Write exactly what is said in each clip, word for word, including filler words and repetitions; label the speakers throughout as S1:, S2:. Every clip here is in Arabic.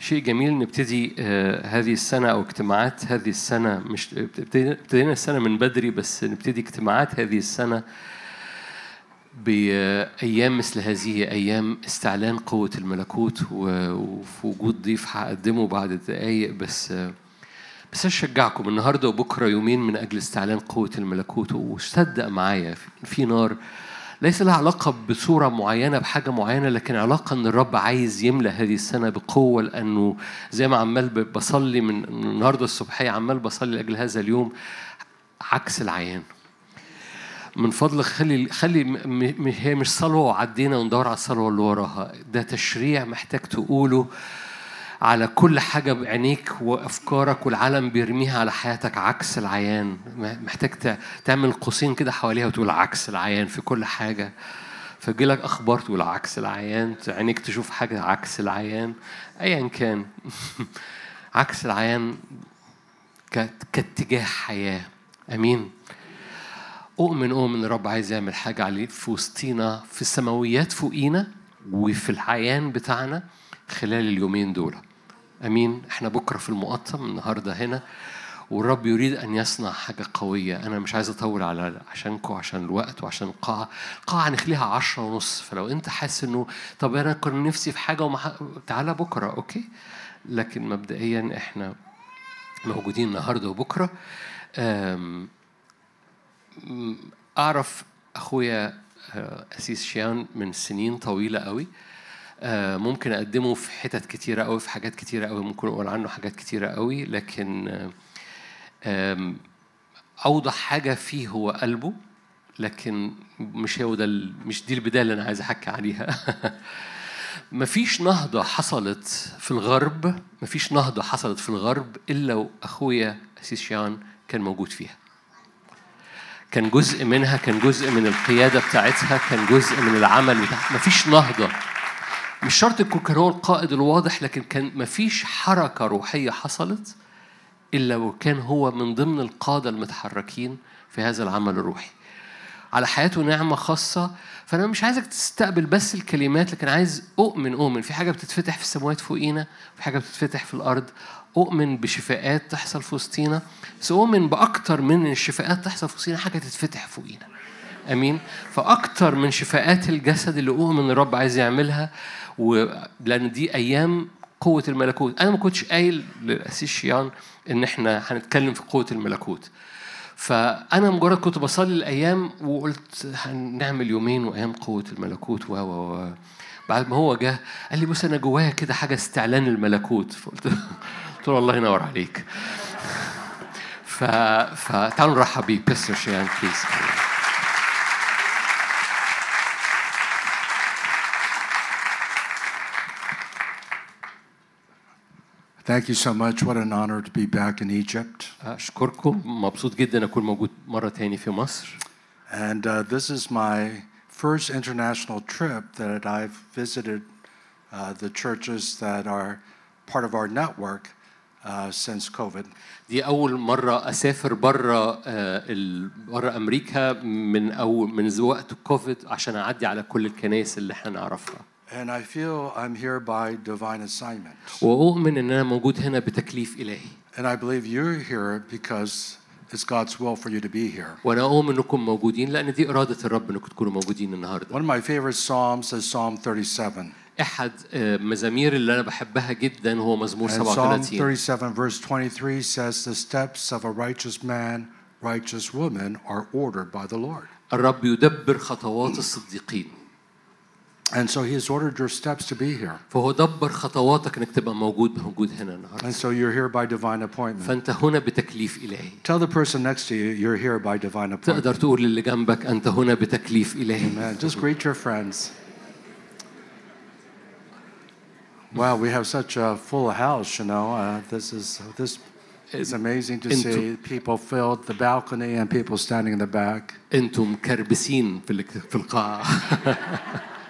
S1: شيء جميل نبتدي هذه السنة أو اجتماعات هذه السنة. مش ابتدينا السنة من بدري، بس نبتدي اجتماعات هذه السنة بأيام مثل هذه، أيام استعلان قوة الملكوت. وفي وجود ضيف هقدمه بعد دقايق، بس بس أشجعكم النهاردة وبكرة يومين من أجل استعلان قوة الملكوت. وصدق معايا في نار ليس لها علاقة بصورة معينة بحاجة معينة، لكن علاقة أن الرب عايز يملأ هذه السنة بقوة. لأنه زي ما عمال بصلي من النهاردة الصبحية، عمال بصلي لأجل هذا اليوم عكس العيان. من فضلك خلي خلي م... هي مش صلوة وعدينا وندور على الصلوة اللي وراها. ده تشريع محتاج تقوله على كل حاجة بعينيك وأفكارك والعالم بيرميها على حياتك عكس العيان. محتاج تعمل قوسين كده حواليها وتقول عكس العيان في كل حاجة. فجيلك أخبار تقول عكس العيان، عينيك تشوف حاجة عكس العيان أيا كان. عكس العيان كاتجاه حياة. أمين. أؤمن أؤمن الرب عايز يعمل حاجة عليه في وسطينا، في السماويات فوقينا وفي العيان بتاعنا خلال اليومين دول. أمين. إحنا بكرة في المقطم، النهاردة هنا، والرب يريد أن يصنع حاجة قوية. أنا مش عايز أطول على عشانكم، عشان الوقت وعشان القاعة. القاعة هنخليها عشرة ونص، فلو أنت حاسس إنه طب أنا كنت نفسي في حاجة ومح... تعالى بكرة، أوكي. لكن مبدئيا إحنا موجودين النهاردة وبكرة. أم... أعرف أخويا أسيس شيان من سنين طويلة قوي. ممكن أقدمه في حتت كتيرة قوي، في حاجات كتيرة قوي، ممكن أقول عنه حاجات كتيرة قوي، لكن أوضح حاجة فيه هو قلبه. لكن مش هو ده، مش دي البداية اللي أنا عايز أحكي عليها. مفيش نهضة حصلت في الغرب، مفيش نهضة حصلت في الغرب إلا وأخويا أسيس شيان كان موجود فيها. كان جزء منها، كان جزء من القيادة بتاعتها، كان جزء من العمل بتاعها. مفيش نهضة، مش شرط يكون كان هو القائد الواضح، لكن كان مفيش حركة روحية حصلت إلا وكان هو من ضمن القادة المتحركين في هذا العمل الروحي. على حياته نعمة خاصة. فأنا مش عايزك تستقبل بس الكلمات، لكن عايز أؤمن أؤمن في حاجة بتتفتح في السماوات فوقينا، في حاجة بتتفتح في الأرض. أؤمن بشفاءات تحصل في وسطينا، بس أؤمن بأكتر من الشفاءات تحصل في وسطينا حاجة تتفتح فوقينا. أمين. فأكتر من شفاءات الجسد اللي أؤمن الرب عايز يعملها، ولأن دي أيام قوة الملكوت. أنا ما كنتش قايل للأسيس شيان إن إحنا هنتكلم في قوة الملكوت، فأنا مجرد كنت بصلي الأيام وقلت هنعمل يومين وأيام قوة الملكوت و و بعد ما هو جه قال لي بص أنا جوايا كده حاجة استعلان الملكوت. فقلت قلت له الله ينور عليك. ف فتعالوا نرحب بيه بيستر شيان بليز.
S2: Thank you so much. What an honor to be back in Egypt.
S1: أشكركم. مبسوط جدا أكون موجود مرة تاني في مصر.
S2: And uh, this is my first international trip that I've visited uh, the churches that are part of our network uh, since COVID.
S1: دي أول مرة أسافر برا برا أمريكا من أول من وقت كوفيد عشان أعدي على كل الكنائس اللي إحنا نعرفها.
S2: And I feel I'm here by divine assignment.
S1: وأؤمن إن أنا موجود هنا بتكليف إلهي.
S2: And I believe you're here because it's God's will for you to be here.
S1: وأنا أؤمن إنكم موجودين لأن دي إرادة الرب إنكم تكونوا موجودين النهاردة.
S2: One of my favorite psalms is Psalm thirty-seven.
S1: أحد مزامير اللي أنا بحبها جدا هو مزمور سبعة
S2: وثلاثين.
S1: وثلاثين.
S2: Psalm thirty-seven verse twenty-three says the steps of a righteous man, righteous woman are ordered by the Lord.
S1: الرب يدبر خطوات الصديقين.
S2: And so he has ordered your steps to be here.
S1: فهو دبر خطواتك إنك تبقى موجود موجود هنا النهاردة.
S2: And so you're here by divine appointment.
S1: فأنت هنا بتكليف إلهي.
S2: Tell the person next to you you're here by divine appointment.
S1: تقدر تقول للي جنبك أنت هنا بتكليف إلهي.
S2: Amen. Just greet your friends. Wow, we have such a full house, you know. Uh, this is this is amazing to see people filled the balcony and people standing in the back.
S1: أنتم كربسين في في القاعة.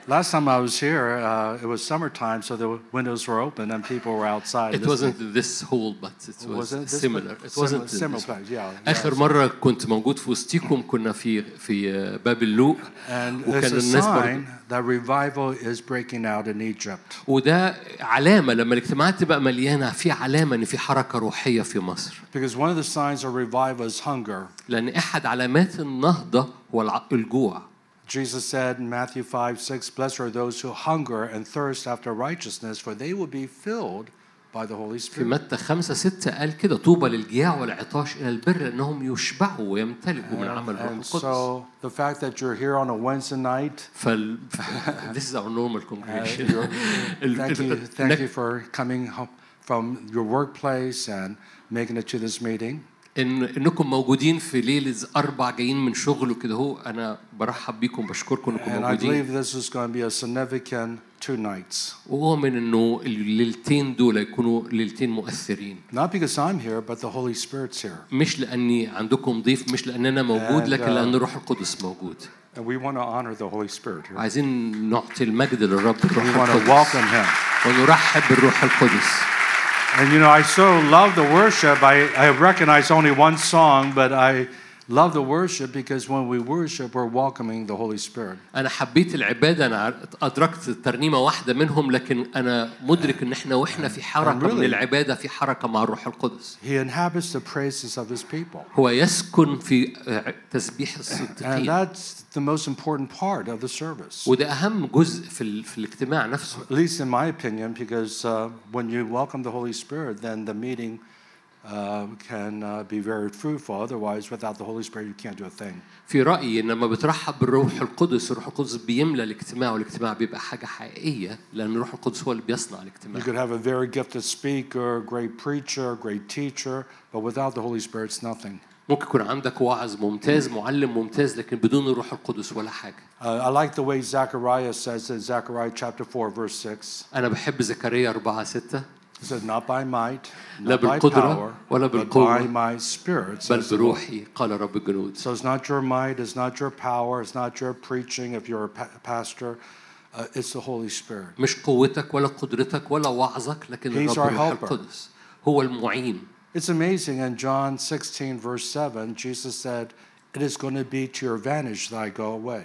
S2: Last time I was here, uh, it was summertime, so the windows were open and people were outside.
S1: It wasn't this hall, but it was
S2: Wasn't it this
S1: similar.
S2: one?
S1: It wasn't
S2: Similar- similar
S1: this one.
S2: place, yeah,
S1: آخر
S2: yeah.
S1: مرة كنت موجود في وسطيكم كنا في في باب اللوق
S2: And
S1: وكان
S2: it's a
S1: الناس برضو
S2: sign that revival is breaking out in Egypt.
S1: وده علامة لما الاجتماعات تبقى مليانة في علامة إن في حركة روحية في مصر.
S2: Because one of the signs of revival is hunger.
S1: لأن أحد علامات النهضة هو الع- الجوع.
S2: Jesus said in Matthew five six, "Blessed are those who hunger and thirst after righteousness, for they will be filled by the Holy
S1: في
S2: Spirit."
S1: متى خمسة ستة قال كده طوبى للجياع والعطاش إلى البر لأنهم يشبعوا ويمتلئوا من عمل الروح
S2: And
S1: القدس.
S2: so the fact that you're here on a Wednesday night,
S1: فال this is our normal
S2: uh,
S1: congregation.
S2: you're-
S1: ال-
S2: thank you,
S1: ال-
S2: thank you for coming home from your workplace and making it to this meeting.
S1: إن إنكم موجودين في ليلة أربع جايين من شغل وكده هو أنا برحب بيكم بشكركم إنكم
S2: And I
S1: موجودين.
S2: believe this is going to be a significant two nights.
S1: وأؤمن إنه الليلتين دول يكونوا ليلتين مؤثرين.
S2: Not because I'm here, but the Holy Spirit's here.
S1: مش لأني عندكم ضيف مش لأن أنا موجود
S2: And,
S1: لكن
S2: uh,
S1: لأن الروح القدس موجود.
S2: And we want to honor the Holy Spirit here.
S1: عايزين نعطي المجد للرب الروح
S2: We want to
S1: القدس
S2: welcome Him.
S1: ونرحب بالروح القدس.
S2: And you know, I so love the worship. I, I recognize only one song, but I love the worship because when we worship, we're welcoming the Holy Spirit.
S1: أنا حبيت العبادة أنا أدركت ترنيمة واحدة منهم لكن أنا مدرك إن إحنا وإحنا في حركة
S2: really-
S1: من العبادة في حركة مع الروح القدس.
S2: He inhabits the praises of His people.
S1: هو يسكن في تسبيح
S2: And
S1: الصديقين.
S2: that's the most important part of the service.
S1: وده أهم جزء في ال- في الاجتماع نفسه.
S2: At least in my opinion, because uh, when you welcome the Holy Spirit, then the meeting uh, can uh, be very fruitful. Otherwise, without the Holy Spirit, you can't do a thing.
S1: في رأيي إن لما بترحب بالروح القدس الروح القدس بيملى الاجتماع والاجتماع بيبقى حاجة حقيقية لأن الروح القدس هو اللي بيصنع
S2: You
S1: الاجتماع.
S2: could have a very gifted speaker, great preacher, great teacher, but without the Holy Spirit, it's nothing.
S1: ممكن يكون عندك واعظ ممتاز معلم ممتاز لكن بدون الروح القدس ولا حاجة.
S2: Uh, I like the way Zechariah says in Zechariah chapter four, verse six.
S1: أنا بحب زكريا أربعة ستة.
S2: He said, "Not by might,
S1: لا
S2: not by
S1: بالقدرة
S2: power,
S1: ولا
S2: but
S1: بالقوة
S2: by my Spirit."
S1: بل
S2: says the Lord.
S1: بروحي قال رب الجنود.
S2: So it's not your might, it's not your power, it's not your preaching if you're a pa- pastor. Uh, it's the Holy Spirit.
S1: مش قوتك ولا قدرتك ولا وعظك لكن
S2: He's
S1: الرب
S2: our
S1: الروح
S2: helper.
S1: القدس هو المعين.
S2: It's amazing. In John sixteen, verse seven, Jesus said, "It is going to be to your advantage that I go away."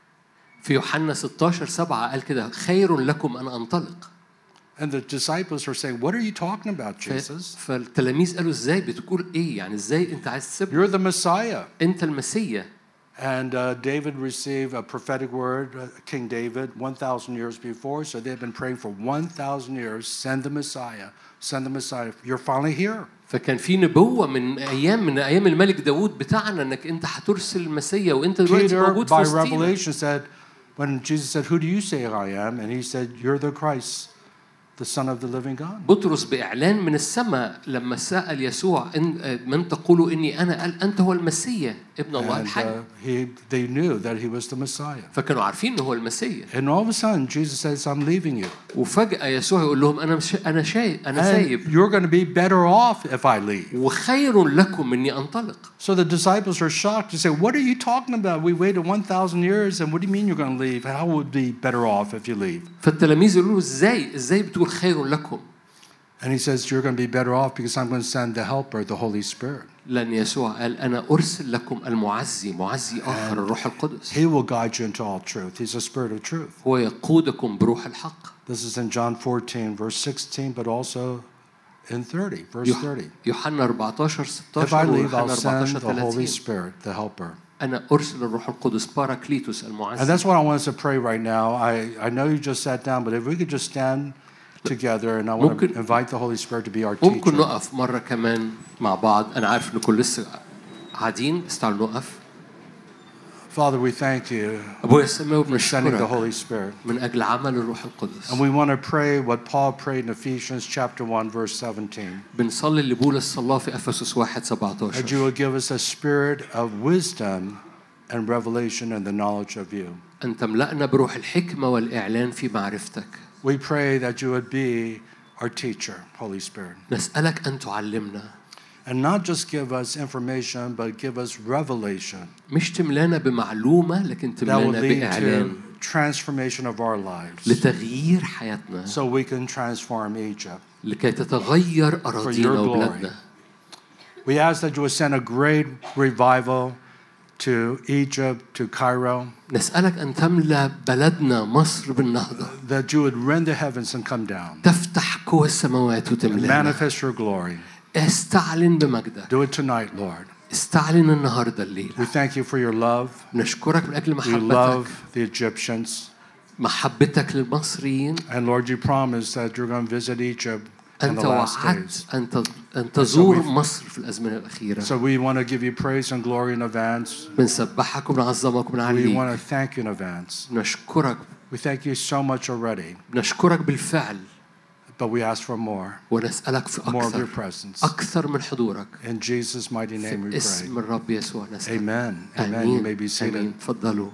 S1: في يوحنا ستاشر سبعة قال كده خير لكم أن أنطلق.
S2: And the disciples are saying, "What are you talking about,
S1: ف-
S2: Jesus?
S1: فالتلاميذ قالوا إزاي بتقول إيه يعني إزاي أنت عايز تسيبنا
S2: You're the Messiah."
S1: أنت المسيا.
S2: And uh, David received a prophetic word, uh, King David, one thousand years before. So they've been praying for one thousand years, send the Messiah, send the Messiah. You're finally here.
S1: فكان في نبوة من أيام من أيام الملك داود بتاعنا إنك أنت هترسل المسيا وأنت دلوقتي
S2: Peter,
S1: موجود في
S2: by
S1: وسطينا.
S2: revelation, said, when Jesus said, "Who do you say I am?" And he said, "You're the Christ, the Son of the living God."
S1: بطرس بإعلان من السماء لما سأل يسوع إن من تقول إني أنا قال أنت هو المسيا ابن الله
S2: And
S1: الحي.
S2: uh, he, they knew that he was the Messiah.
S1: فكانوا عارفين إنه هو المسيا.
S2: And all of a sudden, Jesus says, "I'm leaving you.
S1: وفجأة يسوع يقول لهم أنا مش أنا شاي أنا
S2: And
S1: سايب
S2: you're going to be better off if I leave."
S1: وخير لكم إني أنطلق.
S2: So the disciples are shocked to say, "What are you talking about? We waited one thousand years, and what do you mean you're going to leave? How would it be better off if you leave?"
S1: فالتلاميذ يقولوا له إزاي إزاي بتقول خير لكم؟
S2: And he says, "You're going to be better off because I'm going to send the helper, the Holy Spirit.
S1: لأن يسوع قال أنا أرسل لكم المعزي معزي آخر الروح القدس.
S2: He will guide you into all truth. He's a spirit of truth."
S1: هو يقودكم بروح الحق.
S2: This is in John fourteen, verse sixteen, but also in thirty, verse
S1: يوح-
S2: thirty.
S1: يوحنا أربعتاشر
S2: If I
S1: ستاشر
S2: leave, I'll
S1: ويوحنا
S2: send
S1: أربعتاشر
S2: the Holy
S1: ثلاثين.
S2: Spirit, the helper.
S1: أنا أرسل الروح القدس باراكليتوس
S2: And
S1: المعزي.
S2: that's what I want us to pray right now. I, I know you just sat down, but if we could just stand together, and I want to
S1: ممكن-
S2: invite the Holy Spirit to be our
S1: ممكن
S2: teacher.
S1: نقف مرة كمان مع بعض. أنا عارف إنكم لسه قاعدين بس تعالوا نقف.
S2: Father, we thank you
S1: أبويا السماوي
S2: for sending the
S1: بنشكرك
S2: Holy Spirit.
S1: من أجل عمل الروح القدس.
S2: And we want to pray what Paul prayed in Ephesians chapter one, verse seventeen.
S1: بنصلي اللي بولس صلاه في أفسس واحد
S2: That
S1: سبعتاشر.
S2: you will give us a spirit of wisdom and revelation and the knowledge of you.
S1: أن تملأنا بروح الحكمة والإعلان في معرفتك.
S2: We pray that you would be our teacher, Holy Spirit.
S1: نسألك أن تعلمنا.
S2: And not just give us information, but give us revelation
S1: مش تملانا بمعلومة لكن
S2: that will
S1: تملانا
S2: lead
S1: بإعلان.
S2: to transformation of our lives
S1: لتغيير حياتنا
S2: so we can transform Egypt
S1: لكي تتغير أراضينا وبلادنا.
S2: We ask that you would send a great revival to Egypt, to Cairo.
S1: نسألك أن تملأ بلدنا مصر بالنهضة.
S2: That you would rend the heavens and come down.
S1: تفتح قوى السماوات وتملأنا.
S2: Manifest your glory.
S1: استعلن بمجدك.
S2: Do it tonight, Lord.
S1: استعلن النهاردة الليلة.
S2: We thank you for your love.
S1: نشكرك من أجل محبتك.
S2: We love the Egyptians.
S1: محبتك للمصريين.
S2: And Lord, you promised that you're going to visit Egypt in the
S1: أنت
S2: last days.
S1: وعدت أن أن تزور مصر في الأزمنة الأخيرة.
S2: So we want to give you praise and glory in advance.
S1: بنسبحك وبنعظمك وبنعليك.
S2: We want to thank you in advance.
S1: نشكرك.
S2: We thank you so much already.
S1: نشكرك بالفعل.
S2: But we ask for more.
S1: ونسألك في
S2: More of your
S1: أكثر.
S2: presence.
S1: أكثر من حضورك.
S2: In Jesus' mighty name we
S1: في اسم
S2: pray.
S1: الرب يسوع نسألك.
S2: Amen. Amen. You may be seated.
S1: آمين. تفضلوا.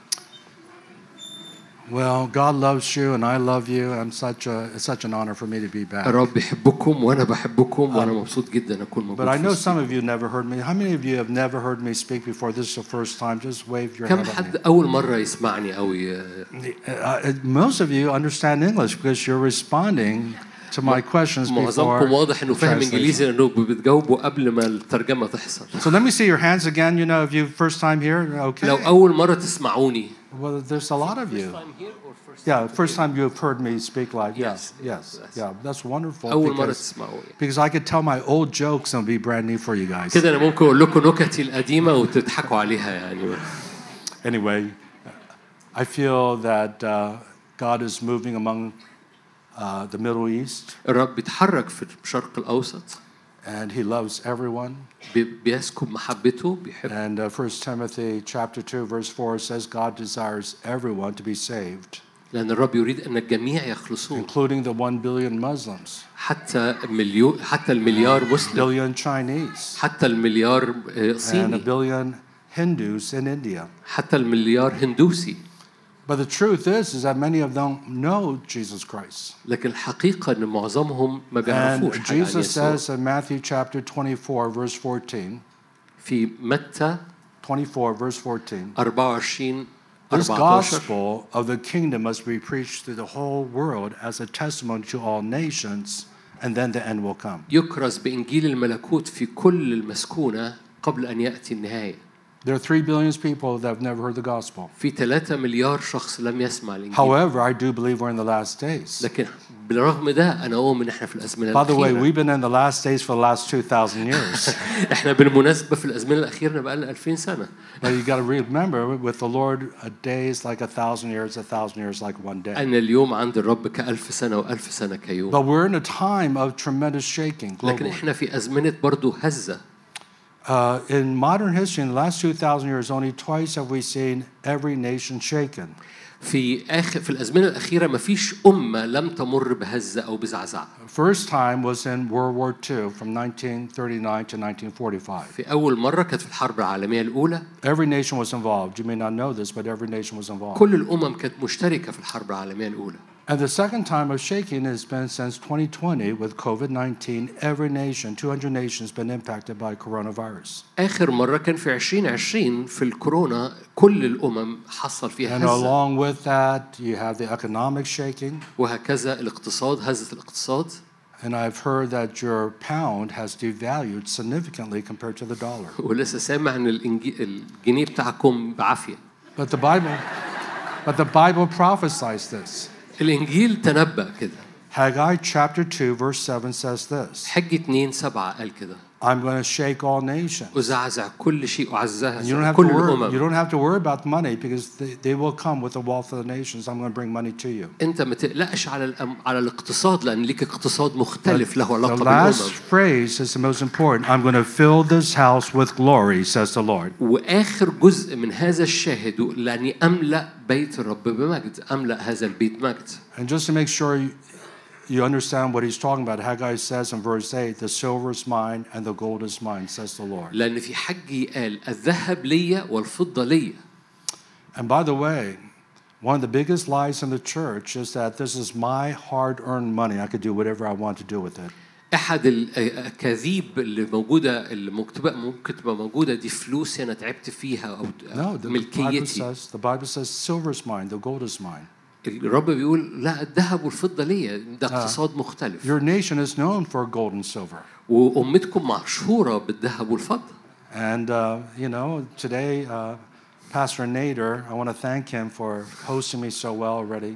S2: Well, God loves you and I love you. I'm such a, it's such an honor for me to be back.
S1: الرب يحبكم وأنا بحبكم وأنا مبسوط جدا أكون موجود.
S2: But I know
S1: في
S2: some of you never heard me. How many of you have never heard me speak before? This is the first time. Just wave your
S1: كم
S2: hand at
S1: حد
S2: me.
S1: أول مرة يسمعني أو ي...
S2: Uh, most of you understand English because you're responding to my questions before
S1: معظمكم واضح إنه فاهم
S2: translation.
S1: إنجليزي لأنه بتجاوبوا قبل ما الترجمة تحصل.
S2: So let me see your hands again. You know, if you first time here, okay.
S1: لو أول مرة تسمعوني.
S2: Well, there's a lot of you. Yeah, first time you have heard me speak live.
S1: Yes.
S2: Yes. Yes. Yeah, that's wonderful.
S1: أول مرة
S2: Because,
S1: تسمعوني.
S2: because I could tell my old jokes and it'll be brand new for you guys.
S1: كده أنا ممكن أقول لكم نكتي القديمة وتضحكوا عليها يعني.
S2: Anyway, I feel that uh, God is moving among uh, the Middle East.
S1: الرب بيتحرك في الشرق الأوسط.
S2: And he loves everyone.
S1: بيسكب محبته بيحب.
S2: And uh, First Timothy chapter two verse four says God desires everyone to be saved.
S1: لأن الرب يريد أن الجميع يخلصون.
S2: Including the one billion Muslims.
S1: حتى مليون حتى المليار مسلم.
S2: Billion Chinese.
S1: حتى المليار صيني.
S2: And a billion Hindus in India.
S1: حتى المليار هندوسي.
S2: But the truth is, is that many of them know Jesus Christ.
S1: لكن الحقيقة إن معظمهم ما بيعرفوش
S2: And
S1: حاجة عن
S2: Jesus
S1: يسوع.
S2: says in Matthew chapter twenty-four verse fourteen.
S1: في متى
S2: twenty-four verse fourteen.
S1: أربعة وعشرين
S2: This
S1: أربعة عشر.
S2: gospel of the kingdom must be preached to the whole world as a testimony to all nations, and then the end will come.
S1: يكرز بإنجيل الملكوت في كل المسكونة قبل أن يأتي النهاية.
S2: There are three billion people that have never heard the gospel.
S1: في ثلاثة مليار شخص لم يسمع الإنجيل.
S2: However, I do believe we're in the last days.
S1: لكن بالرغم ده أنا أؤمن إحنا في الأزمنة
S2: By the way,
S1: الأخيرة.
S2: we've been in the last days for the last two thousand years.
S1: إحنا بالمناسبة في الأزمنة الأخيرة بقى لنا ألفين سنة.
S2: But you got to remember, with the Lord, a day is like a thousand years, a thousand years like one day.
S1: أن اليوم عند الرب كألف سنة وألف سنة كيوم.
S2: But we're in a time of tremendous shaking
S1: لكن
S2: globally.
S1: إحنا في أزمنة برضو هزة.
S2: Uh, in modern history, in the last two thousand years, only twice have we seen every nation shaken.
S1: في آخر في الأزمنة الأخيرة ما فيش أمة لم تمر بهزة أو بزعزعة.
S2: First time was in World War Two from nineteen thirty-nine to nineteen forty-five.
S1: في أول مرة كانت في الحرب العالمية الأولى.
S2: Every nation was involved. You may not know this, but every nation was involved.
S1: كل الأمم كانت مشتركة في الحرب العالمية الأولى.
S2: And the second time of shaking has been since twenty twenty with COVID nineteen. Every nation, two hundred nations, been impacted by coronavirus.
S1: آخر مرة كان في عشرين عشرين في الكورونا كل الأمم حصل فيها
S2: And
S1: هزة.
S2: along with that, you have the economic shaking.
S1: وهكذا الاقتصاد هزة الاقتصاد.
S2: And I've heard that your pound has devalued significantly compared to the dollar.
S1: ولسه سامع إن الإنجي- الجنيه بتاعكم بعافية.
S2: But the Bible, but the Bible prophesies this.
S1: الإنجيل تنبأ كده.
S2: Haggai chapter two verse seven says this.
S1: حج اتنين سبعة قال كده.
S2: I'm going to shake all nations.
S1: أزعزع كل شيء
S2: And you don't
S1: أعزها
S2: have to
S1: كل
S2: worry. You
S1: الأمم.
S2: don't have to worry about money because they, they will come with the wealth of the nations. I'm going to bring money to you.
S1: أنت ما تقلقش على الأم... على الاقتصاد لأن ليك اقتصاد مختلف له
S2: The
S1: علاقة
S2: last
S1: بالأمم.
S2: phrase is the most important. I'm going to fill this house with glory, says the Lord.
S1: وآخر جزء من هذا الشاهد لأني أملأ بيت الرب بمجد، أملأ هذا البيت مجد.
S2: And just to make sure you, you understand what he's talking about, Haggai says in verse eight, the silver is mine and the gold is mine, says the Lord.
S1: لأن في حجي قال الذهب ليا والفضة ليا.
S2: And by the way, one of the biggest lies in the church is that this is my hard-earned money. I could do whatever I want to do with it.
S1: أحد الأكاذيب اللي موجودة اللي مكتوبة ممكن تبقى موجودة دي فلوسي أنا تعبت فيها أو
S2: No, the Bible
S1: ملكيتي.
S2: says, the Bible says silver is mine, the gold is mine.
S1: الرب بيقول لا الذهب والفضة ليا ده اقتصاد مختلف.
S2: Your nation is known for gold and silver.
S1: وأمتكم مشهورة بالذهب والفضة.
S2: And uh, you know, today uh, Pastor Nader, I want to thank him for hosting me so well already.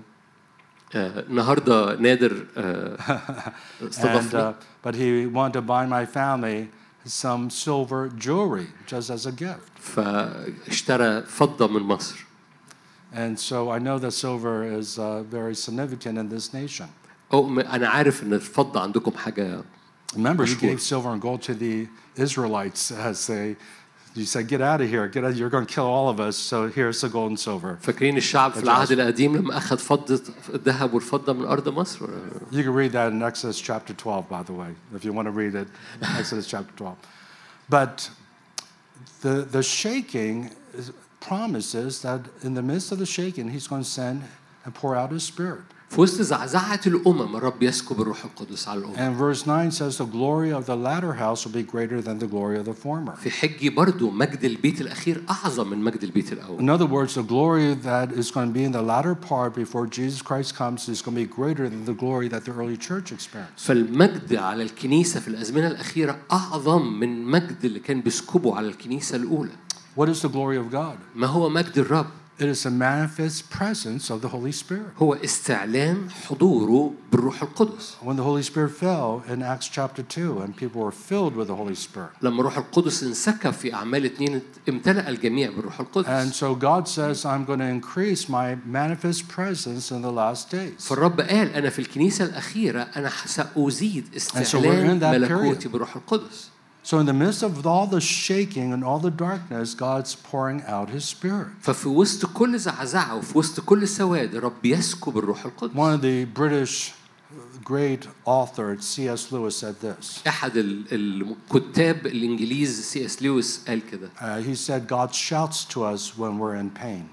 S1: النهارده نادر
S2: And
S1: استضافني.
S2: uh, but he wanted to buy my family some silver jewelry just as a gift.
S1: فاشترى فضة من مصر.
S2: And so I know that silver is uh, very significant in this nation.
S1: أو أنا عارف إن الفضة عندكم حاجة.
S2: Remember, you gave silver and gold to the Israelites as they, you said, get out of here, get out, you're going to kill all of us, so here's the gold and silver.
S1: فاكرين الشعب في العهد القديم لما أخذ فضة الذهب والفضة من أرض مصر؟
S2: You can read that in Exodus chapter twelve, by the way, if you want to read it, Exodus chapter twelve. But the, the shaking is, promises that in the midst of the shaking, he's going to send and pour out his spirit.
S1: في وسط زعزعة الأمم الرب يسكب الروح القدس على الأمم.
S2: And verse nine says the glory of the latter house will be greater than the glory of the former.
S1: في حجي برضو مجد البيت الأخير أعظم من مجد البيت الأول.
S2: In other words, the glory that is going to be in the latter part before Jesus Christ comes is going to be greater than the glory that the early church experienced.
S1: فالمجد على الكنيسة في الأزمنة الأخيرة أعظم من مجد اللي كان بيسكبه على الكنيسة الأولى.
S2: What is the glory of God?
S1: ما هو مجد الرب؟
S2: It is a manifest presence of the Holy Spirit.
S1: هو استعلان حضوره بالروح القدس.
S2: When the Holy Spirit fell in Acts chapter two and people were filled with the Holy Spirit.
S1: لما الروح القدس انسكب في أعمال اتنين امتلأ الجميع بالروح القدس.
S2: And so God says, I'm going to increase my manifest presence in the last days.
S1: فالرب قال أنا في الكنيسة الأخيرة أنا سأزيد استعلان ملكوتي بالروح القدس.
S2: So in the midst of all the shaking and all the darkness, God's pouring out His Spirit.
S1: ففي وسط كل زعزعة وفي وسط كل سواد الرب يسكب الروح القدس.
S2: One of the British great author C S Lewis said this.
S1: أحد الكتاب الإنجليز سي إس لويس قال كده.
S2: Uh, he said God shouts to us when we're in pain.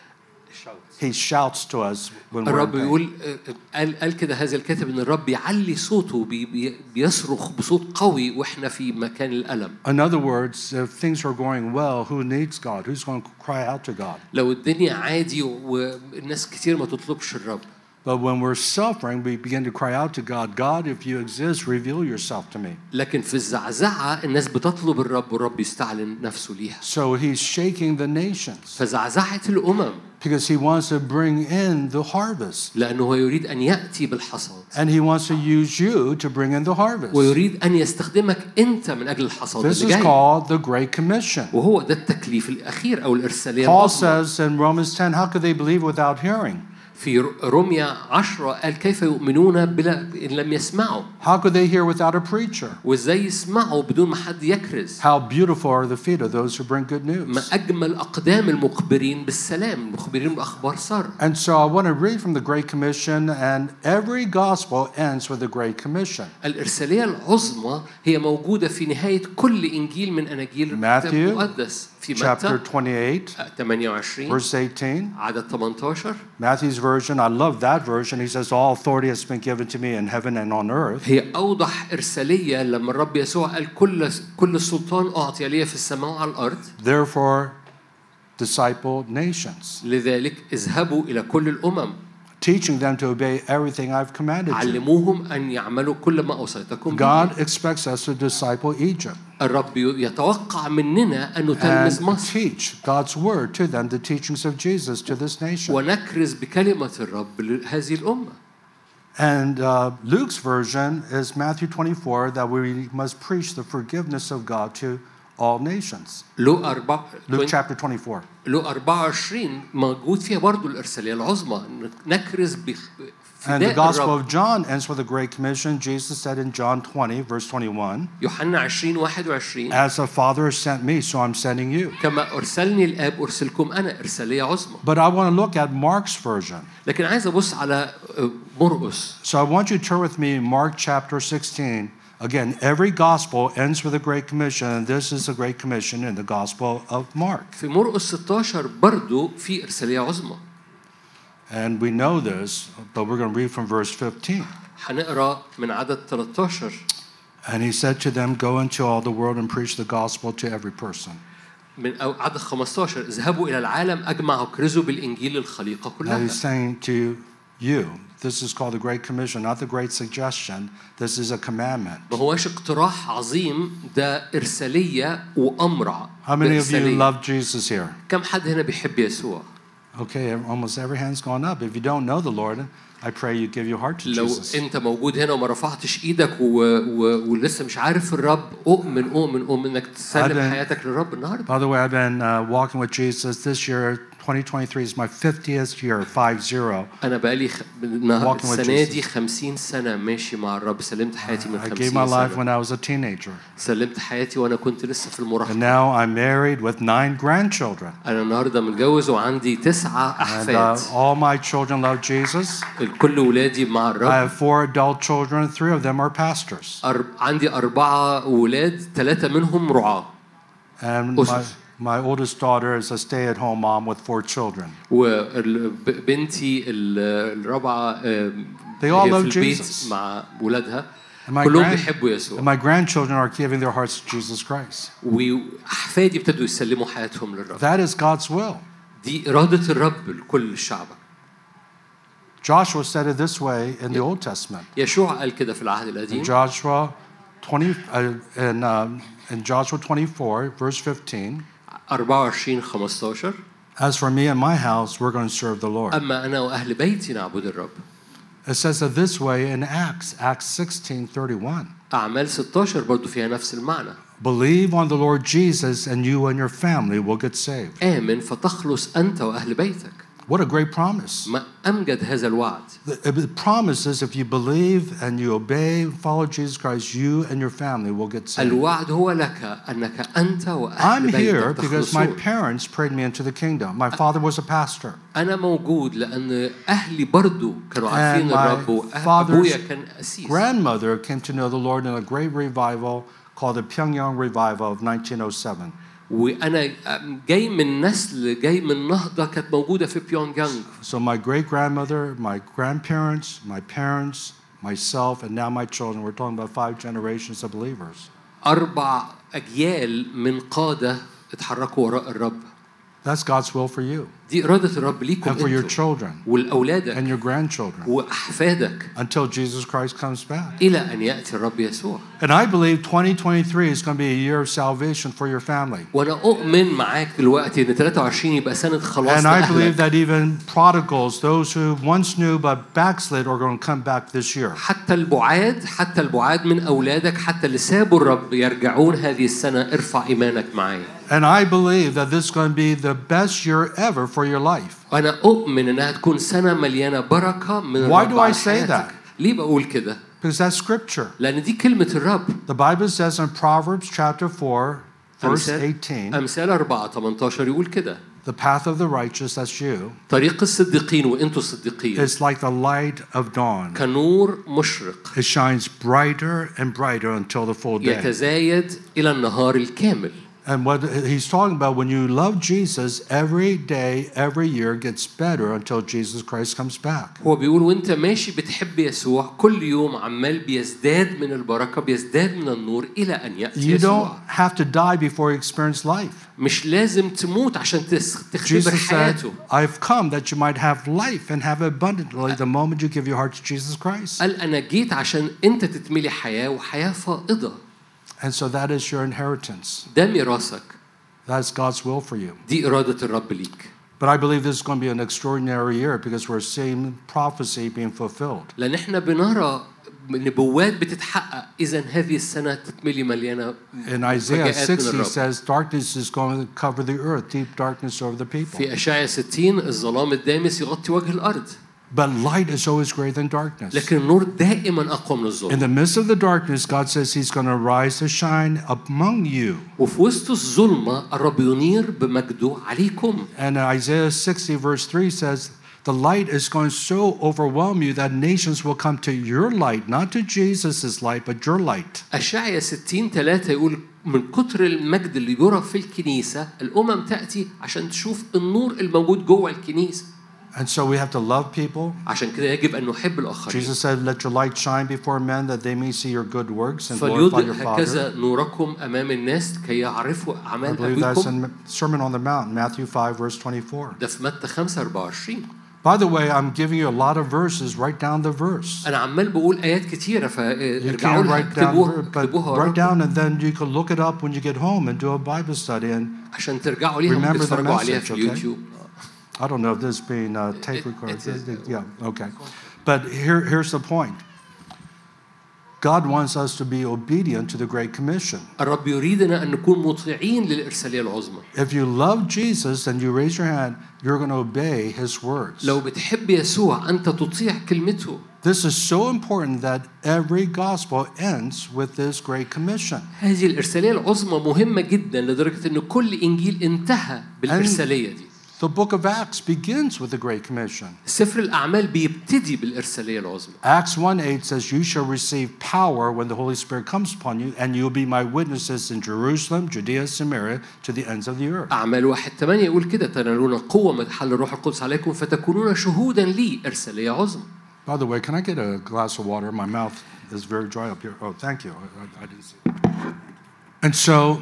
S2: He shouts to us when we're in
S1: الرب
S2: pain.
S1: يقول قال قال كده هذا الكاتب إن الرب يعلي صوته بي بي بيصرخ بصوت قوي وإحنا في مكان الألم.
S2: In other words, if things are going well, who needs God? Who's going to cry out to God?
S1: لو الدنيا عادي والناس كتير ما تطلبش الرب.
S2: But when we're suffering, we begin to cry out to God. God, if you exist, reveal yourself to me.
S1: لكن في الزعزعة الناس بتطلب الرب والرب يستعلن نفسه ليها.
S2: So he's shaking the nations.
S1: فزعزعة الأمم.
S2: Because he wants to bring in the harvest.
S1: لأنه هو يريد أن يأتي بالحصاد.
S2: And he wants to use you to bring in the harvest.
S1: ويريد أن يستخدمك أنت من أجل الحصاد
S2: This
S1: اللي
S2: is
S1: جاي.
S2: called the Great Commission.
S1: وهو ده التكليف الأخير أو الإرسالية
S2: Paul
S1: العظمى.
S2: says in Romans ten, how could they believe without hearing?
S1: في روميا عشرة قال كيف يؤمنون بلا إن لم يسمعوا.
S2: How could they hear without a preacher?
S1: وإزاي يسمعوا بدون ما حد يكرز.
S2: How beautiful are the feet of those who bring good
S1: ما
S2: news.
S1: أجمل أقدام المخبرين بالسلام المخبرين بأخبار سر.
S2: And so I want to read from the Great Commission, and every gospel ends with the Great Commission.
S1: الإرسالية العظمى هي موجودة في نهاية كل إنجيل من أناجيل الكتاب المقدس. في
S2: chapter
S1: متى
S2: twenty-eight,
S1: ثمانية وعشرين
S2: verse eighteen.
S1: عدد ثمانية عشر.
S2: Matthew's version, I love that version. He says, all authority has been given to me in heaven and on earth.
S1: هي أوضح إرسالية لما الرب يسوع قال كل كل السلطان أعطي لي في السماء وعلى الأرض.
S2: Therefore, disciple nations.
S1: لذلك اذهبوا إلى كل الأمم.
S2: Teaching them to obey everything I've commanded you.
S1: علموهم أن يعملوا كل ما أوصيتكم به.
S2: God expects us to disciple Egypt.
S1: الرب يتوقع مننا أن نتلمذ
S2: And
S1: مصر.
S2: teach God's word to them, the teachings of Jesus to this nation.
S1: ونكرز بكلمة الرب لهذه الأمة.
S2: And uh, Luke's version is Matthew twenty-four, that we must preach the forgiveness of God to all nations.
S1: لو أربعة.
S2: Luke chapter twenty-four.
S1: لو أربعة وعشرين موجود فيها برضو الإرسالية العظمى نكرز بفداء
S2: And the Gospel
S1: الرب.
S2: of John ends with a great commission. Jesus said in John twenty, verse twenty-one,
S1: يوحنا عشرين واحد وعشرين
S2: as the Father has sent me, so I'm sending you.
S1: كما أرسلني الآب أرسلكم أنا إرسالية عظمى.
S2: But I want to look at Mark's version.
S1: لكن عايز أبص على مرقس.
S2: So I want you to turn with me in Mark chapter sixteen. Again, every gospel ends with a great commission, and this is a great commission in the Gospel of Mark.
S1: في مرقس ستة عشر برضو في إرسالية عظمى.
S2: And we know this, but we're going to read from verse fifteen.
S1: هنقرأ من عدد ثلاثة عشر.
S2: And he said to them, go into all the world and preach the gospel to every person.
S1: من أو عدد خمستاشر اذهبوا إلى العالم أجمع كرزوا بالإنجيل للخليقة
S2: Now
S1: كلها.
S2: he's saying to you, this is called the Great Commission, not the Great Suggestion. This is a commandment.
S1: ما هوش اقتراح عظيم، ده إرسالية وأمر.
S2: How many of you love Jesus here?
S1: كم حد هنا بيحب يسوع؟
S2: Okay, almost every hand's gone up. If you don't know the Lord, I pray you give your heart to
S1: لو
S2: Jesus.
S1: أنت موجود هنا وما رفعتش إيدك و... و... ولسه مش عارف الرب، أؤمن أؤمن أؤمن إنك تسلم حياتك للرب النهاردة.
S2: By the way, I've been uh, walking with Jesus this year. twenty twenty-three is my fiftieth year, five zero.
S1: أنا بقالي خ... السنة دي خمسين سنة ماشي مع الرب، سلمت حياتي من خمسين
S2: سنة. I gave my life
S1: سنة.
S2: when I was a teenager.
S1: سلمت حياتي وأنا كنت لسه في المراهقة.
S2: And now I'm married with nine grandchildren.
S1: أنا النهاردة متجوز وعندي تسعة أحفاد.
S2: And uh, all my children love Jesus.
S1: الكل ولادي مع الرب.
S2: I have four adult children. Three of them are pastors.
S1: أرب... عندي أربعة ولاد، ثلاثة منهم رعاة.
S2: And my My oldest daughter is a stay-at-home mom with four children.
S1: وبنتي الرابعة
S2: They all love Jesus.
S1: مع ولادها.
S2: كلهم بيحبوا يسوع. And my grandchildren are giving their hearts to Jesus Christ.
S1: وأحفادي ابتدوا يسلموا حياتهم للرب.
S2: That is God's will.
S1: دي إرادة الرب لكل شعبه.
S2: Joshua said it this way in the Old Testament.
S1: يشوع قال كده في العهد القديم.
S2: Joshua twenty uh, in um, in Joshua twenty-four verse fifteen.
S1: أربعة وعشرين خمستاشر.
S2: As for me and my house, we're going to serve the Lord.
S1: أما أنا وأهل بيتي نعبد الرب.
S2: It says it this way in Acts, Acts sixteen thirty-one.
S1: أعمال ستاشر برضو فيها نفس المعنى.
S2: Believe on the Lord Jesus and you and your family will get saved.
S1: آمن فتخلص أنت وأهل بيتك.
S2: What a great promise.
S1: ما أمجد هذا الوعد.
S2: The promise is if you believe and you obey, follow Jesus Christ, you and your family will get saved.
S1: الوعد هو لك أنك أنت وأهل
S2: I'm
S1: بيتك
S2: here because my
S1: تخلصون.
S2: parents prayed me into the kingdom. My father was a pastor.
S1: أنا موجود لأن أهلي برضو كانوا
S2: And
S1: عارفين الرب
S2: my father's
S1: وأبويا كان أسيس.
S2: grandmother came to know the Lord in a great revival called the Pyongyang Revival of nineteen oh seven.
S1: وأنا جاي من نسل جاي من نهضة كانت موجودة في بيونج يانغ.
S2: So my great grandmother, my grandparents, my parents, myself, and now my children. We're talking about five generations of believers.
S1: أربع أجيال من قادة اتحركوا وراء الرب.
S2: That's God's will for you.
S1: دي إرادة الرب ليكم
S2: and for your
S1: أنتم
S2: children
S1: والأولادك
S2: and your grandchildren
S1: وأحفادك
S2: until Jesus Christ comes back.
S1: إلى أن يأتي الرب يسوع.
S2: And I believe twenty twenty-three is going to be a year of salvation for your family.
S1: وأنا أؤمن معاك دلوقتي إن ثلاثة وعشرين يبقى سنة خلاص
S2: And I believe
S1: لأهلك.
S2: that even prodigals, those who once knew but backslid, are going to come back this year.
S1: حتى البعاد حتى البعاد من أولادك حتى اللي سابوا الرب يرجعون هذه السنة. ارفع إيمانك معي.
S2: And I believe that this is going to be the best year ever for your life.
S1: وأنا أؤمن إنها تكون سنة مليانة بركة من
S2: Why
S1: الرب
S2: do I
S1: على
S2: say
S1: حياتك.
S2: that?
S1: ليه بقول كده؟
S2: Because that's scripture.
S1: لأن دي كلمة الرب.
S2: The Bible says in Proverbs chapter four, verse
S1: أمثال
S2: eighteen,
S1: أمثال أربعة تمنتاشر يقول كده.
S2: the path of the righteous, that's you,
S1: طريق الصديقين وأنتوا الصديقين
S2: is like the light of dawn.
S1: كنور مشرق
S2: It shines brighter and brighter until the full day.
S1: يتزايد إلى النهار الكامل.
S2: And what he's talking about, when you love Jesus, every day, every year gets better until Jesus Christ comes back.
S1: هو بيقول وأنت ماشي بتحب يسوع كل يوم عمال بيزداد من البركة بيزداد من النور إلى أن يأتي
S2: You
S1: يسوع.
S2: don't have to die before you experience life.
S1: مش لازم تموت عشان تختبر
S2: Jesus said,
S1: حياته.
S2: I've come that you might have life and have abundantly the moment you give your heart to Jesus Christ.
S1: قال أنا جيت عشان أنت تتملي حياة وحياة فائضة.
S2: And so that is your inheritance.
S1: ده ميراثك.
S2: That's God's will for you.
S1: دي إرادة الرب ليك.
S2: But I believe this is going to be an extraordinary year because we're seeing prophecy being fulfilled.
S1: لأن إحنا بنرى نبوات بتتحقق. إذا هذه السنة تتملي مليانة.
S2: In Isaiah sixty says darkness is going to cover the earth, deep darkness over the people.
S1: في أشعياء ستين الظلام الدامس يغطي وجه الأرض.
S2: But light is always greater than darkness.
S1: لكن النور دائما أقوى من الظلام.
S2: In the midst of the darkness, God says He's going to rise to shine among you.
S1: وفي وسط الظلمة الرب ينير بمجده عليكم.
S2: And Isaiah sixty verse three says, the light is going to so overwhelm you that nations will come to your light, not to Jesus' light, but your light.
S1: أشعياء ستين ثلاثة يقول من كتر المجد اللي يرى في الكنيسة الأمم تأتي عشان تشوف النور الموجود جوه الكنيسة.
S2: And so we have to love people.
S1: عشان كده يجب أن نحب الآخرين.
S2: Jesus said, "Let your light shine before men, that they may see your good works and glorify
S1: فليضئ
S2: your Father."
S1: هكذا نوركم أمام الناس كي يعرفوا
S2: I
S1: أعمال
S2: believe that's
S1: أبيكم.
S2: in Sermon on the Mount, Matthew five, verse twenty-four.
S1: ده في متى خمسة أربعة وعشرين.
S2: By the way, I'm giving you a lot of verses. Write down the verse.
S1: أنا عمال بقول آيات كتيرة
S2: You
S1: فارجعوا
S2: can't
S1: لها
S2: write down,
S1: اكتبوها
S2: but
S1: اكتبوها
S2: write
S1: وراكم
S2: down, and then you can look it up when you get home and do a Bible study. And
S1: عشان ترجعوا ليها ممكن
S2: remember the
S1: تتفرجوا عليها
S2: message,
S1: في
S2: okay?
S1: اليوتيوب.
S2: I don't know if this is being uh, tape
S1: It-
S2: recorded.
S1: it is.
S2: Yeah, okay. But here, here's the point. God wants us to be obedient to the Great Commission.
S1: الرب يريدنا أن نكون مطيعين للإرسالية العظمى.
S2: If you love Jesus and you raise your hand, you're going to obey His words.
S1: لو بتحب يسوع أنت تطيع كلمته.
S2: This is so important that every gospel ends with this Great Commission.
S1: هذه الإرسالية العظمى مهمة جدا لدرجة أن كل إنجيل انتهى بالإرسالية دي.
S2: The book of Acts begins with the Great Commission.
S1: سفر الأعمال بيبتدي بالإرسالية العظمى.
S2: Acts one eight says, "You shall receive power when the Holy Spirit comes upon you, and you'll be my witnesses in Jerusalem, Judea, Samaria, to the ends of the earth."
S1: أعمال واحد ثمانية يقول كده تنالون قوة من حل الروح القدس عليكم فتكونون شهودا لي. إرسالية عظمى.
S2: By the way, can I get a glass of water? My mouth is very dry up here. Oh, thank you. I, I didn't see it. And so,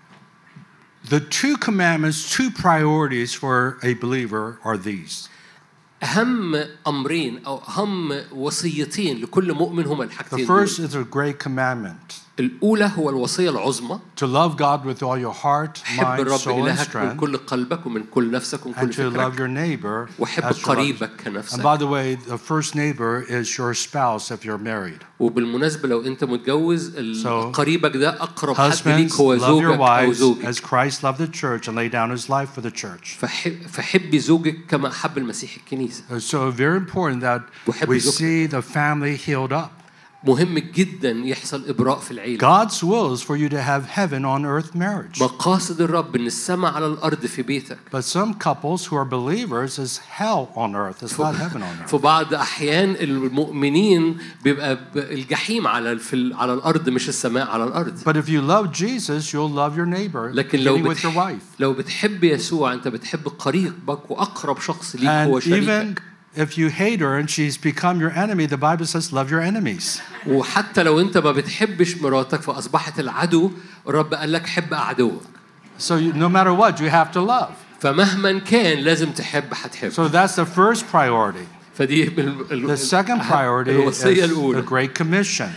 S2: the two commandments, two priorities for a believer are these.
S1: أهم أمرين أو أهم وصيتين لكل مؤمن هما
S2: The
S1: الحاجتين
S2: first
S1: دول.
S2: is a great commandment.
S1: الأولى هو الوصية العظمى.
S2: To love God with all your heart,
S1: حب
S2: mind,
S1: الرب
S2: soul, and
S1: إلهك من
S2: strength.
S1: كل قلبك ومن كل نفسك ومن كل
S2: And to love
S1: فكرك.
S2: your neighbor
S1: وحب
S2: as your
S1: قريبك
S2: life.
S1: كنفسك.
S2: And by the way, the first neighbor is your spouse if you're married.
S1: وبالمناسبة لو أنت متجوز
S2: So,
S1: قريبك ده أقرب حد ليك
S2: Husbands,
S1: هو
S2: love your
S1: زوجك أو
S2: wives
S1: زوجك.
S2: as Christ loved the church and laid down his life for the church.
S1: فحب فحبي زوجك كما حب المسيح الكنيسة.
S2: So very important that
S1: وحب
S2: we
S1: زوجتك.
S2: see the family healed up.
S1: مهم جدا يحصل إبراء في العيلة.
S2: God's will is for you to have heaven on earth marriage.
S1: مقاصد الرب إن السماء على الأرض في بيتك.
S2: But some couples who are believers is hell on earth. It's not heaven on earth.
S1: في بعض أحيان المؤمنين بيبقى الجحيم على في على الأرض مش السماء على الأرض.
S2: But if you love Jesus, you'll love your neighbor,
S1: لكن لو
S2: beginning with your
S1: بتح...
S2: wife.
S1: لو بتحب يسوع أنت بتحب قريبك وأقرب شخص ليك
S2: And
S1: هو
S2: even
S1: شريكك.
S2: if you hate her and she's become your enemy, the Bible says, love your enemies.
S1: وحتى لو أنت ما بتحبش مراتك فأصبحت العدو الرب قال لك حب أعدوك.
S2: So you, no matter what, you have to love.
S1: فمهما كان لازم تحب هتحب.
S2: So that's the first priority.
S1: فدي
S2: The second priority is
S1: الوصية
S2: the
S1: الأولى.
S2: Great Commission.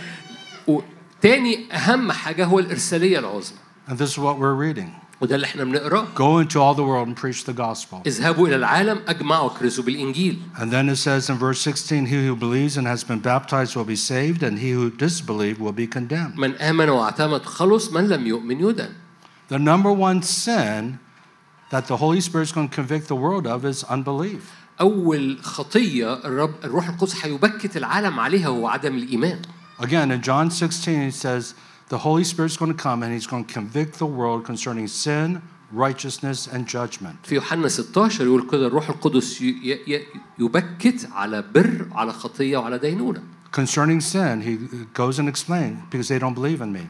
S1: وتاني أهم حاجة هو الإرسالية العظمى.
S2: And this is what we're reading.
S1: وده اللي احنا بنقراه.
S2: Go into all the world and preach the gospel.
S1: اذهبوا إلى العالم أجمعوا كرزوا بالإنجيل.
S2: And then it says in verse sixteen, he who believes and has been baptized will be saved, and he who disbelieves will be condemned.
S1: من آمن واعتمد خلص من لم يؤمن يدان.
S2: The number one sin that the Holy Spirit is going to convict the world of is unbelief.
S1: أول خطية الرب الروح القدس هيبكت العالم عليها هو عدم الإيمان.
S2: Again, in John sixteen, he says, the Holy Spirit is going to come and he's going to convict the world concerning sin, righteousness, and judgment.
S1: في يوحنا ستة عشر يقول كده الروح القدس يبكت على بر على خطية وعلى دينونة.
S2: Concerning sin, he goes and explains because they don't believe in me.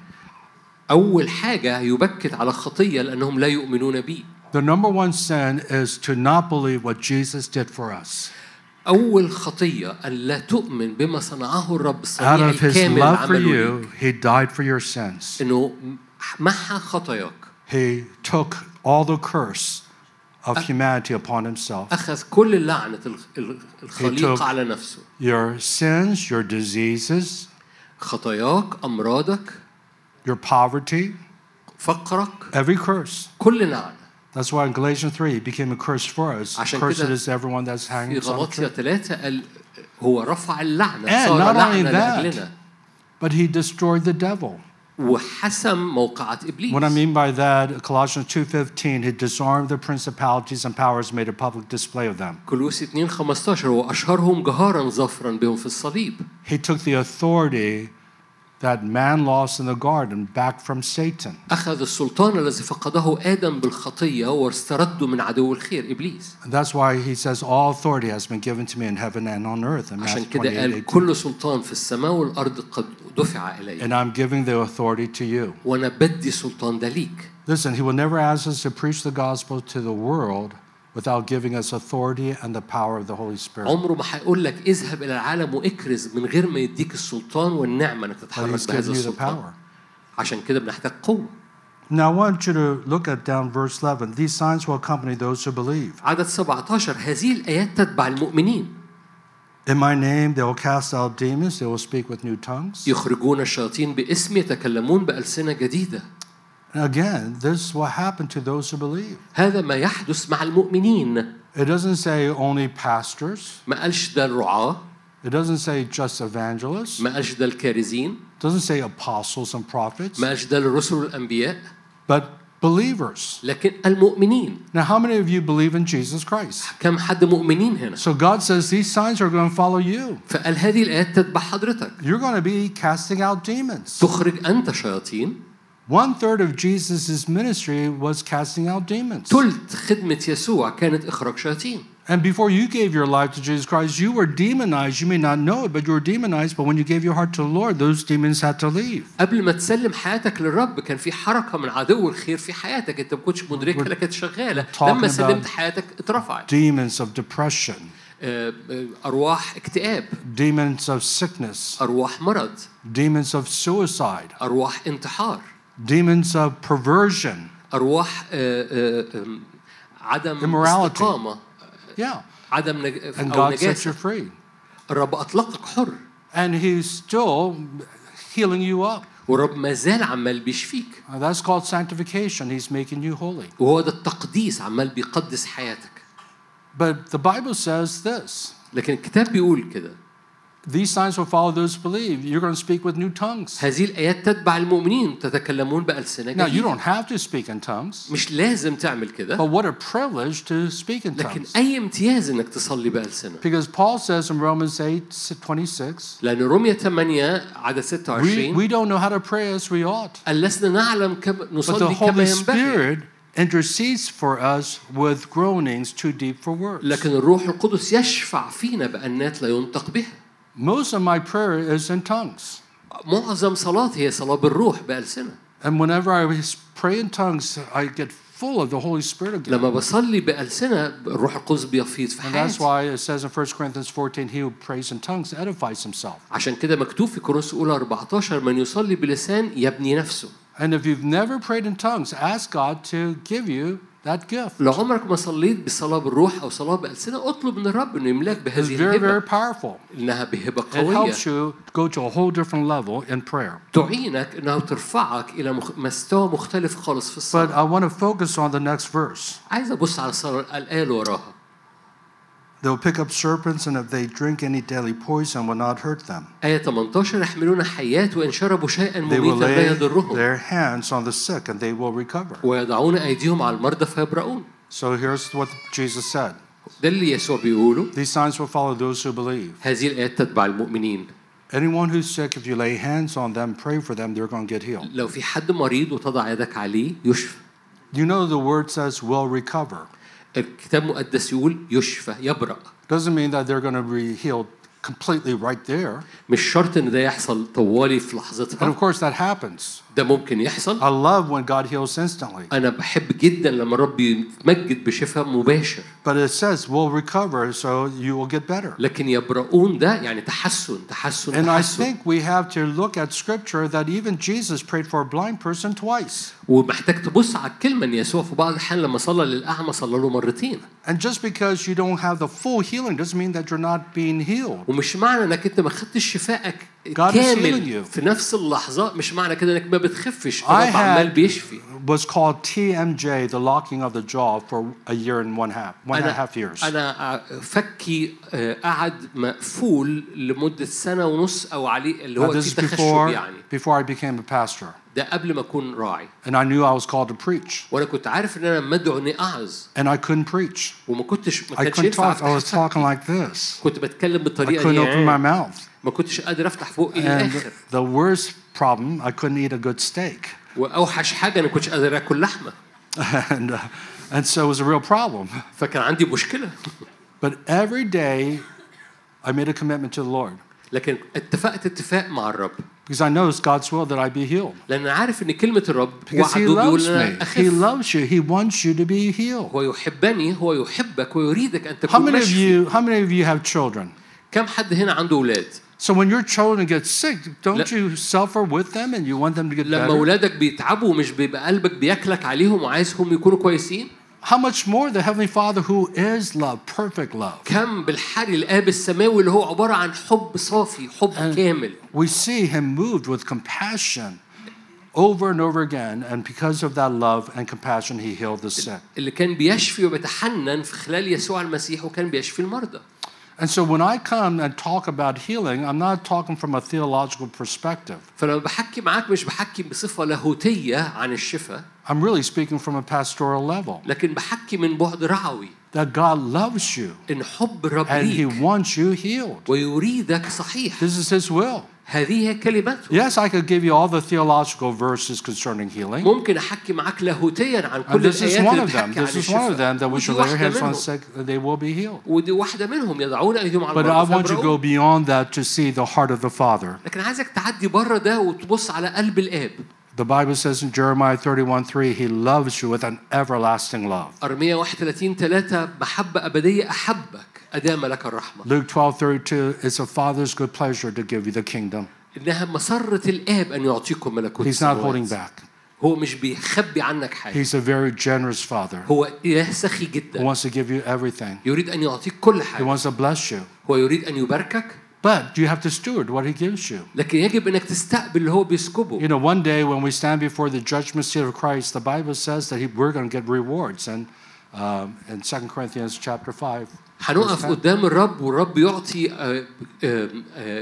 S1: أول حاجة يبكت على خطية لأنهم لا يؤمنون بي.
S2: The number one sin is to not believe what Jesus did for us.
S1: أول خطية أن لا تؤمن بما صنعه الرب
S2: Out
S1: الصنيع
S2: of his
S1: الكامل
S2: love for
S1: عمله
S2: you, he died for your sins.
S1: إنه محى خطاياك.
S2: He took all the curse of humanity upon himself.
S1: أخذ كل لعنة الخليقة
S2: took
S1: على نفسه.
S2: Your sins, your diseases,
S1: خطاياك، أمراضك،
S2: your poverty,
S1: فقرك،
S2: every curse.
S1: كل لعنة.
S2: That's why in Galatians three, he became a curse for us.
S1: عشان
S2: Cursed
S1: كده
S2: is everyone that's
S1: في
S2: hanging on a
S1: غلاطية
S2: tree.
S1: ثلاثة قال هو رفع اللعنة
S2: And
S1: صار
S2: not only
S1: لعنة
S2: that,
S1: لأجلنا
S2: but he destroyed the devil.
S1: وحسم موقعة إبليس.
S2: What I mean by that, Colossians two fifteen, he disarmed the principalities and powers, made a public display of them.
S1: كولوسي اثنين خمسة عشر وأشهرهم جهارا ظفرا بهم في الصليب.
S2: He took the authority that man lost in the garden back from Satan.
S1: أخذ السلطان الذي فقده آدم بالخطية واسترده من عدو الخير إبليس.
S2: And that's why he says all authority has been given to me in heaven and on earth. In
S1: عشان
S2: Matthew
S1: كده
S2: twenty-eight
S1: قال
S2: eighteen.
S1: كل سلطان في السماء والأرض قد دفع إلي.
S2: And I'm giving the authority to you.
S1: وأنا بدي سلطان ده ليك.
S2: Listen, he will never ask us to preach the gospel to the world without giving us authority and the power of the Holy Spirit.
S1: عمره ما هيقول لك اذهب إلى العالم واكرز من غير ما يديك السلطان والنعمة إنك
S2: But
S1: تتحرك
S2: He's
S1: بهذا
S2: given you the
S1: السلطان.
S2: power.
S1: عشان كده بنحتاج قوة.
S2: Now I want you to look at down verse eleven. These signs will accompany those who believe.
S1: عدد سبعتاشر هذه الآيات تتبع المؤمنين.
S2: In my name they will cast out demons, they will speak with new tongues.
S1: يخرجون الشياطين باسم يتكلمون بألسنة جديدة.
S2: And again, this is what happened to those who believe.
S1: هذا ما يحدث مع المؤمنين.
S2: It doesn't say only pastors.
S1: ما قالش ده الرعاة.
S2: It doesn't say just evangelists.
S1: ما قالش ده الكارزين.
S2: It doesn't say apostles and prophets.
S1: ما قالش ده الرسل والأنبياء.
S2: But believers.
S1: لكن المؤمنين.
S2: Now, how many of you believe in Jesus Christ?
S1: كم حد مؤمنين هنا؟
S2: So God says these signs are going to follow you.
S1: فقال هذه الآيات تتبع حضرتك.
S2: You're going to be casting out demons.
S1: تخرج أنت شياطين.
S2: One third of Jesus' ministry was casting out demons.
S1: ثلث خدمة يسوع كانت إخراج شياطين.
S2: And before you gave your life to Jesus Christ, you were demonized. You may not know it, but you were demonized. But when you gave your heart to the Lord, those demons had to leave.
S1: قبل ما تسلم حياتك للرب كان في حركة من عدو الخير في حياتك أنت ما كنتش مدركها لكن شغالة. لما سلمت حياتك اترفعت.
S2: Demons of depression.
S1: أرواح اكتئاب.
S2: Demons of sickness.
S1: أرواح مرض.
S2: Demons of suicide.
S1: أرواح انتحار.
S2: Demons of perversion.
S1: أرواح عدم استقامة.
S2: Yeah.
S1: عدم نج...
S2: And
S1: أو
S2: God set you
S1: نجاسة.
S2: free.
S1: الرب أطلقك حر.
S2: And He's still healing you up.
S1: والرب ما زال عمال بيشفيك.
S2: Uh, That's called sanctification. He's making you holy.
S1: وهو ده التقديس عمال بيقدس حياتك.
S2: But the Bible says this.
S1: لكن الكتاب بيقول كده.
S2: These signs will follow those who believe. You're going to speak with new tongues.
S1: هذه الآيات تتبع المؤمنين تتكلمون بألسنة
S2: Now, you
S1: جديدة.
S2: don't have to speak in tongues.
S1: مش لازم تعمل كده.
S2: But what a privilege to speak in
S1: لكن
S2: tongues.
S1: أي امتياز إنك تصلي بألسنة.
S2: Because Paul says in Romans eight twenty-six,
S1: لأن رومية ثمانية عدد ستة
S2: we,
S1: وعشرين
S2: we don't know how to pray as we ought.
S1: قال لسنا نعلم كم
S2: But the
S1: نصلي كما
S2: Holy
S1: ينبغي.
S2: Spirit intercedes for us with groanings too deep for words.
S1: لكن الروح القدس يشفع فينا بأنات لا ينطق بها.
S2: Most of my prayer is in tongues.
S1: معظم صلاتي هي صلاة بالروح بألسنة.
S2: And whenever I pray in tongues, I get full of the Holy Spirit again.
S1: لما بصلي بألسنة الروح القدس بيفيض في
S2: And that's
S1: حياتي.
S2: why it says in First Corinthians fourteen, he who prays in tongues edifies himself.
S1: عشان كده مكتوب في كورنثوس الأولى أربعتاشر من يصلي بلسان يبني نفسه.
S2: And if you've never prayed in tongues, ask God to give you that gift.
S1: لو عمرك ما صليت بصلاة بالروح أو صلاة بألسنة اطلب من الرب إنه يملاك
S2: It's
S1: بهذه
S2: very, very
S1: الهبة.
S2: powerful.
S1: إنها بهبة
S2: It
S1: قوية.
S2: helps you go to a whole different level in prayer.
S1: تعينك إنها ترفعك إلى مخ... مستوى مختلف خالص في
S2: But
S1: الصلاة.
S2: I want to focus on the next verse.
S1: عايز أبص على الصلاة الآية اللي وراها.
S2: They will pick up serpents, and if they drink any deadly poison, will not hurt them.
S1: آية ثمانية عشر يحملون حيات وإن شربوا شيئا
S2: They will
S1: مميتا لا
S2: lay
S1: يضرهم
S2: their hands on the sick, and they will recover.
S1: ويضعون أيديهم على المرضى فيبرؤون.
S2: So here's what Jesus said.
S1: ده اللي يسوع بيقوله.
S2: These signs will follow those who believe.
S1: هذه الآيات تتبع المؤمنين.
S2: Anyone who's sick, if you lay hands on them, pray for them, they're going to get healed.
S1: لو في حد مريض وتضع يدك عليه يشفى.
S2: You know the word says will recover.
S1: الكتاب المقدس يقول يشفى يبرأ.
S2: Doesn't mean that they're going to be healed completely right there.
S1: مش شرط إن ده يحصل طوالي في
S2: And
S1: لحظتها.
S2: of course that happens.
S1: ده ممكن يحصل.
S2: I love when God heals instantly.
S1: أنا بحب جدا لما الرب يتمجد بشفاء مباشر.
S2: But it says will recover, so you will get better.
S1: لكن يبرؤون ده يعني تحسن تحسن
S2: And I
S1: تحسن.
S2: think we have to look at scripture that even Jesus prayed for a blind person twice.
S1: ومحتاج تبص على الكلمة إن يسوع في بعض الأحيان لما صلى للأعمى صلى له مرتين.
S2: And just because you don't have the full healing doesn't mean that you're not being healed.
S1: ومش معنى إنك أنت ما خدتش شفائك
S2: God is healing
S1: كامل
S2: you.
S1: في نفس اللحظة مش معنى كده إنك ما بتخفش.
S2: I
S1: الرب عمال
S2: had
S1: بيشفي.
S2: was called T M J, the locking of the jaw, for a year and one half, one and a
S1: أنا
S2: half years.
S1: أنا فكي قعد مقفول لمدة سنة ونص أو عليه اللي هو
S2: Now, this
S1: في
S2: is
S1: تخشب
S2: before,
S1: يعني.
S2: before I became a pastor.
S1: ده قبل ما أكون راعي.
S2: And I knew I was called to preach.
S1: وأنا كنت عارف إن أنا مدعو إني أعظ.
S2: And I couldn't preach.
S1: وما كنتش ما
S2: I
S1: كانش
S2: couldn't
S1: ينفع
S2: talk. I was
S1: أفتح
S2: talking like this.
S1: كنت بتكلم
S2: I
S1: بالطريقة
S2: couldn't open my
S1: دي.
S2: mouth.
S1: ما كنتش قادر أفتح فوقي
S2: And
S1: للآخر.
S2: the worst problem, I couldn't eat a good steak.
S1: وأوحش حاجة أنا كنتش قادر آكل لحمة.
S2: and, uh, and so it was a real problem.
S1: فكان عندي مشكلة.
S2: But every day, I made a commitment to the Lord.
S1: لكن اتفقت اتفاق مع الرب.
S2: Because I know it's God's will that I be healed.
S1: لأن أنا عارف إن كلمة الرب
S2: Because He
S1: وعده بيقول
S2: loves
S1: أنا
S2: me. He
S1: أخف.
S2: loves you. He wants you to be healed.
S1: هو يحبني، هو يحبك ويريدك أن
S2: How
S1: تكون
S2: many of
S1: مشفي.
S2: you? How many of you have children?
S1: كم حد هنا عنده أولاد؟
S2: So when your children get sick, don't
S1: لا.
S2: you suffer with them and you want them to get
S1: لما
S2: better?
S1: أولادك بيتعبوا مش بيبقى قلبك بياكلك عليهم وعايزهم يكونوا كويسين؟
S2: How much more the Heavenly Father who is love, perfect love.
S1: كم بالحري الآب السماوي اللي هو عبارة عن حب صافي، حب كامل.
S2: We see Him moved with compassion over and over again, and because of that love and compassion, He healed the sick.
S1: اللي كان بيشفي وبيتحنن في خلال يسوع المسيح وكان بيشفي المرضى.
S2: And so when I come and talk about healing, I'm not talking from a theological perspective.
S1: فلما بحكي معاك مش بحكي بصفة لاهوتية عن الشفاء.
S2: I'm really speaking from a pastoral level.
S1: لكن بحكي من بعد رعوي.
S2: That God loves you.
S1: إن حب الرب
S2: And He
S1: ليك
S2: wants you healed.
S1: ويريدك صحيح.
S2: This is His will.
S1: هذه هي كلمته.
S2: Yes, I could give you all the theological verses concerning healing.
S1: ممكن أحكي معاك لاهوتيا عن
S2: And
S1: كل
S2: this is
S1: الآيات
S2: one
S1: اللي
S2: of them.
S1: بتحكي عن
S2: This is one of them
S1: الشفاء.
S2: that we should
S1: ودي
S2: lay our
S1: واحدة
S2: hands on
S1: منهم.
S2: sick, they will be healed.
S1: ودي واحدة منهم يضعون أيديهم على
S2: But I
S1: المرضى
S2: want you to go
S1: فيبرؤون.
S2: beyond that to see the heart of the Father.
S1: لكن عايزك تعدي بره ده وتبص على قلب الآب.
S2: The Bible says in Jeremiah thirty-one three, He loves you with an everlasting love.
S1: أرمية واحد وثلاثين ثلاثة محبة أبدية أحبك أدام لك الرحمة.
S2: Luke twelve thirty-two, it's a Father's good pleasure to give you the kingdom.
S1: إنها مسرة الآب أن يعطيكم ملكوت
S2: He's not holding
S1: السماوات.
S2: back.
S1: هو مش بيخبي عنك حاجة.
S2: He's a very generous Father
S1: هو إله سخي
S2: who
S1: جدا.
S2: wants to give you everything.
S1: يريد أن يعطيك كل
S2: He
S1: حاجة.
S2: wants to bless you.
S1: هو يريد أن يباركك.
S2: But you have to steward what He gives you.
S1: لكن يجب أنك تستقبل اللي هو بيسكبه.
S2: You know, one day when we stand before the judgment seat of Christ, the Bible says that he, we're going to get rewards. And um, in Second Corinthians chapter five,
S1: هنقف قدام الرب والرب يعطي آه، آه، آه،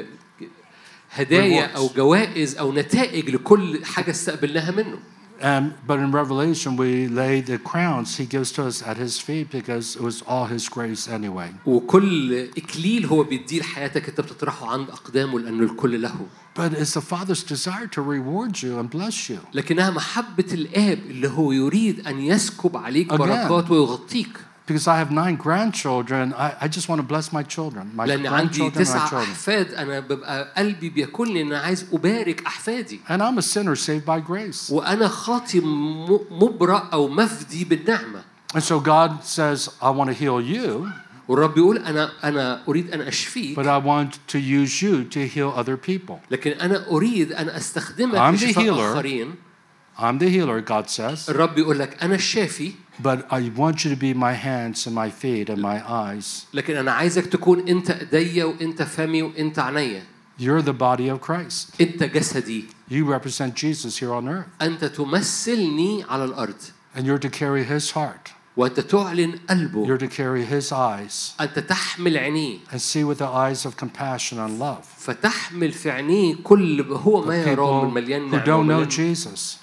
S1: هدايا أو جوائز أو نتائج لكل حاجة استقبلناها منه.
S2: And, but in Revelation, we lay the crowns He gives to us at His feet because it was all His grace anyway.
S1: وكل إكليل هو بيديه لحياتك أنت بتطرحه عند أقدامه لأنه الكل له.
S2: But it's the Father's desire to reward you and bless you.
S1: لكنها محبة الآب اللي هو يريد أن يسكب عليك
S2: Again.
S1: بركات ويغطيك.
S2: Because I have nine grandchildren, I, I just want to bless my children, my
S1: لأن عندي
S2: grandchildren, my
S1: تسع
S2: children.
S1: أحفاد أنا ببقى قلبي بياكلني إن أنا عايز أبارك أحفادي.
S2: And I'm a sinner saved by grace.
S1: وأنا خاطي م- مبرأ أو مفدي بالنعمة.
S2: And so God says, I want to heal you,
S1: والرب يقول أنا أنا أريد أن أشفيك.
S2: but I want to use you to heal other people.
S1: لكن أنا أريد أن أستخدمك
S2: I'm the
S1: لشفاء
S2: healer.
S1: آخرين.
S2: I'm the healer, God says,
S1: الرب يقول لك أنا الشافي.
S2: but I want you to be my hands and my feet and my eyes.
S1: لكن أنا عايزك تكون أنت إيديا وأنت فمي وأنت عينيا.
S2: You're the body of Christ.
S1: أنت جسدي.
S2: You represent Jesus here on earth.
S1: أنت تمثلني على الأرض.
S2: And you're to carry His heart.
S1: وأنت تعلن قلبه.
S2: You're to carry His eyes
S1: أنت تحمل عينيه.
S2: and see with the eyes of compassion and love.
S1: فتحمل في عينيه كل هو ما يراه
S2: People
S1: من مليان
S2: who
S1: نعمة
S2: don't know
S1: ومليان-
S2: Jesus.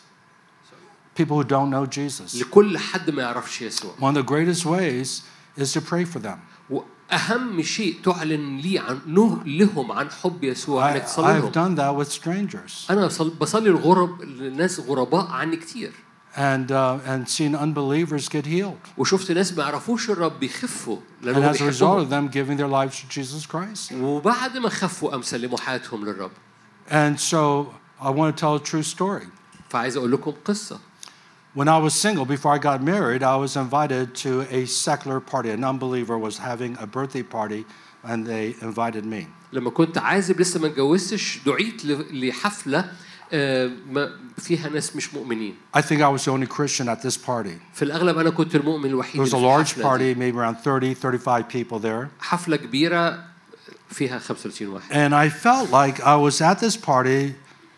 S2: People who don't know Jesus.
S1: لكل حد ما يعرفش يسوع.
S2: One of the greatest ways is to pray for them.
S1: وأهم شيء تعلن لي عن نه لهم عن حب يسوع
S2: I,
S1: إنك تصلي
S2: I've
S1: لهم.
S2: done that with strangers
S1: أنا بصل- بصلي الغرب الناس غرباء عني كتير.
S2: and uh, and seen unbelievers get healed.
S1: وشفت ناس ما يعرفوش الرب بيخفوا
S2: And
S1: لأنه
S2: as a result of
S1: بيحبهم.
S2: them giving their lives to Jesus Christ.
S1: وبعد ما خفوا قام سلموا حياتهم للرب.
S2: And so I want to tell a true story.
S1: فعايز أقول لكم قصة.
S2: When I was single, before I got married, I was invited to a secular party. An unbeliever was having a birthday party, and they invited me.
S1: لما كنت عازب لسه ما اتجوزتش دعيت ل- لحفلة آه، ما- فيها ناس مش مؤمنين.
S2: I think I was the only Christian at this party.
S1: في الأغلب أنا كنت المؤمن الوحيد
S2: It was a
S1: اللي في
S2: large
S1: الحفلة دي.
S2: party, maybe around thirty, thirty-five people there.
S1: حفلة كبيرة فيها خمسة وثلاثين واحد.
S2: And I felt like I was at this party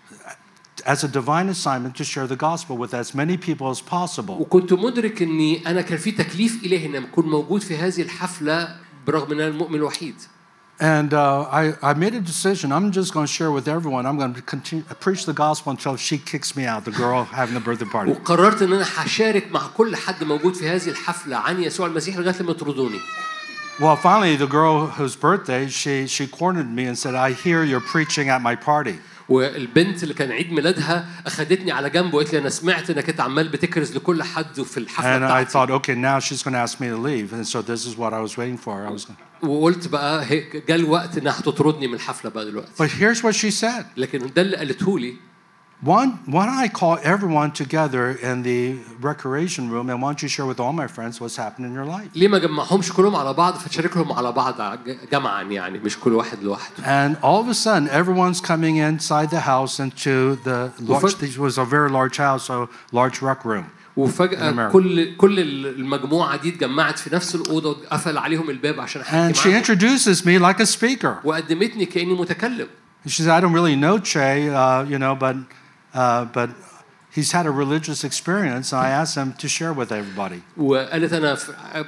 S2: as a divine assignment to share the gospel with as many people as possible.
S1: وكنت مدرك إني أنا كان في تكليف إلهي إن أكون موجود في هذه الحفلة برغم إن أنا المؤمن الوحيد.
S2: And uh, I, I made a decision. I'm just going to share with everyone. I'm going to continue preach the gospel until she kicks me out, the girl having the birthday party.
S1: وقررت إن أنا هشارك مع كل حد موجود في هذه الحفلة عن يسوع المسيح لغاية لما يطردوني.
S2: Well, finally, the girl whose birthday, she, she cornered me and said, I hear you're preaching at my party.
S1: والبنت اللي كان عيد ميلادها أخدتني على جنب وقالت لي أنا سمعت إنك أنت عمال بتكرز لكل حد في الحفلة
S2: And I
S1: بتاعتي.
S2: thought, okay, now she's going to ask me to leave, and so this is what I was waiting for. I was.
S1: وقلت بقى هيك جاء الوقت إنها هتطردني من الحفلة بقى دلوقتي.
S2: But here's what she said.
S1: لكن ده اللي قالته لي.
S2: One, why don't I call everyone together in the recreation room, and why don't you share with all my friends what's happened in your life?
S1: ليه ما جمعهمش كلهم على بعض فتشاركهم على بعض جمعا يعني مش كل واحد لوحده.
S2: And all of a sudden, everyone's coming inside the house into the large. This was a very large house, so large rec room.
S1: وفجأة كل كل المجموعة دي اتجمعت في نفس الأوضة وقفل عليهم الباب عشان أحكي معاهم.
S2: And she introduces me like a speaker.
S1: وقدمتني كأني متكلم.
S2: She said, I don't really know Che, uh, you know, but uh, but he's had a religious experience, and I asked him to share with everybody.
S1: وقالت أنا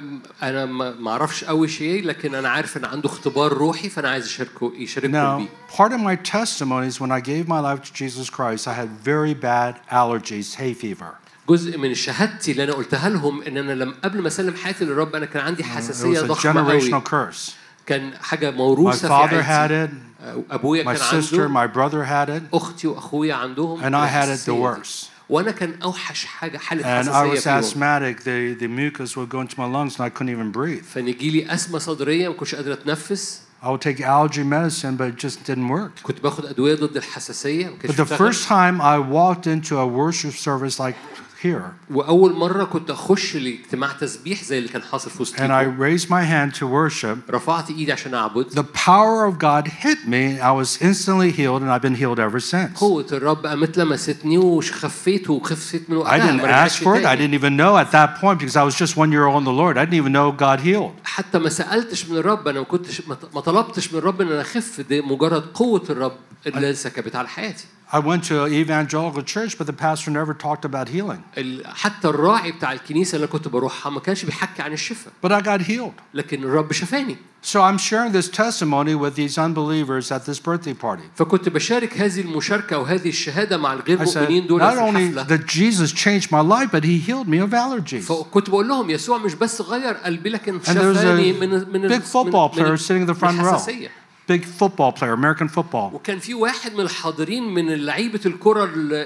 S1: أنا ما أعرفش أوي شيء لكن أنا عارف إن عنده اختبار روحي فأنا عايز أشاركه يشارككم بيه.
S2: Now, part of my testimony is when I gave my life to Jesus Christ, I had very bad allergies, hay fever.
S1: جزء من شهادتي اللي أنا قلتها لهم إن أنا لما قبل ما أسلم حياتي للرب أنا كان عندي حساسية ضخمة أوي. كان حاجة موروثة في عائلتي. أبويا كان عنده.
S2: My sister, my brother had it.
S1: أختي وأخويا عندهم.
S2: And I had it the worst.
S1: وأنا كان أوحش حاجة حالة
S2: And
S1: حساسية
S2: I was
S1: فيهم.
S2: asthmatic. The the mucus would go into my lungs, and I couldn't even breathe.
S1: فنيجي لي أزمة صدرية ما كنتش قادر أتنفس.
S2: I would take allergy medicine, but it just didn't work.
S1: كنت باخد أدوية ضد الحساسية.
S2: But the first time I walked into a worship service like here.
S1: وأول مرة كنت أخش لاجتماع تسبيح زي اللي كان حاصل في وسطكم.
S2: And I raised my hand to worship.
S1: رفعت إيدي عشان أعبد.
S2: The power of God hit me. I was instantly healed, and I've been healed ever since.
S1: قوة الرب قامت لمستني وخفيت وخفت من وقتها.
S2: I didn't ask for it. I didn't even know at that point because I was just one year old in the Lord. I didn't even know God healed.
S1: حتى ما سألتش من الرب أنا ما كنتش ما طلبتش من الرب إن أنا أخف ده مجرد قوة الرب اللي سكبت على حياتي.
S2: I went to an evangelical church, but the pastor never talked about healing.
S1: حتى الراعي بتاع الكنيسة اللي كنت بروحها ما كانش بيحكي عن الشفاء.
S2: But I got healed.
S1: لكن الرب شفاني.
S2: So I'm sharing this testimony with these unbelievers at this birthday party.
S1: فكنت بشارك هذه المشاركة وهذه الشهادة مع الغير
S2: I said,
S1: مؤمنين دول
S2: not
S1: في
S2: only
S1: الحفلة.
S2: that Jesus changed my life, but He healed me of allergies.
S1: فكنت بقول لهم يسوع مش بس غير قلبي لكن
S2: And there's
S1: شفاني من من
S2: a big football player sitting in the front row. Big football player, American football.
S1: وكان في واحد من الحاضرين من لعيبة الكرة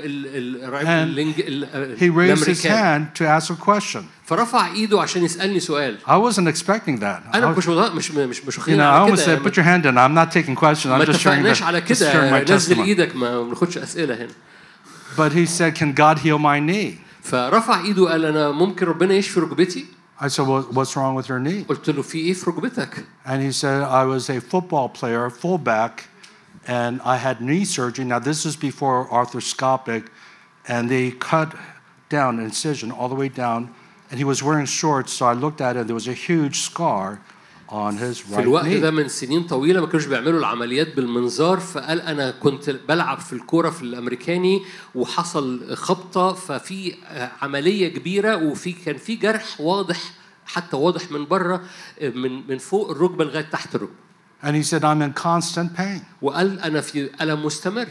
S2: الأمريكان. He raised his hand to ask a question.
S1: فرفع إيده عشان يسألني سؤال.
S2: I wasn't expecting that.
S1: أنا مش مش مش مش
S2: You know, I almost said, put your hand in. I'm not taking questions. I'm just sharing
S1: ما على كده نزل إيدك ما بناخدش أسئلة هنا.
S2: But he said, can God heal my knee?
S1: فرفع إيده قال أنا ممكن ربنا يشفي ركبتي.
S2: I said, well, what's wrong with your knee?
S1: قلت له في إيه في ركبتك؟
S2: And he said, I was a football player, fullback, and I had knee surgery. Now this is before arthroscopic, and they cut down an incision all the way down, and he was wearing shorts. So I looked at it, and there was a huge scar on his right knee.
S1: في الوقت ده من سنين طويلة ما كانوش بيعملوا العمليات بالمنظار فقال أنا كنت بلعب في الكورة في الأمريكاني وحصل خبطة ففي عملية كبيرة وفي كان في جرح واضح حتى واضح من بره من من فوق الركبة لغاية تحت الركبة.
S2: And he said I'm in constant pain.
S1: وقال أنا في ألم مستمر.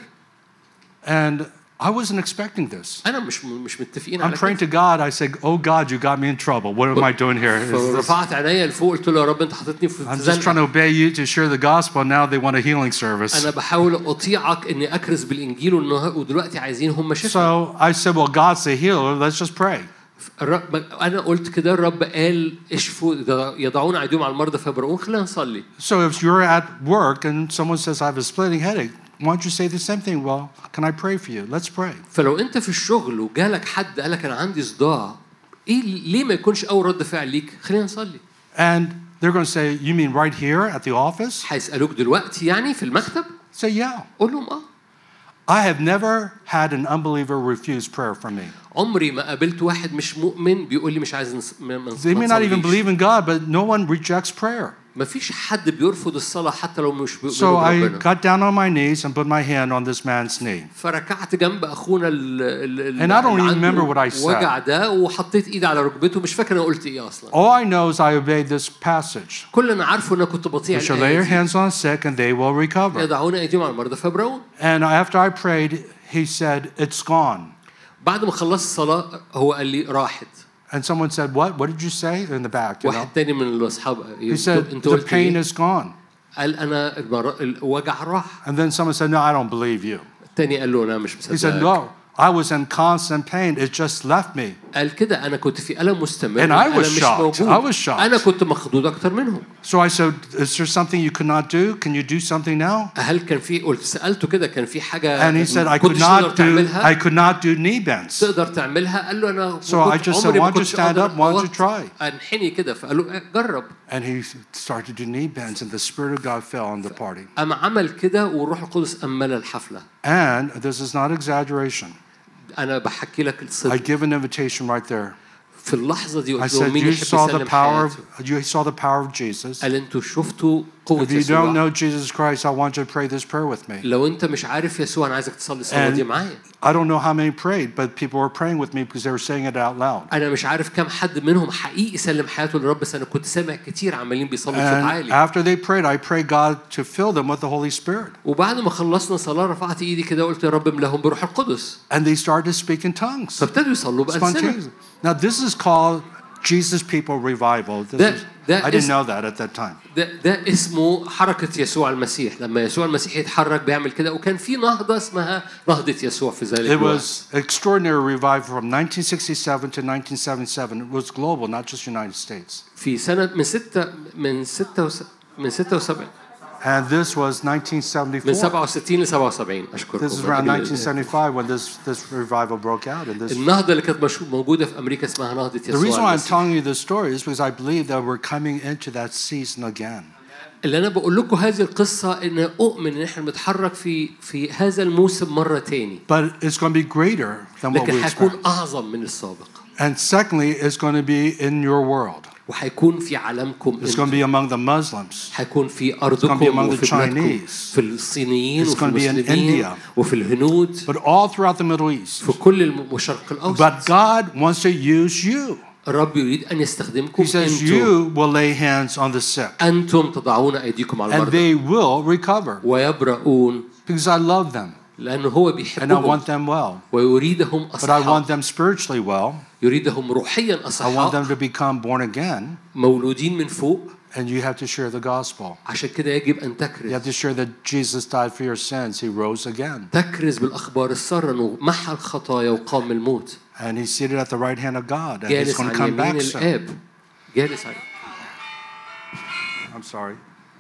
S2: And I wasn't expecting this.
S1: أنا مش مش متفقين
S2: على كده. I'm praying to God. I said, "Oh God, you got me in trouble. What am I doing here?"
S1: رفعت عينيا لفوق قلت له يا رب أنت حطيتني في
S2: I'm just trying to obey you to share the gospel. Now they want a healing service.
S1: أنا بحاول أطيعك إني أكرز بالإنجيل ودلوقتي عايزين هم شفاء.
S2: So I said, "Well, God's the healer. Let's just pray."
S1: الرب أنا قلت كده الرب قال اشفوا يضعون أيديهم على المرضى فيبرؤون خلينا نصلي.
S2: So if you're at work and someone says I have a splitting headache, why don't you say the same thing? Well, can I pray for you? Let's pray.
S1: فلو أنت في الشغل وجالك حد قالك أنا عندي صداع، إيه ليه ما يكونش أول رد فعل ليك؟ خلينا نصلي.
S2: And they're going to say, you mean right here at the office?
S1: هيسألوك دلوقتي يعني في المكتب؟
S2: Say yeah.
S1: قول لهم آه.
S2: I have never had an unbeliever refuse prayer from me.
S1: عمري ما قابلت واحد مش مؤمن بيقول لي مش عايز نص...
S2: They may not even believe in God, but no one rejects prayer.
S1: ما فيش حد بيرفض الصلاة حتى لو مش بيؤمن
S2: So
S1: بربنا.
S2: I got down on my knees and put my hand on this man's knee.
S1: فركعت جنب أخونا ال ال
S2: And I don't even remember what I said.
S1: وجع ده وحطيت إيدي على ركبته مش فاكر أنا قلت إيه أصلاً.
S2: All I know is I obeyed this passage.
S1: كل أنا عارفه إن كنت بطيع
S2: You shall lay your hands on the sick and they will recover.
S1: يضعون أيديهم على المرضى فيبرؤون.
S2: And after I prayed, he said, "It's gone."
S1: بعد ما خلصت الصلاة هو قال لي راحت.
S2: And someone said, "What? What did you say?" In the back, you know.
S1: واحد تاني من الأصحاب.
S2: He said, "The pain is gone."
S1: قال أنا الوجع راح.
S2: And then someone said, "No, I don't believe you."
S1: تاني قال له أنا مش
S2: He said,
S1: مصدقك.
S2: no, I was in constant pain. It just left me.
S1: قال كده أنا كنت في ألم مستمر.
S2: And I
S1: أنا
S2: was
S1: مش
S2: shocked.
S1: موجود.
S2: I was shocked.
S1: أنا كنت مخضوض أكتر منهم.
S2: So I said, is there something you could not do? Can you do something now?
S1: هل كان في قلت سألته كده كان في حاجة
S2: And he said, I could
S1: كنتش تقدر
S2: not do,
S1: تعملها؟
S2: I could not do knee bends.
S1: تقدر تعملها؟ قال له أنا
S2: So I
S1: كنت
S2: just said,
S1: عمري
S2: why
S1: ما
S2: don't you
S1: كنتش
S2: stand
S1: أقدر
S2: up? Why don't you
S1: أوطي.
S2: try?
S1: أنحني كده فقال له جرب.
S2: And he started to do knee bends, and the Spirit of God fell on the party.
S1: أما عمل كده والروح القدس أمل الحفلة.
S2: And this is not exaggeration.
S1: أنا بحكي لك
S2: I
S1: الصدق.
S2: give an invitation right there.
S1: في اللحظة دي
S2: I
S1: قلت له
S2: said,
S1: مين
S2: you
S1: يحب
S2: saw the
S1: يسلم
S2: power
S1: حياته؟
S2: of, you saw the power of Jesus.
S1: قال أنتوا شفتوا قوة
S2: If you don't
S1: يسوع.
S2: know Jesus Christ, I want you to pray this prayer with me.
S1: لو أنت مش عارف يسوع أنا عايزك تصلي الصلاة دي
S2: And
S1: معايا.
S2: I don't know how many prayed, but people were praying with me because they were saying it out loud.
S1: أنا مش عارف كم حد منهم حقيقي سلم حياته للرب بس أنا كنت سامع كتير عمالين بيصلوا بصوت
S2: And
S1: عالي.
S2: after they prayed, I prayed God to fill them with the Holy Spirit.
S1: وبعد ما خلصنا صلاة رفعت إيدي كده وقلت يا رب املاهم بروح القدس.
S2: And they started to speak in tongues.
S1: فابتدوا يصلوا بألسنة.
S2: Spontaneously. Now this is called Jesus People Revival. This
S1: That-
S2: is,
S1: that
S2: I didn't
S1: is-
S2: know that at that time.
S1: ده ده اسمه حركة يسوع المسيح. لما يسوع المسيح يتحرك بيعمل كده وكان في نهضة اسمها نهضة يسوع في ذلك
S2: It
S1: الوقت.
S2: was extraordinary revival from nineteen sixty-seven to nineteen seventy-seven. It was global, not just United States.
S1: في سنة من ستة من ستة وس... من ستة وسبعين
S2: And this was nineteen
S1: من
S2: seventy-four.
S1: سبعة وستين ل سبعة وسبعين أشكركم.
S2: This is around nineteen seventy-five when this, this revival broke out. And this,
S1: النهضة اللي كانت مش موجودة في أمريكا اسمها نهضة
S2: the reason
S1: يسوع
S2: why I'm
S1: المسيح.
S2: telling you this story is because I believe that we're coming into that season again.
S1: اللي أنا بقول لكم هذه القصة إن أؤمن إن إحنا بنتحرك في في هذا الموسم مرة تاني.
S2: But it's going to be greater than what
S1: لكن
S2: we
S1: هيكون
S2: expect.
S1: أعظم من السابق.
S2: And secondly, it's going to be in your world.
S1: وهيكون في عالمكم.
S2: It's going to be among the Muslims.
S1: هيكون في
S2: It's going to be
S1: أرضكم
S2: among the
S1: وفي بلادكم
S2: Chinese.
S1: في الصينيين
S2: It's
S1: وفي
S2: going to be in
S1: المسلمين
S2: India.
S1: وفي الهنود
S2: But all throughout the Middle East.
S1: في كل الم- الشرق الأوسط.
S2: But God wants to use you.
S1: الرب يريد أن يستخدمكم.
S2: He says
S1: أنتم
S2: you will lay hands on the sick.
S1: أنتم تضعون أيديكم على
S2: And
S1: المرضى
S2: they will recover.
S1: ويبرؤون
S2: Because I love them.
S1: لأنه هو
S2: And I
S1: بيحبهم
S2: want them well.
S1: ويريدهم
S2: But I want
S1: أصحاء.
S2: them spiritually well.
S1: يريدهم روحيا
S2: I want them
S1: أصحاء
S2: to become born again.
S1: مولودين من فوق.
S2: And you have to share the gospel.
S1: عشان كده يجب أن
S2: You
S1: تكرز
S2: have to share that Jesus died for your sins. He rose again.
S1: تكرز بالأخبار السارة أنه محى الخطايا وقام من الموت.
S2: And he's seated at the right hand of God. And he's
S1: جالس
S2: going to
S1: عن
S2: come
S1: يمين
S2: back soon.
S1: الآب. جالس عن
S2: I'm sorry.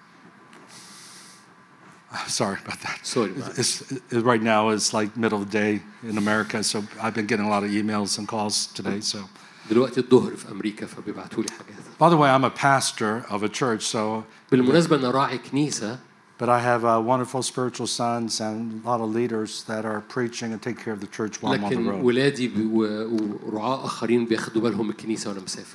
S2: Sorry about that.
S1: Sorry.
S2: It's, it, right now it's like middle of the day in America, so I've been getting a lot of emails and calls today. So,
S1: دلوقتي الظهر في أمريكا فبيبعتوا لي حاجات.
S2: by the way, I'm a pastor of a church, so
S1: بالمناسبة أنا راعي كنيسة.
S2: but I have uh, wonderful spiritual sons and a lot of leaders that are preaching and take care of the church while I'm on the
S1: لكن
S2: road.
S1: ولادي بي- و- ورعاة آخرين بياخدوا بالهم من الكنيسة وأنا مسافر.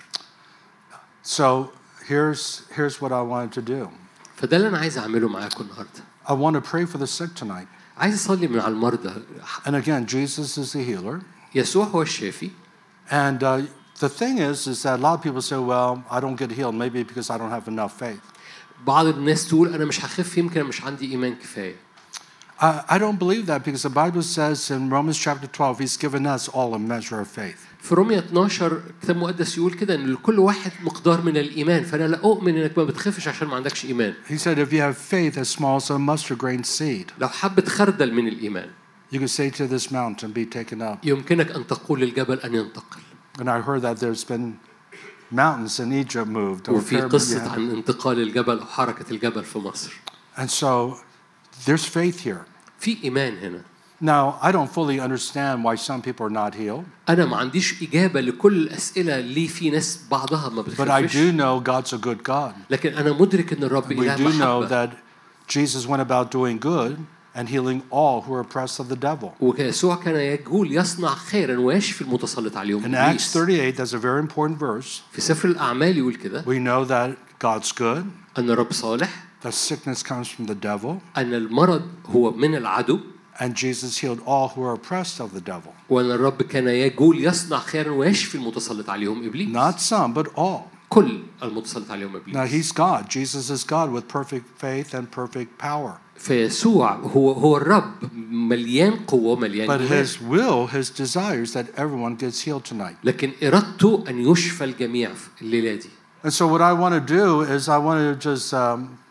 S2: So here's here's what I wanted to do.
S1: فده اللي أنا عايز أعمله معاكم النهاردة.
S2: I want to pray for the sick tonight.
S1: عايز أصلي من على المرضى.
S2: And again, Jesus is the healer.
S1: يسوع هو الشافي.
S2: And uh, the thing is, is that a lot of people say, well, I don't get healed, maybe because I don't have enough faith.
S1: بعض الناس تقول أنا مش هخف يمكن مش عندي إيمان كفاية.
S2: I, I don't believe that because the Bible says in Romans chapter twelve, He's given us all a measure of faith.
S1: في رومية اتناشر كتاب مقدس يقول كده إن لكل واحد مقدار من الإيمان فأنا لا أؤمن إنك ما بتخفش عشان ما عندكش إيمان.
S2: He said, if you have faith as small as a mustard grain seed,
S1: لو حبة خردل من الإيمان
S2: you can say to this mountain, be taken up.
S1: يمكنك أن تقول للجبل أن ينتقل.
S2: And I heard that there's been mountains in Egypt moved. Or
S1: وفي
S2: pyramids,
S1: قصة
S2: yeah.
S1: عن انتقال الجبل أو حركة الجبل في مصر.
S2: And so there's faith here.
S1: في إيمان هنا.
S2: Now, I don't fully understand why some people are not healed,
S1: أنا ما عنديش إجابة لكل الأسئلة اللي في ناس بعضها ما
S2: but I
S1: بتخفش.
S2: do know God's a good God.
S1: لكن أنا مدرك إن الرب
S2: We
S1: إله
S2: do know
S1: محبة.
S2: that Jesus went about doing good and healing all who are oppressed of the devil.
S1: ويسوع كان يقول يصنع خيرا ويشفي المتسلط عليهم.
S2: In Acts
S1: إبليس.
S2: thirty-eight, that's a very important verse.
S1: في سفر الأعمال يقول كده
S2: We know that God's good,
S1: أن الرب صالح.
S2: that sickness comes from the devil,
S1: أن المرض هو من العدو.
S2: and Jesus healed all who are oppressed of the devil.
S1: وأن الرب كان يقول يصنع خيرا ويشفي المتسلط عليهم إبليس.
S2: Not some, but all.
S1: كل المتسلط عليهم إبليس.
S2: Now, He's God. Jesus is God with perfect faith and perfect power.
S1: فيسوع هو هو الرب مليان قوة مليان
S2: But
S1: إيمان.
S2: His will, His desire is that everyone gets healed tonight.
S1: لكن إرادته أن يشفى الجميع في الليلة دي.
S2: And so what I want to do is I want to just um,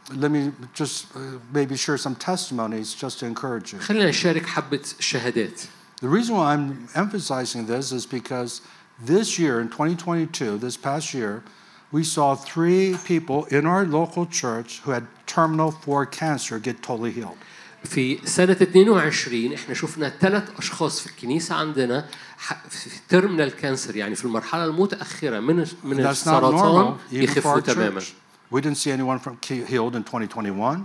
S2: let me just uh, maybe share some testimonies just to encourage you.
S1: خلينا نشارك حبة شهادات.
S2: The reason why I'm emphasizing this is because this year, in twenty twenty-two, this past year, we saw three people in our local church who had terminal four cancer get totally healed.
S1: في سنة اثنين وعشرين احنا شفنا ثلاث أشخاص في الكنيسة عندنا في تيرمينال كانسر، يعني في المرحلة المتأخرة من من السرطان يخفوا تماما.
S2: We didn't see anyone from healed in twenty twenty-one.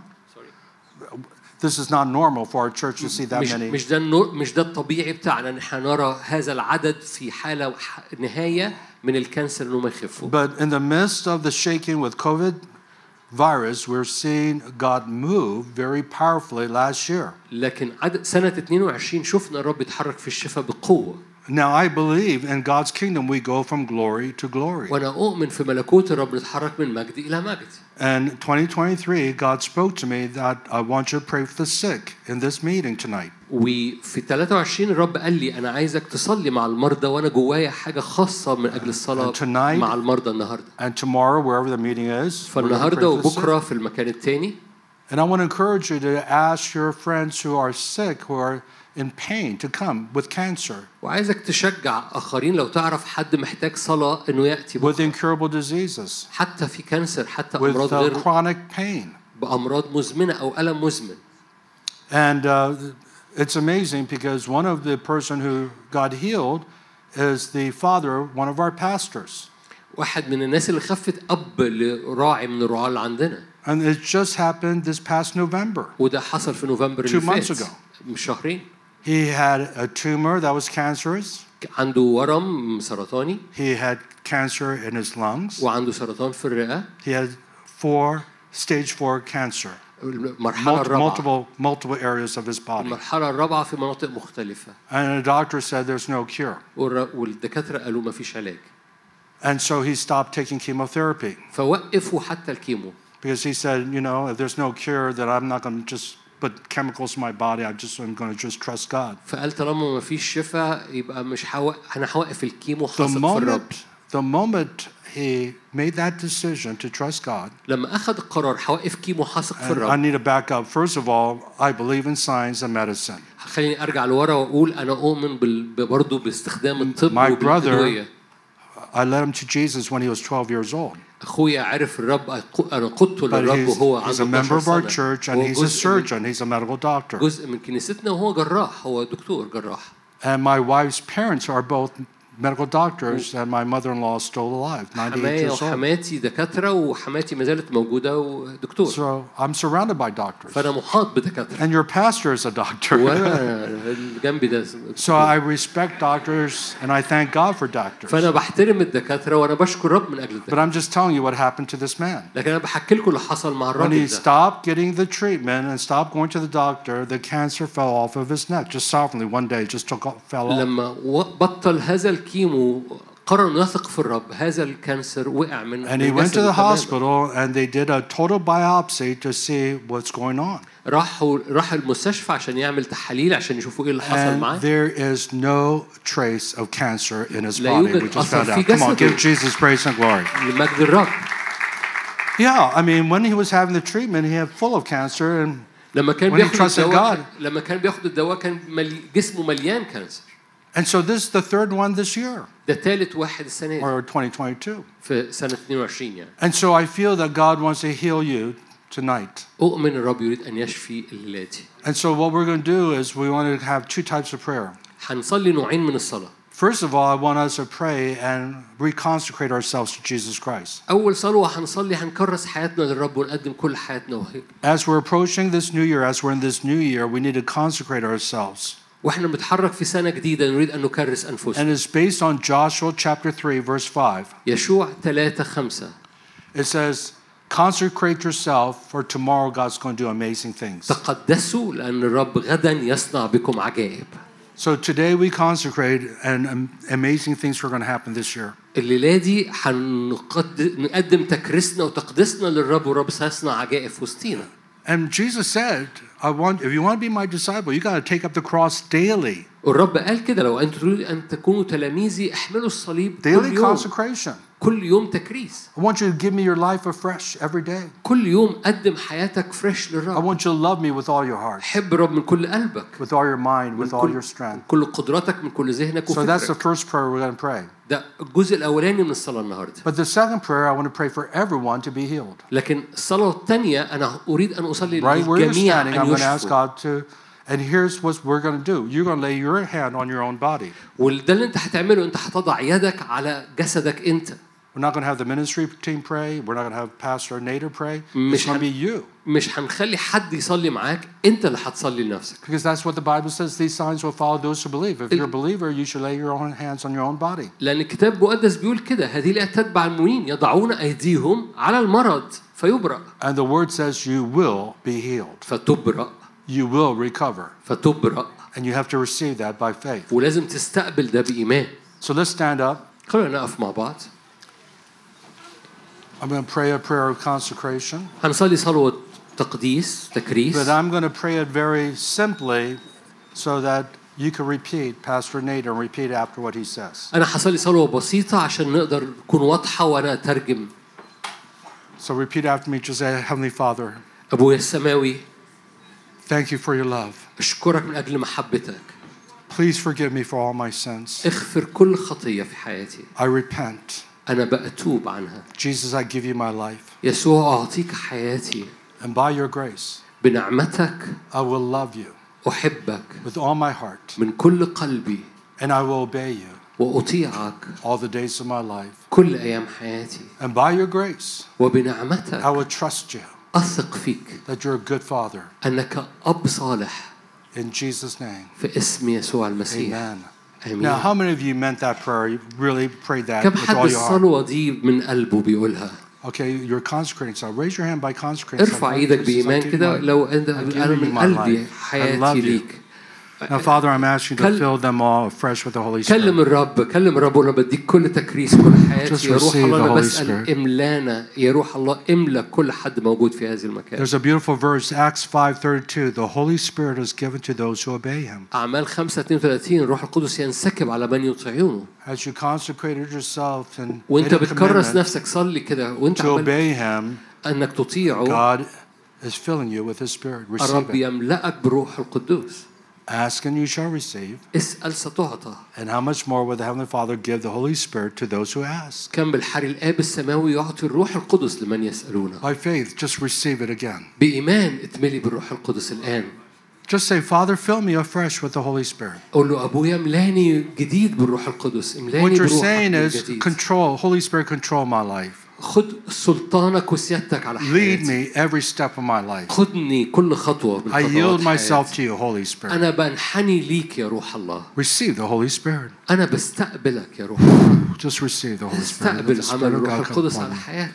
S2: This is not normal for our church to see that
S1: مش
S2: many.
S1: مش ده مش ده الطبيعي بتاعنا ان احنا نرى هذا العدد في حالة نهاية من الكانسر انه ما يخفوا.
S2: But in the midst of the shaking with COVID virus, we're seeing God move very powerfully last year.
S1: لكن عدد سنة اثنين وعشرين شفنا الرب يتحرك في الشفاء بقوة.
S2: Now I believe in God's kingdom we go from glory to glory.
S1: وأنا أؤمن في ملكوت الرب نتحرك من مجد إلى مجد.
S2: And twenty twenty-three, God spoke to me that I want you to pray for the sick in this meeting tonight.
S1: وفي ثلاثة وعشرين الرب قال لي أنا عايزك تصلي مع المرضى، وأنا جوايا حاجة خاصة من أجل الصلاة مع المرضى النهاردة.
S2: And tomorrow, wherever the meeting is,
S1: فالنهاردة وبكرة في المكان التاني.
S2: And I want to encourage you to ask your friends who are sick, who are in pain, to come with cancer.
S1: وعايزك تشجع آخرين لو تعرف حد محتاج صلاة إنه يأتي
S2: with incurable diseases,
S1: حتى في كانسر، حتى
S2: with
S1: أمراض غير
S2: chronic pain,
S1: بأمراض مزمنة أو ألم مزمن.
S2: And uh, it's amazing because one of the person who got healed is the father of one of our pastors.
S1: واحد من الناس اللي خفت أب لراعي من الرعاة اللي عندنا.
S2: And it just happened this past November.
S1: وده حصل في نوفمبر
S2: اللي فات. Two months ago.
S1: من شهرين.
S2: He had a tumor that was cancerous.
S1: عنده ورم سرطاني.
S2: He had cancer in his lungs.
S1: وعنده سرطان في الرئة.
S2: He had four stage four cancer.
S1: المرحلة الرابعة.
S2: Multiple multiple areas of his body.
S1: المرحلة الرابعة في مناطق مختلفة.
S2: And the doctor said there's no cure.
S1: والدكاترة قالوا ما فيش علاج.
S2: And so he stopped taking chemotherapy.
S1: فوقفوا حتى الكيمو.
S2: Because he said, you know, if there's no cure, then I'm not going to just put chemicals in my body. I just I'm going to just trust God.
S1: فقال طالما ما فيش شفاء يبقى مش هوقف، أنا هوقف الكيمو حاصل في الرب.
S2: The moment he made that decision to trust God.
S1: لما أخذ القرار هوقف كيمو حاصل في الرب.
S2: I need to back up. First of all, I believe in science and medicine.
S1: خليني أرجع لورا وأقول أنا أؤمن برضو باستخدام الطب والأدوية.
S2: I led him to Jesus when he was twelve years old.
S1: أخويا عرف الرب، أنا قدته للرب وهو عنده
S2: he's a member of our church and he's a surgeon. He's a medical doctor.
S1: جزء من كنيستنا وهو جراح، هو دكتور جراح.
S2: And my wife's parents are both medical doctors, and my mother-in-law is still alive, ninety-eight years old.
S1: وحماتي دكاترة وحماتي ما زالت موجودة ودكتور.
S2: So I'm surrounded by doctors.
S1: فأنا محاط بدكاترة.
S2: And your pastor is a doctor.
S1: جنبي ده.
S2: So I respect doctors and I thank God for doctors.
S1: فأنا بحترم الدكاترة وأنا بشكر الرب من أجل الدكاترة.
S2: But I'm just telling you what happened to this man.
S1: لكن أنا بحكي لكم اللي حصل مع الراجل
S2: ده. When he
S1: ده.
S2: stopped getting the treatment and stopped going to the doctor, the cancer fell off of his neck just softly one day, just took off, fell off.
S1: لما بطل هذا الكيمو قرر يثق في الرب، هذا الكانسر وقع من.
S2: And he went to the hospital and they did a total biopsy to see what's going on.
S1: راحوا راح المستشفى عشان يعمل تحاليل عشان يشوفوا ايه اللي حصل معاه.
S2: And there is no trace of cancer in his body. We just found out. Come on, give Jesus praise and glory.
S1: لمجد الرب.
S2: Yeah, I mean when he was having the treatment, he had full of cancer and
S1: لما كان بياخد الدواء لما كان بياخد الدواء كان ملي... جسمه مليان كانسر.
S2: And so this is the third one this year.
S1: ده ثالث واحد السنة دي.
S2: Or twenty twenty-two.
S1: في سنة اثنين وعشرين يعني.
S2: And so I feel that God wants to heal you tonight.
S1: أؤمن الرب يريد أن يشفي الليلة.
S2: And so what we're going to do is we want to have two types of prayer.
S1: هنصلي نوعين من الصلاة.
S2: First of all, I want us to pray and reconsecrate ourselves to Jesus Christ.
S1: أول صلوة هنصلي هنكرس حياتنا للرب ونقدم كل حياتنا وهيك.
S2: As we're approaching this new year, as we're in this new year, we need to consecrate ourselves.
S1: وإحنا بنتحرك في سنة جديدة نريد أن نكرس أنفسنا.
S2: And it's based on Joshua chapter three, verse five.
S1: يشوع ثلاثة خمسة.
S2: It says, consecrate yourself, for tomorrow God's going to do amazing things.
S1: تقدسوا لأن الرب غدا يصنع بكم عجائب.
S2: So today we consecrate, and amazing things are going to happen this year.
S1: الليلة دي هنقدم تكريسنا وتقديسنا للرب والرب سيصنع عجائب في وسطينا.
S2: And Jesus said, I want, if you want to be my disciple, you got to take up the cross daily.
S1: والرب قال كده لو أنتم تريدوا أن تكونوا تلاميذي احملوا الصليب كل
S2: Daily
S1: يوم.
S2: consecration.
S1: كل يوم تكريس.
S2: I want you to give me your life afresh every day.
S1: كل يوم قدم حياتك فريش
S2: I
S1: للرب.
S2: want you to love me with all your heart,
S1: حب الرب من كل قلبك،
S2: with all your mind, with all
S1: كل,
S2: your strength.
S1: كل قدراتك، من كل ذهنك
S2: So that's the
S1: وفكرك.
S2: first prayer we're going to pray.
S1: ده الجزء الأولاني من الصلاة النهاردة.
S2: But the second prayer, I want to pray for everyone to be healed.
S1: لكن الصلاة الثانية أنا أريد أن أصلي
S2: Right where you're
S1: للجميع
S2: standing,
S1: أن
S2: I'm going to ask
S1: يشفوا.
S2: God to, and here's what we're going to do. You're going to lay your hand on your own body.
S1: وده اللي أنت هتعمله، أنت هتضع يدك على جسدك أنت.
S2: We're not going to have the ministry team pray. We're not going to have Pastor Nader pray. It's
S1: مش
S2: going to
S1: هن...
S2: be you.
S1: مش هنخلي حد يصلي معاك، أنت اللي هتصلي لنفسك.
S2: Because that's what the Bible says. These signs will follow those who believe. If you're a believer, you should lay your own hands on your own body.
S1: لأن الكتاب المقدس بيقول كده، هذه الآيات تتبع المؤمنين يضعون أيديهم على المرض فيبرأ.
S2: And the word says you will be healed.
S1: فتبرأ.
S2: You will recover.
S1: فتبرأ.
S2: And you have to receive that by faith.
S1: ولازم تستقبل ده بإيمان.
S2: So let's stand up.
S1: خلونا نقف مع بعض.
S2: I'm going to pray a prayer of consecration.
S1: هنصلي صلوة تقديس تكريس.
S2: But I'm going to pray it very simply so that you can repeat Pastor Nader and repeat after what he says.
S1: أنا هصلي صلوة بسيطة عشان نقدر نكون واضحة وأنا أترجم.
S2: So repeat after me. Just say, Heavenly Father,
S1: أبويا السماوي،
S2: thank you for your love.
S1: أشكرك من أجل محبتك.
S2: Please forgive me for all my sins.
S1: اغفر كل خطية في حياتي.
S2: I repent.
S1: أنا بأتوب عنها.
S2: Jesus, I give you my life.
S1: يسوع أعطيك حياتي.
S2: And by your grace,
S1: بنعمتك
S2: I will love you
S1: أحبك
S2: with all my heart.
S1: من كل قلبي.
S2: And I will obey you
S1: وأطيعك
S2: all the days of my life.
S1: كل أيام حياتي.
S2: And by your grace,
S1: وبنعمتك
S2: I will trust you
S1: أثق فيك
S2: that you're a good father.
S1: أنك أب صالح.
S2: In Jesus' name,
S1: في اسم يسوع المسيح.
S2: amen.
S1: آمين.
S2: Now, how many of you meant that prayer? You really prayed that
S1: كم
S2: with
S1: حد
S2: all your heart?
S1: الصلوة دي من قلبه بيقولها؟
S2: Okay, you're consecrating. So raise your hand by consecrating.
S1: ارفع ايدك بإيمان كده لو أنت أنا من قلبي حياتي ليك.
S2: Now, Father, I'm asking you to fill them all afresh with the Holy Spirit.
S1: كلم الرب، كلم الرب وأنا بديك كل تكريس كل حياتي. يا روح الله أنا بسأل إملانا، يا روح الله إملا كل حد موجود في هذه المكان.
S2: There's a beautiful verse, Acts five thirty-two. The Holy Spirit is given to those who obey Him.
S1: أعمال خمسة اثنين وثلاثين الروح القدس ينسكب على من يطيعونه.
S2: As you consecrated yourself and
S1: وأنت
S2: made a
S1: بتكرس
S2: commitment
S1: نفسك صلي كده وأنت
S2: to obey Him,
S1: أنك تطيعه.
S2: God is filling you with His Spirit. Receive
S1: الرب
S2: it.
S1: يملأك بروح القدوس.
S2: Ask and you shall receive.
S1: اسأل ستعطى.
S2: And how much more will the Heavenly Father give the Holy Spirit to those who ask?
S1: كم بالحري الآب السماوي يعطي الروح القدس لمن يسألونه.
S2: By faith, just receive it again.
S1: بإيمان اتملي بالروح القدس الآن.
S2: Just say, Father, fill me afresh with the Holy Spirit.
S1: قول له أبويا املاني جديد بالروح القدس، املاني
S2: What you're
S1: بروحك
S2: saying is,
S1: الجديد.
S2: control, Holy Spirit, control my life.
S1: خد سلطانك وسيادتك على
S2: Lead
S1: حياتي.
S2: me every step of my life.
S1: خدني كل خطوة من
S2: I yield
S1: خطوات
S2: myself
S1: حياتي.
S2: to you, Holy Spirit.
S1: أنا بنحني ليك يا روح الله.
S2: Receive the Holy Spirit.
S1: أنا بستقبلك يا روح الله.
S2: Just receive the Holy Spirit. Let
S1: استقبل
S2: the
S1: عمل
S2: Spirit of
S1: الروح
S2: God come
S1: القدس
S2: upon
S1: على
S2: you.
S1: حياتك.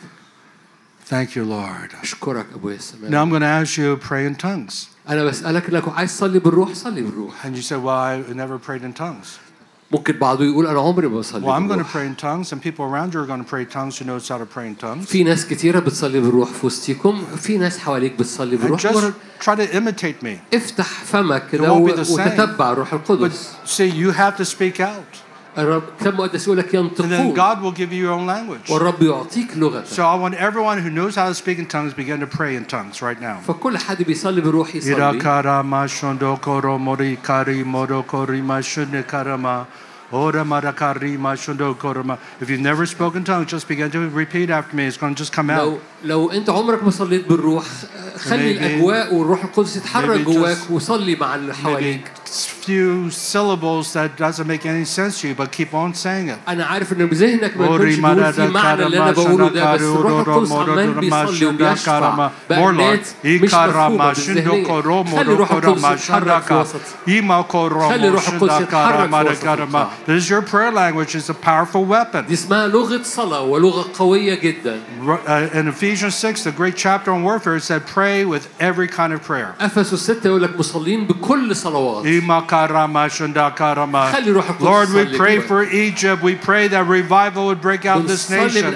S2: Thank you, Lord.
S1: أشكرك أبويا السماوي.
S2: Now I'm going to ask you to pray in tongues.
S1: أنا بسألك لو عايز تصلي بالروح صلي بالروح.
S2: And you say, well, I never prayed in tongues.
S1: ممكن بعضه يقول أنا عمري ما بصلي
S2: Well, I'm going to
S1: بالروح.
S2: pray in tongues, and people around you are going to pray in tongues who knows how to pray in tongues.
S1: في ناس كتيرة بتصلي بالروح في وسطيكم، في ناس حواليك بتصلي
S2: And
S1: بالروح.
S2: just try to imitate me.
S1: افتح فمك كده
S2: won't be the same.
S1: وتتبع الروح
S2: But
S1: القدس.
S2: see, you have to speak out.
S1: الرب كم مقدس يقول لك
S2: And then
S1: ينطقون
S2: God will give you your own language.
S1: والرب يعطيك لغتك.
S2: So I want everyone who knows how to speak in tongues begin to pray in tongues right now.
S1: فكل حد بيصلي بالروح يصلي.
S2: If you've never spoken tongues, just begin to repeat after me. It's going to just come out.
S1: لو لو انت عمرك ما صليت بالروح خلي الاجواء والروح القدس يتحرك جواك وصلي مع اللي حواليك.
S2: Few syllables that doesn't make any sense to you, but keep on saying it.
S1: أنا عارف إن بذهنك ما يكونش بيقول في معنى اللي أنا بقوله ده، بس الروح القدس عمال بيصلي وبيشفع بأمات مش مفهومة بالذهنية. خلي الروح القدس يتحرك في وسط. خلي الروح القدس يتحرك في وسط.
S2: This is your prayer language. It's a powerful weapon.
S1: دي اسمها لغة صلاة ولغة قوية جدا.
S2: In Ephesians six, the great chapter on warfare, it said pray with every kind of prayer.
S1: أفسس ستة يقول لك مصلين بكل صلوات.
S2: Lord, we pray for Egypt. We pray that revival would break out in this nation.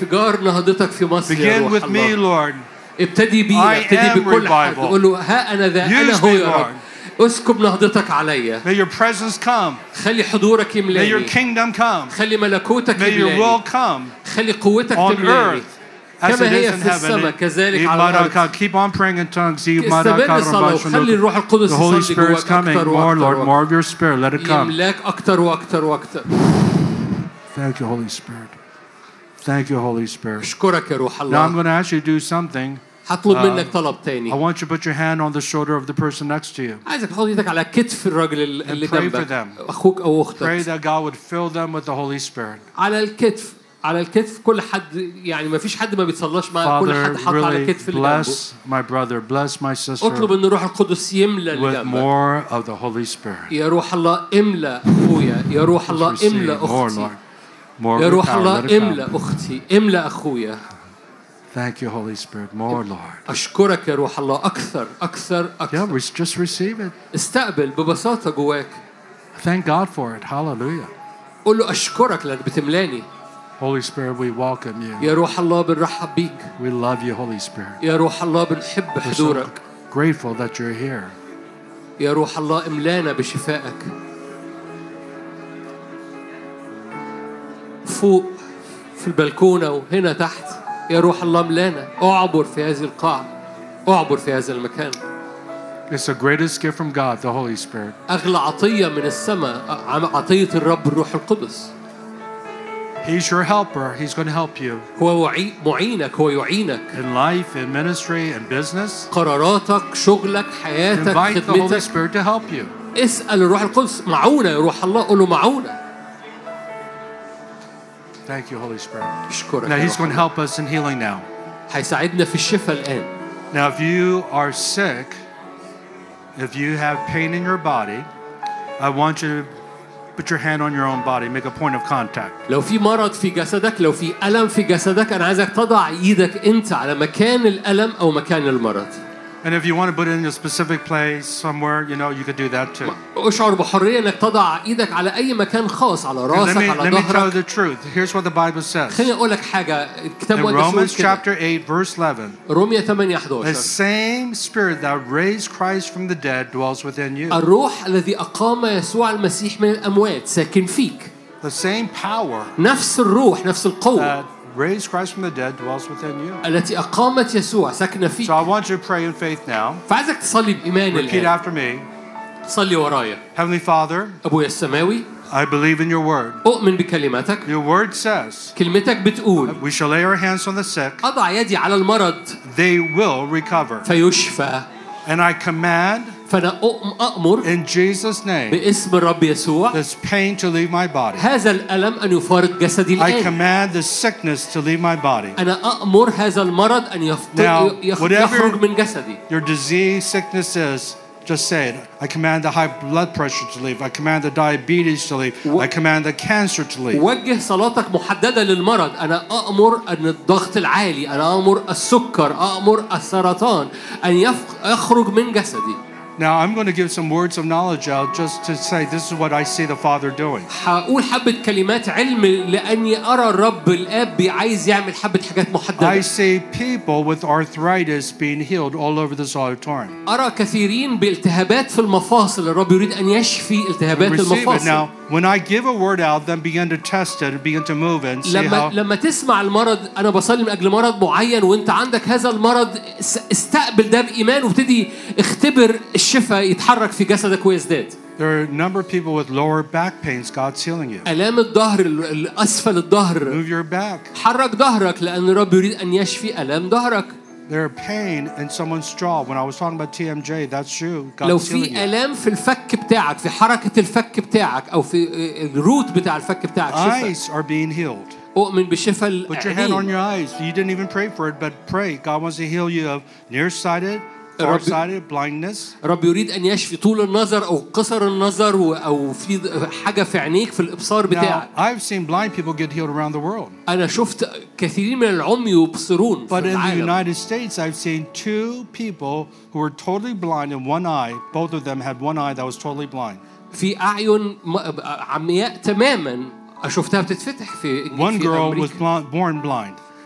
S2: Begin with me, Lord.
S1: ابتدي بي ابتدي بكل حد قول له ها أنا ذا أنا هو يا رب اسكب نهضتك عليا.
S2: May your presence come.
S1: خلي حضورك
S2: May your
S1: يملاني.
S2: kingdom come.
S1: خلي ملكوتك
S2: May your
S1: يملاني.
S2: will come
S1: خلي قوتك
S2: on
S1: تملاني.
S2: earth as it
S1: كما
S2: is
S1: هي
S2: in
S1: في السماء
S2: heaven.
S1: كذلك على الأرض.
S2: Keep on praying in tongues.
S1: استمر الصلاة وخلي الروح القدس
S2: The Holy
S1: يصلي
S2: Spirit is
S1: جواك
S2: coming.
S1: أكتر
S2: More, Lord,
S1: وأكتر
S2: more of your Spirit. Let it come.
S1: يملاك أكتر وأكتر وأكتر.
S2: Thank you, Holy Spirit. Thank you, Holy Spirit.
S1: أشكرك يا روح
S2: Now I'm
S1: الله.
S2: going to ask you to do something.
S1: هطلب
S2: Uh,
S1: منك طلب
S2: I
S1: تاني.
S2: want you to put your hand on the shoulder of the person next to you.
S1: عايزك تحط ايدك على كتف الراجل اللي
S2: pray for
S1: جنبك،
S2: them.
S1: أخوك أو
S2: Pray
S1: أختك.
S2: that God would fill them with the Holy Spirit.
S1: على الكتف، على الكتف كل حد، يعني ما فيش حد ما بيتصلاش معاه، كل
S2: Father,
S1: حد حط على
S2: really
S1: كتف اللي جنبه.
S2: bless my brother, bless my sister
S1: اطلب ان الروح القدس يملى اللي
S2: with
S1: جنبك.
S2: more of the Holy Spirit.
S1: يا روح الله املى اخويا، يا روح الله
S2: Receive
S1: املى
S2: more,
S1: اختي،
S2: Lord. More of
S1: يا
S2: your
S1: روح
S2: power. Let
S1: الله
S2: it
S1: املى
S2: come.
S1: اختي، املى اخويا.
S2: Thank you, Holy Spirit. More, Lord.
S1: اشكرك يا روح الله اكثر اكثر
S2: Yeah,
S1: اكثر.
S2: we just receive it.
S1: استقبل ببساطة جواك.
S2: Thank God for it. Hallelujah.
S1: قول له اشكرك لانك بتملاني.
S2: Holy Spirit, we welcome you.
S1: يا روح الله بنرحب بيك.
S2: We love you, Holy Spirit.
S1: يا روح الله بنحب
S2: We're so
S1: حضورك.
S2: grateful that you're here.
S1: يا روح الله املانا بشفائك. فوق في البلكونة وهنا تحت، يا روح الله املانا. اعبر في هذه القاعة، اعبر في هذا المكان.
S2: It's the greatest gift from God, the Holy Spirit.
S1: أغلى عطية من السماء عطية الرب الروح القدس.
S2: He's your helper. He's going to help you
S1: هو وعي- معينك، هو يعينك.
S2: in life, in ministry, in business.
S1: قراراتك، شغلك، حياتك،
S2: Invite the Holy
S1: خدمتك.
S2: Spirit to help you.
S1: اسأل الروح القدس معونة يا روح الله، قول له معونة.
S2: Thank you, Holy Spirit.
S1: أشكرك
S2: Now
S1: يا
S2: He's
S1: روح
S2: going to
S1: الله.
S2: help us in healing now.
S1: هيساعدنا في الشفاء الآن.
S2: Now, if you are sick, if you have pain in your body, I want you to put your hand on your own body. Make a point of contact.
S1: لو في مرض في جسدك، لو في ألم في جسدك، أنا عايزك تضع إيدك أنت على مكان الألم أو مكان المرض.
S2: And if you want to put it in a specific place somewhere, you know, you could do that too.
S1: اشعر بحرية إنك تضع إيدك على أي مكان خاص، على
S2: Let
S1: راسك،
S2: me,
S1: على
S2: let me tell you
S1: ظهرك.
S2: the truth. Here's what the Bible says.
S1: خليني أقول لك حاجة، الكتاب
S2: In
S1: المقدس
S2: Romans
S1: يقول كده.
S2: chapter eight, verse eleven,
S1: رومية ثمانية
S2: the
S1: إحدى عشر.
S2: same Spirit that raised Christ from the dead dwells within you.
S1: الروح الذي أقام يسوع المسيح من الأموات ساكن فيك.
S2: The same power
S1: نفس الروح، نفس القوة
S2: that raised Christ from the dead dwells within you.
S1: التي أقامت يسوع ساكنة
S2: So
S1: فيك.
S2: I want you to pray in faith now.
S1: فعايزك تصلي بإيمان
S2: Repeat
S1: الآن.
S2: after me.
S1: صلي ورايا.
S2: Heavenly Father,
S1: أبويا السماوي،
S2: I believe in your word.
S1: أؤمن بكلمتك.
S2: Your word says
S1: كلمتك بتقول
S2: we shall lay our hands on the sick.
S1: أضع يدي على المرض
S2: They will recover.
S1: فيشفى.
S2: And I command
S1: فأنا أؤم- أأمر
S2: in Jesus' name
S1: باسم الرب يسوع
S2: this pain to leave my body.
S1: هذا الألم أن يفارق جسدي
S2: I
S1: الآن.
S2: command the sickness to leave my body.
S1: أنا أأمر هذا المرض أن يفت-
S2: Now,
S1: يخ-
S2: whatever-
S1: يخرج من جسدي.
S2: Your disease, sickness is, just say it. I command the high blood pressure to leave. I command the diabetes to leave. I command the cancer to leave.
S1: وجه صلاتك محددة للمرض. أنا أأمر أن الضغط العالي، أنا أأمر السكر، أأمر السرطان أن يف- يخرج من جسدي.
S2: Now I'm going to give some words of knowledge out just to say this is what I see the Father doing.
S1: هقول حبة كلمات علم لأني أرى الرب الآب عايز يعمل حبة حاجات
S2: I
S1: محددة.
S2: see people with arthritis being healed all over this auditorium.
S1: أرى كثيرين بالتهابات في المفاصل، الرب يريد أن يشفي التهابات
S2: Receive it.
S1: المفاصل.
S2: Now, when I give a word out, then begin to test it and begin to move it and see
S1: لما
S2: how.
S1: لما تسمع المرض، أنا بصلي من أجل مرض معين وأنت عندك هذا المرض، اس- استقبل ده بإيمان وابتدي اختبر الشفاء يتحرك في جسدك ويزداد.
S2: There are a number of people with lower back pains. God's healing you.
S1: آلام الظهر، ال- الأسفل الظهر،
S2: Move your back.
S1: حرك ظهرك لأن الرب يريد أن يشفي آلام ظهرك.
S2: There's pain in someone's jaw. When I was talking about T M J, that's you.
S1: لو
S2: God's healing
S1: في
S2: you.
S1: آلام في الفك بتاعك، في حركة الفك بتاعك أو في الروت بتاع الفك بتاعك، شفاء.
S2: Eyes are being healed.
S1: أؤمن بشفاء
S2: Put your hand on
S1: العينين.
S2: your eyes. You didn't even pray for it, but pray. God wants to heal you of nearsighted,
S1: الرب-
S2: farsighted, blindness.
S1: رب يريد أن يشفي طول النظر أو قصر النظر و- أو في حاجة في عينيك في الإبصار
S2: Now,
S1: بتاعك.
S2: I've seen blind people get healed around the world.
S1: أنا شفت كثيرين من العمي يبصرون في
S2: But in the
S1: العالم.
S2: United States, I've seen two people who were totally blind in one eye. Both of them had one eye that was totally blind.
S1: في أعين م- عمياء تماما شفتها بتتفتح في
S2: One
S1: في
S2: girl was
S1: أمريكا.
S2: blind, born blind.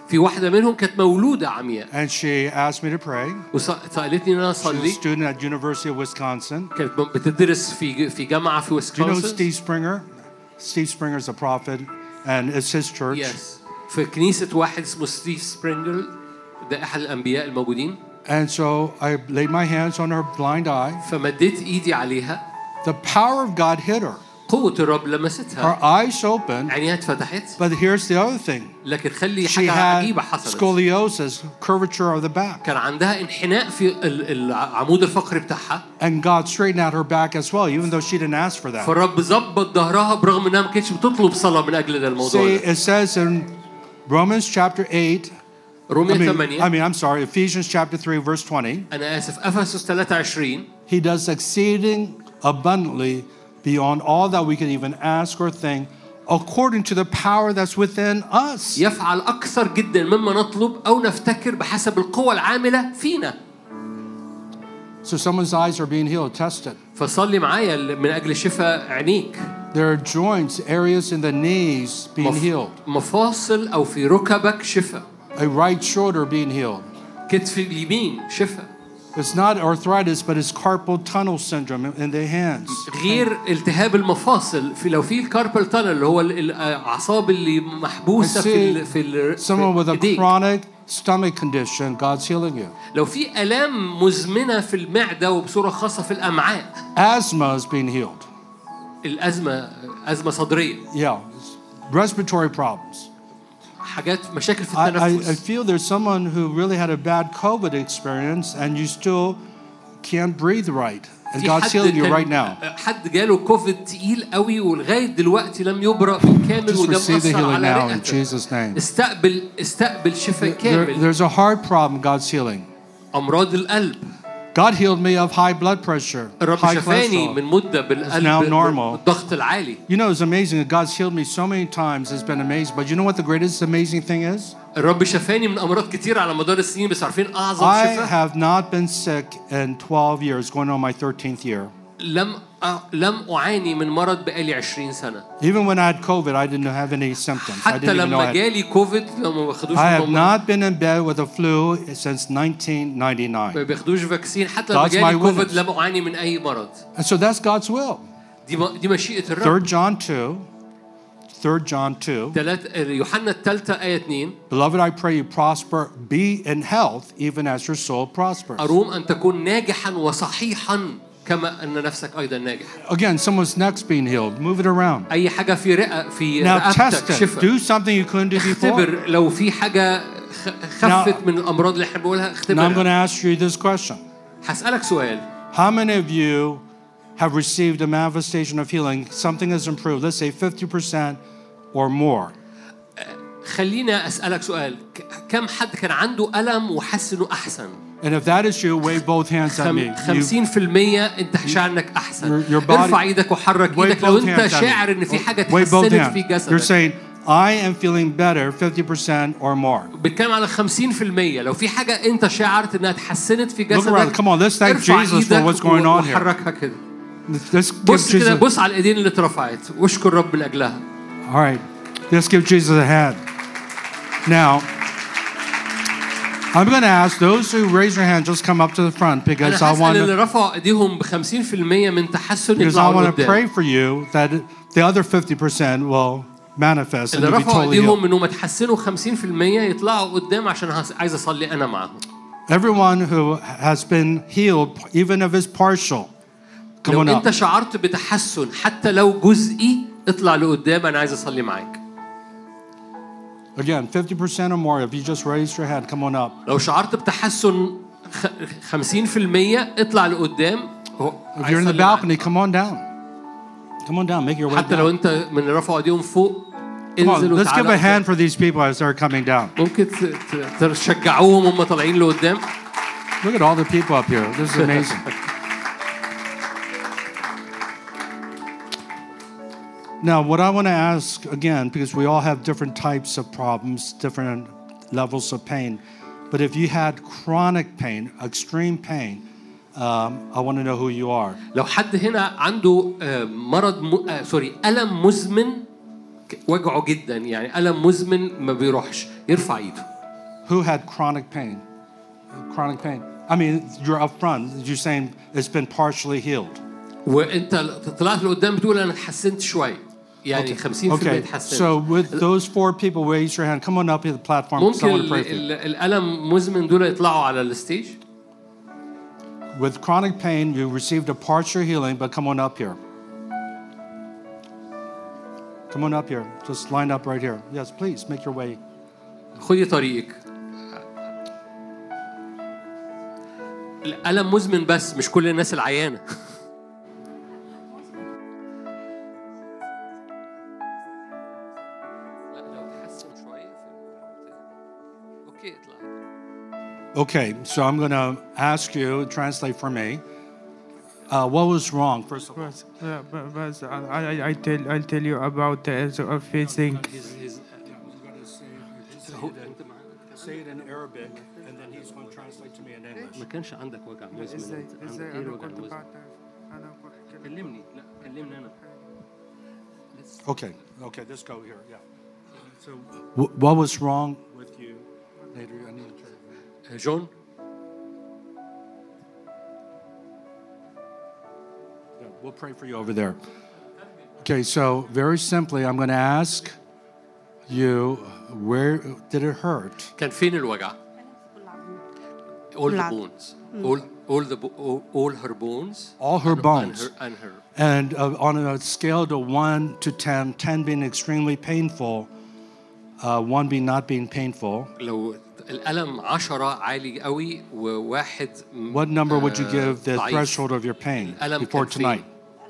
S1: في واحدة منهم كانت مولودة عمياء.
S2: And she asked me to pray.
S1: وسألتني إن أنا
S2: She's a
S1: أصلي.
S2: student at University of Wisconsin.
S1: كانت بتدرس في في جامعة في
S2: Do you know
S1: ويسكونسن.
S2: Steve Springer? Steve Springer is a prophet, and it's his church.
S1: Yes. في كنيسة واحد اسمه ستيف سبرينجر، ده أحد الأنبياء الموجودين.
S2: And so I laid my hands on her blind eye.
S1: فمديت إيدي عليها.
S2: The power of God hit her.
S1: قوة الرب لمستها.
S2: Her eyes opened.
S1: عينيها اتفتحت.
S2: But here's the other thing.
S1: لكن خلي
S2: She
S1: حاجة عجيبة
S2: had
S1: حصلت.
S2: scoliosis, curvature of the back.
S1: كان عندها انحناء في ال- العمود الفقري بتاعها.
S2: And God straightened out her back as well, even though she didn't ask for that.
S1: فالرب ظبط ظهرها برغم انها ما كانتش بتطلب صلاة من أجل ده الموضوع
S2: See,
S1: ده.
S2: it says in Romans chapter eight. I
S1: رومية
S2: mean, I
S1: ثمانية.
S2: mean, I'm sorry, Ephesians chapter three, verse twenty.
S1: أنا آسف، أفسس ثلاثة وعشرين.
S2: He does exceeding abundantly beyond all that we can even ask or think, according to the power that's within us.
S1: يفعل أكثر جدا مما نطلب أو نفتكر بحسب القوة العاملة فينا.
S2: So someone's eyes are being healed, tested.
S1: فصلي معايا من أجل شفاء عينيك.
S2: There are joints, areas in the knees being
S1: مف-
S2: healed.
S1: مفاصل أو في ركبك شفاء.
S2: A right shoulder being healed.
S1: كتف اليمين شفاء.
S2: It's not arthritis, but it's carpal tunnel syndrome in the hands.
S1: غير التهاب المفاصل، في لو في الكاربال تانل اللي هو ال- الأعصاب اللي محبوسة في ال في ال
S2: Someone with a
S1: إيديك.
S2: chronic stomach condition, God's healing you.
S1: لو في آلام مزمنة في المعدة وبصورة خاصة في الأمعاء.
S2: Asthma is being healed.
S1: الأزمة أزمة صدرية.
S2: Yeah, respiratory problems.
S1: حاجات مشاكل في
S2: I, I, I
S1: التنفس.
S2: feel there's someone who really had a bad COVID experience and you still can't breathe right. And
S1: في
S2: God's
S1: حد
S2: healing you
S1: كان-
S2: right now.
S1: حد جاله كوفيد تقيل قوي ولغاية دلوقتي لم يبرأ بالكامل
S2: Just
S1: وده
S2: receive the
S1: مأثر
S2: healing
S1: على
S2: now in
S1: رئتك.
S2: Jesus' name.
S1: استقبل استقبل شفاء
S2: There,
S1: كامل.
S2: there's a heart problem, God's healing.
S1: أمراض القلب.
S2: God healed me of high blood pressure,
S1: الرب
S2: high
S1: شفاني
S2: cholesterol.
S1: من مدة
S2: now
S1: بالقلب
S2: normal.
S1: بالضغط العالي.
S2: You know, it's amazing that God's healed me so many times. It's been amazing. But you know what the greatest amazing thing is?
S1: الرب شفاني من أمراض كتير على مدار السنين، بس عارفين أعظم
S2: I
S1: شفاء؟
S2: have not been sick in twelve years, going on my thirteenth year.
S1: لم أ- لم أعاني من مرض بقالي عشرين سنة.
S2: Even when I had COVID, I didn't have any symptoms. I
S1: حتى
S2: didn't even know I
S1: لما
S2: had.
S1: جالي كوفيد لما ما بياخدوش
S2: I have
S1: هم-
S2: not been in bed with a flu since nineteen
S1: ما
S2: ninety-nine.
S1: بياخدوش فاكسين. حتى لما
S2: God's
S1: جالي
S2: my
S1: كوفيد
S2: witness.
S1: لم أعاني من أي مرض.
S2: And so that's God's will.
S1: دي م- دي مشيئة الرب.
S2: third John two, third John two.
S1: تلات يوحنا الثالثة آية اثنين.
S2: Beloved, I pray you prosper, be in health, even as your soul prospers.
S1: أروم أن تكون ناجحا وصحيحا كما أن نفسك أيضا ناجح.
S2: Again, someone's neck's being healed. Move it around.
S1: أي حاجة في رئة في
S2: Now test
S1: رقبتك
S2: it.
S1: شفاء.
S2: Do something you couldn't do before.
S1: اختبر لو في حاجة خ- خفت من الأمراض اللي احنا بنقولها
S2: Now I'm going to
S1: اختبرها.
S2: ask you this question.
S1: هسألك سؤال.
S2: How many of you have received a manifestation of healing? Something has improved. Let's say fifty percent or more.
S1: خلينا أسألك سؤال. ك- كم حد كان عنده ألم وحس إنه أحسن؟
S2: And if that is you, wave both hands at me.
S1: خم-
S2: You-
S1: خمسين في المية أنت شاعر إنك أحسن.
S2: Your- your body-
S1: ارفع إيدك وحرك
S2: wave
S1: إيدك لو
S2: both
S1: أنت
S2: hands at
S1: شاعر
S2: me.
S1: إن في حاجة
S2: Wave both
S1: اتحسنت في
S2: hands. You're
S1: جسدك.
S2: saying, I am feeling better fifty percent or more.
S1: بتكلم على خمسين في المية. لو في حاجة أنت شعرت إنها اتحسنت في
S2: around.
S1: جسدك.
S2: Come on, let's thank
S1: ارفع
S2: Jesus for
S1: إيدك
S2: what's going on here.
S1: وحركها كده.
S2: Let's give
S1: بص كده،
S2: Jesus.
S1: بص على الإيدين اللي اترفعت واشكر رب من أجلها.
S2: All right, let's give Jesus a hand. Now, I'm going to ask those who raise their hand, just come up to the front because
S1: أنا
S2: I want
S1: هسأل اللي
S2: to,
S1: رفعوا إيديهم بخمسين في المية من تحسن
S2: because I
S1: يطلعوا
S2: want to
S1: لقدام.
S2: pray for you that the other fifty percent will manifest and
S1: اللي
S2: you'll be
S1: رفعوا
S2: totally
S1: ايديهم
S2: healed.
S1: انهم يتحسنوا خمسين في المية يطلعوا قدام عشان هس- عايز اصلي انا معاهم.
S2: Everyone who has been healed, even if it's partial, come
S1: لو
S2: on
S1: انت
S2: up.
S1: شعرت بتحسن حتى لو جزئي اطلع لقدام، انا عايز اصلي معاك.
S2: Again, fifty percent or more, if you just raised your hand, come on up.
S1: لو شعرت بتحسن خ- خمسين في المية اطلع لقدام. هو
S2: If
S1: عايز
S2: you're in the
S1: أصلي معاك.
S2: balcony, come on down. Come on down, make your way
S1: حتى لو
S2: down.
S1: انت من اللي رفعوا ايديهم فوق
S2: Come on,
S1: انزل
S2: let's give a
S1: وتعالى
S2: hand
S1: قدام.
S2: for these people as they're coming down.
S1: ممكن ت- ت- تشجعوهم هم طالعين لقدام.
S2: Look at all the people up here. This is amazing. Now, what I want to ask again, because we all have different types of problems, different levels of pain, but if you had chronic pain, extreme pain, um, I want to know who you are.
S1: لو حد هنا عنده آه، مرض م... آه، سوري ألم مزمن ك- وجعه جدا، يعني ألم مزمن ما بيروحش، يرفع ايده.
S2: who had chronic pain? Chronic pain. I mean, you're up front. You're saying it's been partially healed.
S1: وانت طلعت لقدام بتقول انا اتحسنت شويه يعني خمسين بالمية
S2: Okay.
S1: اتحسنت.
S2: So with those four people, raise your hand. Come on up here to the platform.
S1: ممكن
S2: Someone to pray for you.
S1: ال- الالم مزمن دول يطلعوا على الستيج.
S2: With chronic pain, you received a partial healing, but come on up here. Come on up here. Just line up right here. Yes, please make your way.
S1: خدي طريقك. الالم مزمن بس مش كل الناس العيانه.
S2: Okay, so I'm going to ask you, translate for me. Uh, what was wrong, first of all?
S3: But, uh, but, but I, I, I tell, I'll tell you about the issue of facing.
S2: Say it in Arabic, and then he's going to translate to me in English.
S1: ما كانش عندك وجع مزمن.
S3: ازاي ازاي
S1: ايه
S3: انا
S1: الوجع
S3: كنت
S1: المزمن؟
S3: بعرف انا كنت
S1: كلمني لا كلمني انا.
S2: Okay, okay, let's go here. Yeah. So, wh- what was wrong with you? Later, I need to try.
S1: جون
S2: Yeah, we'll pray for you over there. Okay, so very simply, I'm going to ask you, where did it hurt?
S1: كان فين الوجع؟ All the bones. All all the bo- all, all her bones.
S2: All her
S1: and,
S2: bones.
S1: And her, and her.
S2: And uh, on a scale to one to ten, ten being extremely painful, uh, one being not being painful,
S1: لو الألم عشرة عالي قوي وواحد
S2: what number would you give the
S1: ضعيف.
S2: threshold of your pain
S1: الألم
S2: before
S1: كان فين؟
S2: tonight?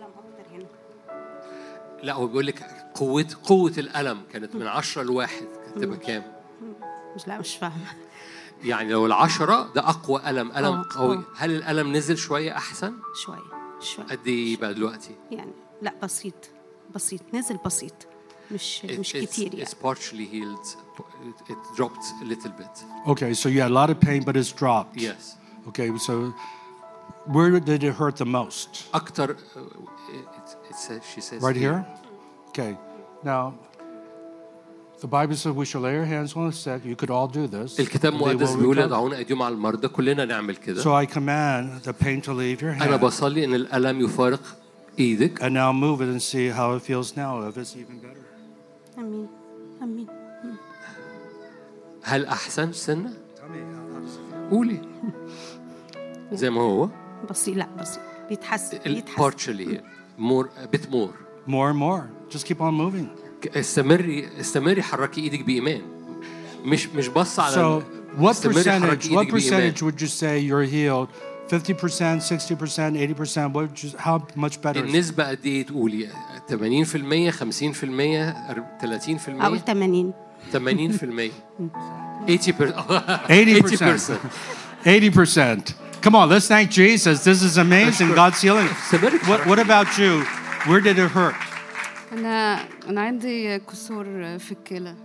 S1: لا هو بيقول لك قوة قوة الألم كانت من عشرة لواحد كانت تبقى كام؟
S4: مش لا مش فاهمة.
S1: يعني لو العشرة ده أقوى ألم ألم
S4: آه،
S1: قوي.
S4: آه.
S1: هل الألم نزل شوية أحسن؟
S4: شوية شوية
S1: قد إيه بقى دلوقتي؟
S4: يعني لا بسيط بسيط نزل بسيط مش
S1: It-
S4: مش
S1: it's,
S4: كتير يعني.
S1: it's partially healed. It, it dropped a little bit.
S2: Okay, so you had a lot of pain, but it's dropped.
S1: Yes.
S2: Okay, so where did it hurt the most?
S1: أكتر uh, it, it says, she says
S2: Right here? Okay. Now, the Bible says we shall lay our hands on the sick. You could all do this.
S1: الكتاب
S2: They will
S1: المقدس بيقول
S2: recover.
S1: يضعون أيديهم على المرضى كلنا نعمل كده.
S2: So I command the pain to leave your
S1: أنا
S2: hand.
S1: بصلي إن الألم يفارق إيدك.
S2: And now move it and see how it feels now, if it's even better.
S4: امين امين.
S1: هل أحسن سنة؟ قولي. زي ما هو.
S4: بسيط لا بسيط بيتحسن
S1: ال-
S4: بيتحسن.
S1: partially more a bit more.
S2: More and more. Just keep on moving.
S1: استمري استمري حركي إيدك بإيمان. مش مش بص على.
S2: So, what
S1: استمري
S2: percentage?
S1: حركي
S2: What
S1: إيدك بإيمان.
S2: percentage would you say you're healed? Fifty percent, sixty percent, eighty percent. What? Would you, how much better? is it?
S1: النسبة قد إيه تقولي؟ ثمانين بالمية خمسين بالمية ثلاثين
S4: اقول
S1: بالمية
S4: ثمانين.
S1: ثمانين بالمية eighty percent
S2: Eighty percent. Eighty percent. Come on, let's thank Jesus. This is amazing. God's healing. What, what about you? Where did it hurt?
S5: أنا أنا عندي كسور في الكلى.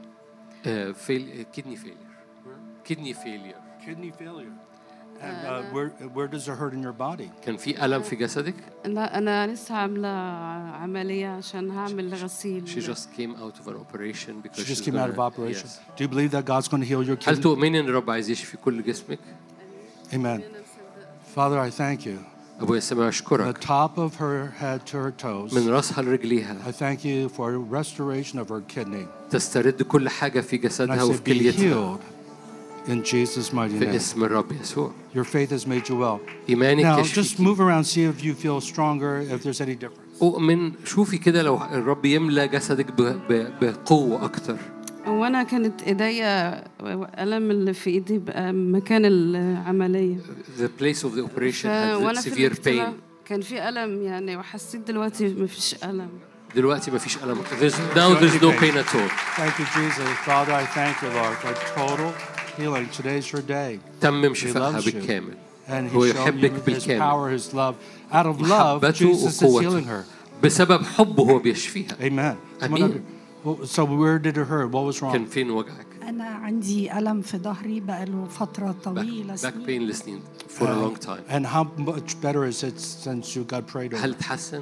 S1: فيل كدني فيلير كدني فيلير
S2: Kidney failure. And uh, where, where does it hurt in your body?
S1: كان في ألم في جسدك؟
S5: لا أنا لسه عاملة عملية عشان هعمل غسيل.
S1: She just came out of an operation because
S2: She just
S1: she's
S2: came out of
S1: gonna-
S2: operation.
S1: Yes.
S2: Do you believe that God's going to heal your
S1: هل
S2: kidney?
S1: تؤمني إن الرب عايز يشفي كل جسمك؟
S2: Amen. Father, I thank you.
S1: أبويا السماء
S2: The
S1: أشكرك
S2: top of her head to her toes.
S1: من رأسها لرجليها
S2: I thank you for restoration of her kidney.
S1: تسترد كل حاجة في
S2: And I
S1: جسدها
S2: say,
S1: وفي
S2: be
S1: كليتها
S2: healed in Jesus' mighty
S1: في
S2: name.
S1: اسم الرب يسوع.
S2: Your faith has made you well.
S1: إيمانك
S2: Now, just
S1: يشفيك.
S2: move around, see if you feel stronger, if there's any difference.
S1: أؤمن شوفي كده لو الرب يملى جسدك ب- ب- بقوة أكتر.
S5: وأنا كانت إيديا ألم اللي في إيدي بقى مكان العملية.
S1: The place of the operation had
S5: وأنا في
S1: severe
S5: الاجتماع
S1: pain.
S5: كان في ألم يعني وحسيت دلوقتي مفيش ألم.
S1: دلوقتي ما فيش ألم. There's, now there's no pain at all.
S2: Thank you, Jesus. Father, I thank you, Lord, for total healing. Today's your day.
S1: تمم
S2: He
S1: شفائها
S2: loves you.
S1: بالكامل.
S2: And
S1: هو
S2: He's showing you
S1: يحبك
S2: His
S1: بالكامل.
S2: power, His love. Out of love,
S1: محبته
S2: Jesus is healing
S1: وقوته.
S2: her.
S1: بسبب حبه هو بيشفيها.
S2: Amen. Come on
S1: Amen.
S2: up here. Well, so where did it hurt? What was
S1: كان
S2: wrong?
S1: فين وجعك؟
S6: أنا عندي ألم في ظهري بقاله فترة
S1: Back,
S6: طويلة
S1: back
S6: سنين.
S1: pain listening for a long time.
S2: And how much better is it since you got prayed over?
S1: هل تحسن؟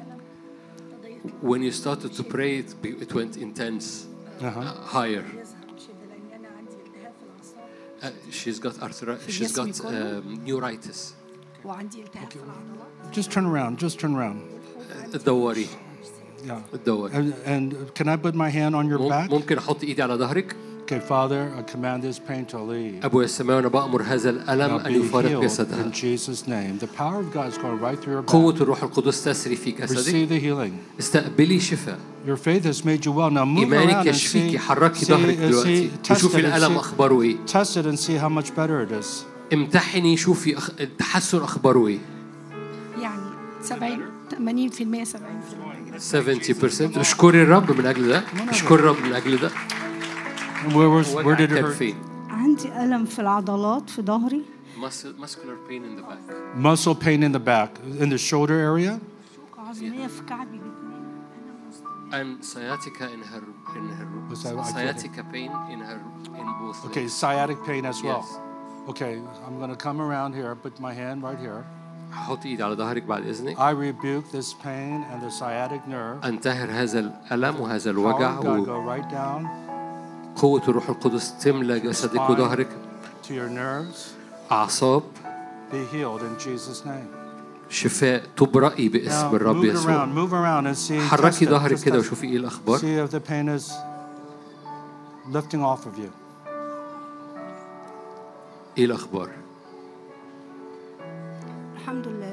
S1: When you started to pray, it, be- it went intense,
S2: Uh-huh.
S1: uh, higher. she's got arthritis. She's got um, neuritis.
S6: وعندي التهاب في العضلات.
S2: Just turn around. Just turn around.
S1: تدوري.
S2: Yeah.
S1: تدوري.
S2: And, and can I put my hand on your back?
S1: ممكن أحط إيدي على ظهرك.
S2: Okay, Father, I command this pain to leave.
S1: أبويا السماوي أنا بأمر هذا الألم
S2: Now
S1: أن
S2: be
S1: يفارق
S2: healed
S1: جسدها.
S2: in Jesus' name. The power of God is going right through your back.
S1: قوة الروح القدس تسري في جسدك.
S2: Receive the healing.
S1: استقبلي شفاء.
S2: Your faith has made you well. Now move
S1: إيمانك
S2: around and
S1: يشفيكي.
S2: see,
S1: حركي
S2: see,
S1: ظهرك
S2: uh,
S1: دلوقتي.
S2: see, test
S1: وشوفي
S2: it and
S1: الألم
S2: see,
S1: أخباره إيه.
S2: test it and see how much better it is.
S1: امتحني شوفي أخ... التحسن أخباره إيه.
S6: يعني سبعين ثمانين بالمئة سبعين بالمئة
S1: سبعين بالمئة. اشكري الرب من أجل ده. اشكري الرب من أجل ده.
S2: Where, was, where did it
S1: كان
S2: hurt?
S1: فين؟
S4: عندي ألم في العضلات في ظهري.
S1: Muscle, muscular pain in the back.
S2: Muscle pain in the back, in the shoulder area.
S4: عظمية في كعبي
S1: And sciatica in her in her
S2: Was that- I
S1: sciatica pain in her in both
S2: Okay,
S1: legs.
S2: sciatic pain as well.
S1: Yes.
S2: Okay, I'm going to come around here, put my hand right here.
S1: حط ايدي على ظهرك بعد اذنك.
S2: I rebuke this pain and the sciatic nerve.
S1: انتهر هذا الالم وهذا
S2: Power
S1: الوجع
S2: of God go right down
S1: وقوة الروح القدس تملى جسدك وظهرك.
S2: to your nerves.
S1: اعصاب
S2: Be healed in Jesus' name.
S1: شفاء تبرئي
S2: Now
S1: باسم الرب
S2: move it
S1: يسوع.
S2: around, move around and see. test
S1: حركي
S2: it,
S1: ظهرك
S2: just
S1: كده
S2: test it.
S1: وشوفي ايه الاخبار.
S2: See if the pain is lifting off of you.
S1: ايه الاخبار.
S4: الحمد لله.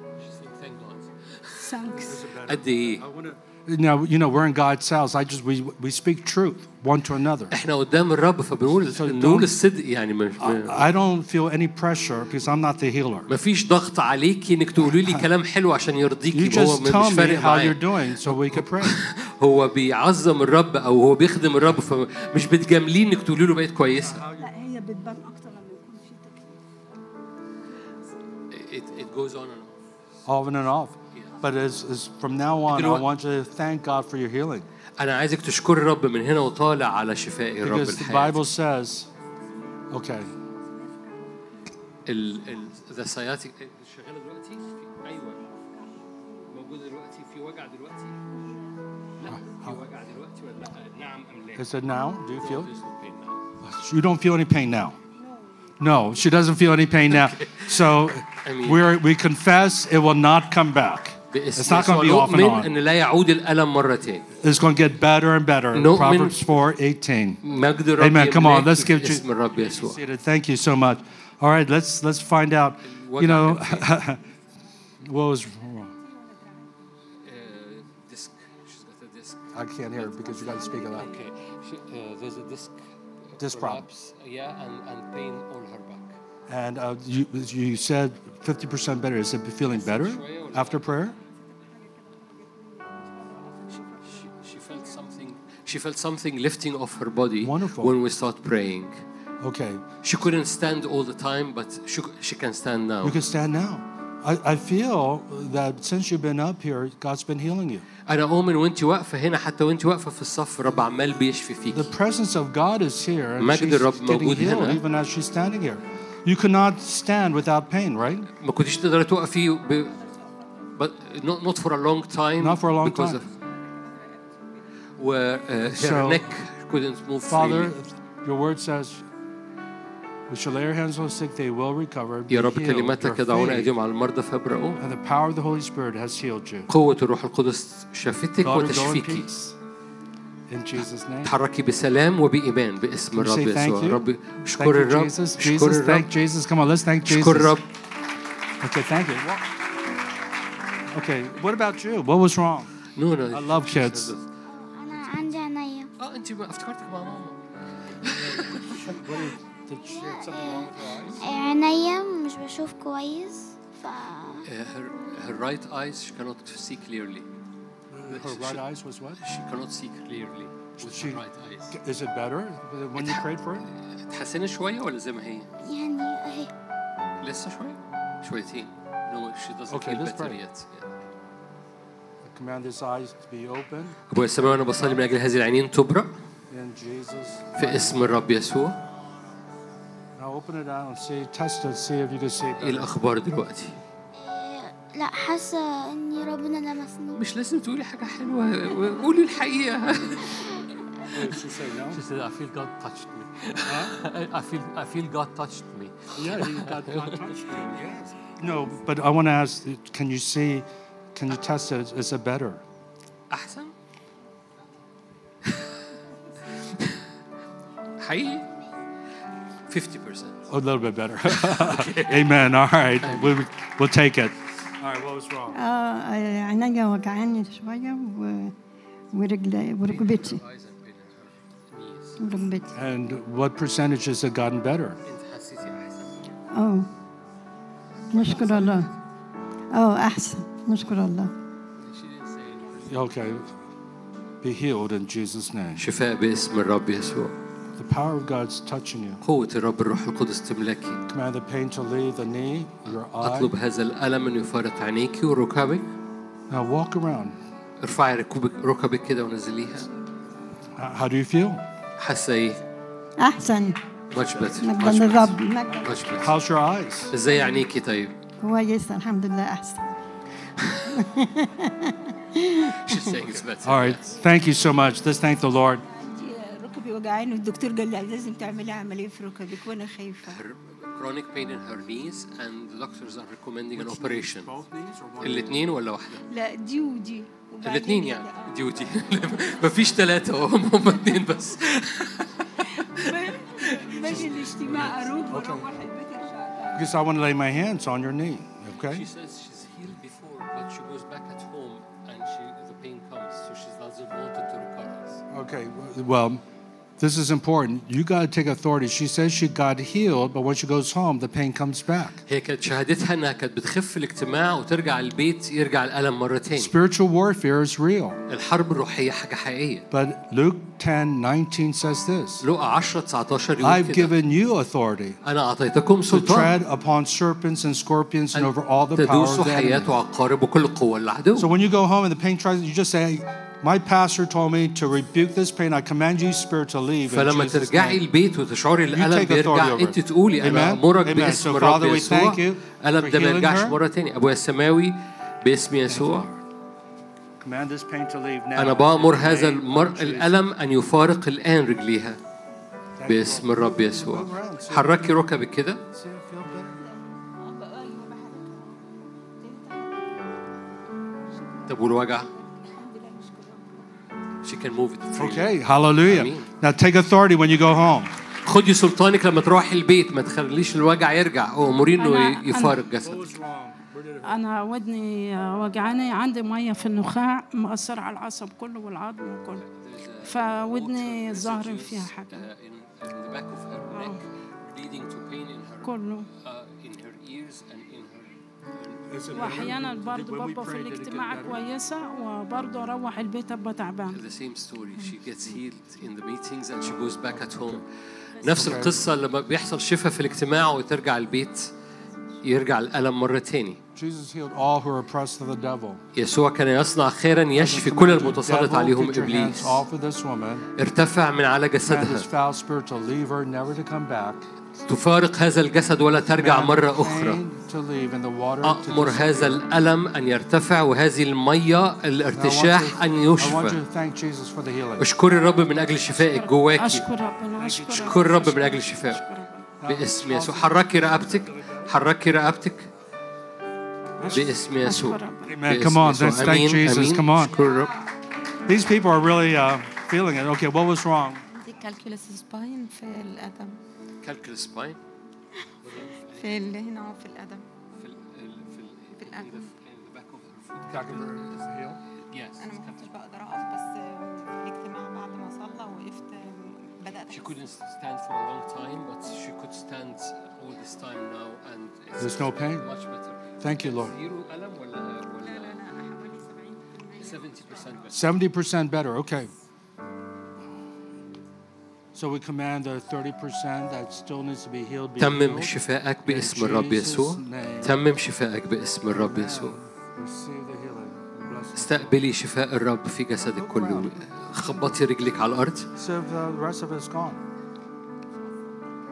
S4: Thanks.
S1: قد ايه.
S2: Now, you know, we're in God's house. I just, we, we speak truth one to another.
S1: احنا قدام الرب فبنقول نقول الصدق يعني مش
S2: I don't feel any pressure because I'm not the healer.
S1: مفيش ضغط عليكي انك تقولي لي كلام حلو عشان
S2: You
S1: يرضيكي. هو
S2: just
S1: مش
S2: tell me
S1: فارق
S2: how you're
S1: معايا.
S2: doing so we can pray.
S1: هو بيعظم الرب او هو بيخدم الرب فمش بتجامليه انك تقولي له بقيت كويسه.
S4: لا هي بتبان أكتر لما يكون في تكليف.
S1: It, it goes on and on.
S2: On and off. But as, as from now on, I want you to thank God for your healing.
S1: أنا عايزك تشكر الرب من هنا وطالع على شفاء الرب
S2: Because the
S1: الحياة.
S2: Bible says, okay.
S1: ال ال the sciatic شغالة دلوقتي؟ في أيوة. موجودة دلوقتي في وجع دلوقتي؟ لا في وجع دلوقتي ولا لا؟ نعم أم لا؟
S2: Is it now? Do you feel?
S1: There's no pain now.
S2: You don't feel any pain now. No, she doesn't feel any pain now. So
S1: I mean-
S2: we're, we confess it will not come back. It's not going to be off and
S1: نؤمن
S2: on.
S1: إن لا يعود الألم مرة تاني.
S2: It's going to get better and better.
S1: نؤمن-
S2: Proverbs four eighteen.
S1: مجد الرب
S2: Amen. Come on,
S1: يملاك
S2: let's give
S1: باسم
S2: you.
S1: الرب يسوع.
S2: Thank you so much. All right, let's let's find out. You know, what was wrong?
S1: Disc. She's got a disc.
S2: I can't hear it because you got to speak loud.
S1: Okay. She, uh, there's a disc.
S2: Disc problem.
S1: Perhaps, yeah, and, and pain all her back.
S2: And uh, you you said fifty percent better. Is it feeling better after prayer?
S1: She, she felt something. She felt something lifting off her body.
S2: Wonderful.
S1: When we start praying.
S2: Okay.
S1: She couldn't stand all the time, but she she can stand now.
S2: You can stand now. I, I feel that since you've been up here, God's been healing you.
S1: أنا أؤمن وأنت واقفة هنا حتى وأنت واقفة في الصف الرب عمال بيشفي فيك.
S2: The presence of God is here, and
S1: مجد
S2: she's
S1: الرب
S2: getting
S1: موجود
S2: healed
S1: هنا.
S2: even as she's standing here. You cannot stand without pain, right?
S1: ما كنتيش تقدري توقفي ب... but not not for a long time.
S2: Not for a long
S1: because
S2: time.
S1: Of, where uh, her
S2: So,
S1: neck couldn't move
S2: Father,
S1: freely.
S2: your word says, we shall lay our hands on the sick, they will recover. Be
S1: يا رب
S2: healed.
S1: كلماتك
S2: Your
S1: يضعون
S2: faith
S1: أيديهم على المرضى فيبرئوا.
S2: and the power of the Holy Spirit has healed you.
S1: قوة الروح القدس شافتك
S2: Daughter, go in
S1: وتشفيكي.
S2: peace. In Jesus' name.
S1: تحركي بسلام وبإيمان باسم
S2: Can you
S1: الرب
S2: say thank
S1: يسوع.
S2: you?
S1: رب
S2: Thank
S1: اشكر
S2: you,
S1: الرب.
S2: Jesus.
S1: اشكر
S2: Jesus, thank
S1: الرب.
S2: Jesus. Come on, let's thank Jesus.
S1: اشكر الرب.
S2: Okay, thank you. Okay, what about you? What was wrong?
S1: No, no.
S2: I love kids.
S7: أنا عندي عينيا.
S1: اه أنت ما افتكرتك مع ماما.
S2: Did she have something wrong with her eyes?
S7: عينيا مش بشوف كويس ف
S1: Uh, her her right eyes she cannot see clearly.
S2: Her right eyes was what?
S1: She cannot see clearly with
S2: She-
S1: her right eyes.
S2: Is it better when you prayed for it?
S1: تحسنت شوية ولا زي ما هي؟
S7: يعني أهي.
S1: لسه شوية؟ شويتين. No, she doesn't
S2: Okay,
S1: feel
S2: let's
S1: better
S2: pray.
S1: yet. Yeah.
S2: I command his eyes to be open
S1: أبويا السماوي أنا بصلي من أجل هذه العينين تبرأ
S2: in Jesus.
S1: في اسم الرب يسوع.
S2: Now open it out and see, test it, see if you can see
S1: إيه
S2: better.
S1: الأخبار دلوقتي؟
S7: إيه، لا حاسة إني ربنا لمسني.
S1: مش لازم تقولي حاجة حلوة، قولي الحقيقة.
S2: did she say no?
S1: She said, I feel God touched me. Huh? I feel I feel God touched me.
S2: Yeah, he got, God touched you. Yes. No, but I want to ask, can you see, can you test it? Is it better?
S1: أحسن؟ حقيقي fifty percent.
S2: A little bit better. Amen. All right. We'll, we'll take it. All right. What was wrong?
S6: اه عينيا وجعاني شويه و... ورجلي وركبتي وركبتي
S2: And what percentage has it gotten better?
S1: أنت حسيتي أحسن؟
S6: اه نشكر الله اه احسن نشكر الله
S2: Okay. Be healed in Jesus' name.
S1: شفاء باسم الرب يسوع.
S2: The power of God's touching you.
S1: قوة الرب الروح القدس تملكي.
S2: Command the pain to leave the knee, your eye.
S1: أطلب هذا الألم أن يفارق عينيكي وركبك.
S2: Now walk around.
S1: ارفعي ركبك ركبك كده ونزليها.
S2: How do you feel?
S1: حاسة إيه؟
S6: احسن
S1: Much better.
S6: مجدا
S1: Much better.
S6: للرب مجدا
S1: Much better.
S2: How's your eyes?
S1: إزاي عينيكي طيب؟
S6: كويسه الحمد لله احسن
S1: She's saying it's better.
S2: All right. Thank you so much. Let's thank the Lord.
S8: ركبي وجعاني والدكتور قال لي لازم تعملي عمليه في ركبك وانا خايفه.
S1: Chronic pain in her knees and the doctors are recommending an operation. الاثنين ولا واحدة؟
S8: لا دي ودي
S1: الاثنين يعني دي ودي. مفيش ثلاثة هم هم اثنين بس.
S8: باجي الاجتماع اروح واروح البيت ارجع.
S2: Because I want to lay my hands on your knee. Okay.
S1: She says she's healed before, but she goes back at home and she the pain comes, so she doesn't want it to recur.
S2: Okay. Well, this is important. You got to take authority. She says she got healed, but when she goes home, the pain comes back.
S1: هي كانت شهادتها انها كانت بتخف الاجتماع وترجع البيت يرجع الألم مرة تاني.
S2: Spiritual warfare is real.
S1: الحرب الروحية حاجة حقيقية.
S2: But Luke ten nineteen says this.
S1: لوقا عشرة تسعتاشر يقول
S2: I've
S1: كده.
S2: given you authority
S1: أنا أعطيتكم
S2: to
S1: سلطان.
S2: tread upon serpents and scorpions and over all the power
S1: تدوسوا
S2: of the enemy.
S1: حيات وعقارب وكل قوة العدو.
S2: So when you go home and the pain tries, you just say, my pastor told me to rebuke this pain. I command you, spirit, to leave. In
S1: فلما
S2: Jesus'
S1: ترجعي
S2: name.
S1: البيت وتشعري
S2: You
S1: الألم
S2: take authority
S1: بيرجع
S2: over
S1: أنت
S2: it.
S1: تقولي أنا
S2: Amen?
S1: أمرك
S2: Amen.
S1: باسم
S2: So
S1: الرب
S2: Father, we
S1: يسوع
S2: thank you
S1: الألم
S2: for
S1: ده ما
S2: healing
S1: يرجعش
S2: her.
S1: مرة تاني. أبويا السماوي باسم يسوع
S2: Command this pain to leave now.
S1: أنا بأمر
S2: In the
S1: هذا
S2: name of
S1: المر...
S2: Jesus.
S1: الألم أن يفارق الآن رجليها باسم الرب يسوع. حركي ركبك كده.
S2: See it feel better?
S1: طب والوجع؟ She can move it freely.
S2: Okay, hallelujah.
S1: Amen.
S2: Now take authority when you go home.
S1: خدي سلطانك لما تروحي البيت، ما تخليش الوجع يرجع، أموري إنه
S5: أنا-
S1: يفارق جسدك.
S5: أنا ودني وجعاني، عندي مية في النخاع مأثرة على العصب كله والعظم وكله، فودني ظاهر فيها حاجة كله. وأحيانا برضه ببقى في الاجتماع كويسة وبرضه أروح البيت أبقى تعبان.
S1: The same story. She gets healed in the meetings and she goes back at home. نفس القصة لما بيحصل شفاء في الاجتماع وترجع البيت يرجع الألم مرة تاني.
S2: Jesus healed all who are oppressed of the devil.
S1: يسوع كان يصنع خيرا يشفي كل المتسلط
S2: Devil,
S1: عليهم
S2: get your hands
S1: إبليس.
S2: off of this woman.
S1: ارتفع من على
S2: Command
S1: جسدها.
S2: this foul spirit to leave her, never to come back.
S1: تفارق هذا الجسد ولا ترجع
S2: Command
S1: مرة
S2: the
S1: أخرى.
S2: pain to leave and the water to
S1: أأمر هذا الألم أن يرتفع وهذه المية
S2: disappear.
S1: الارتشاح أن
S2: I want you
S1: يشفى.
S2: to thank Jesus for the healing.
S1: اشكري الرب من أجل شفائك جواكي.
S5: أشكر ربنا، أشكر
S1: اشكري الرب من أجل شفائك باسم يسوع. حركي رقبتك، حركي رقبتك باسم يسوع.
S2: Amen. Come on, let's thank Jesus. Come on. These people are really uh, feeling it. Okay, what was wrong?
S9: عندي كالكولس سباين في القدم.
S1: كالكل سباين
S9: في ال- هنا في القدم.
S1: في ال في
S9: في القدم. أنا ما كنتش بقدر أقف، بس في الاجتماع بعد ما صلى وقفت بدأت
S1: She
S9: أحس.
S1: couldn't stand for a long time, but she could stand all this time now, and it's
S2: There's no pain?
S1: much better.
S2: Thank you, Lord.
S1: زيرو ألم ولا
S9: لا
S1: ولا
S9: لا لا حوالي سبعين بالمية.
S1: seventy percent better.
S2: seventy percent better. Okay. So we command the thirty percent that still needs to be healed. Be
S1: تمم
S2: healed.
S1: شفائك
S2: In
S1: باسم الرب يسوع.
S2: Jesus' name.
S1: تمم شفائك باسم الرب يسوع.
S2: Receive the healing. Bless you.
S1: استقبلي شفاء الرب في جسدك كله. خبطي رجلك على الأرض.
S2: So the rest of it's gone.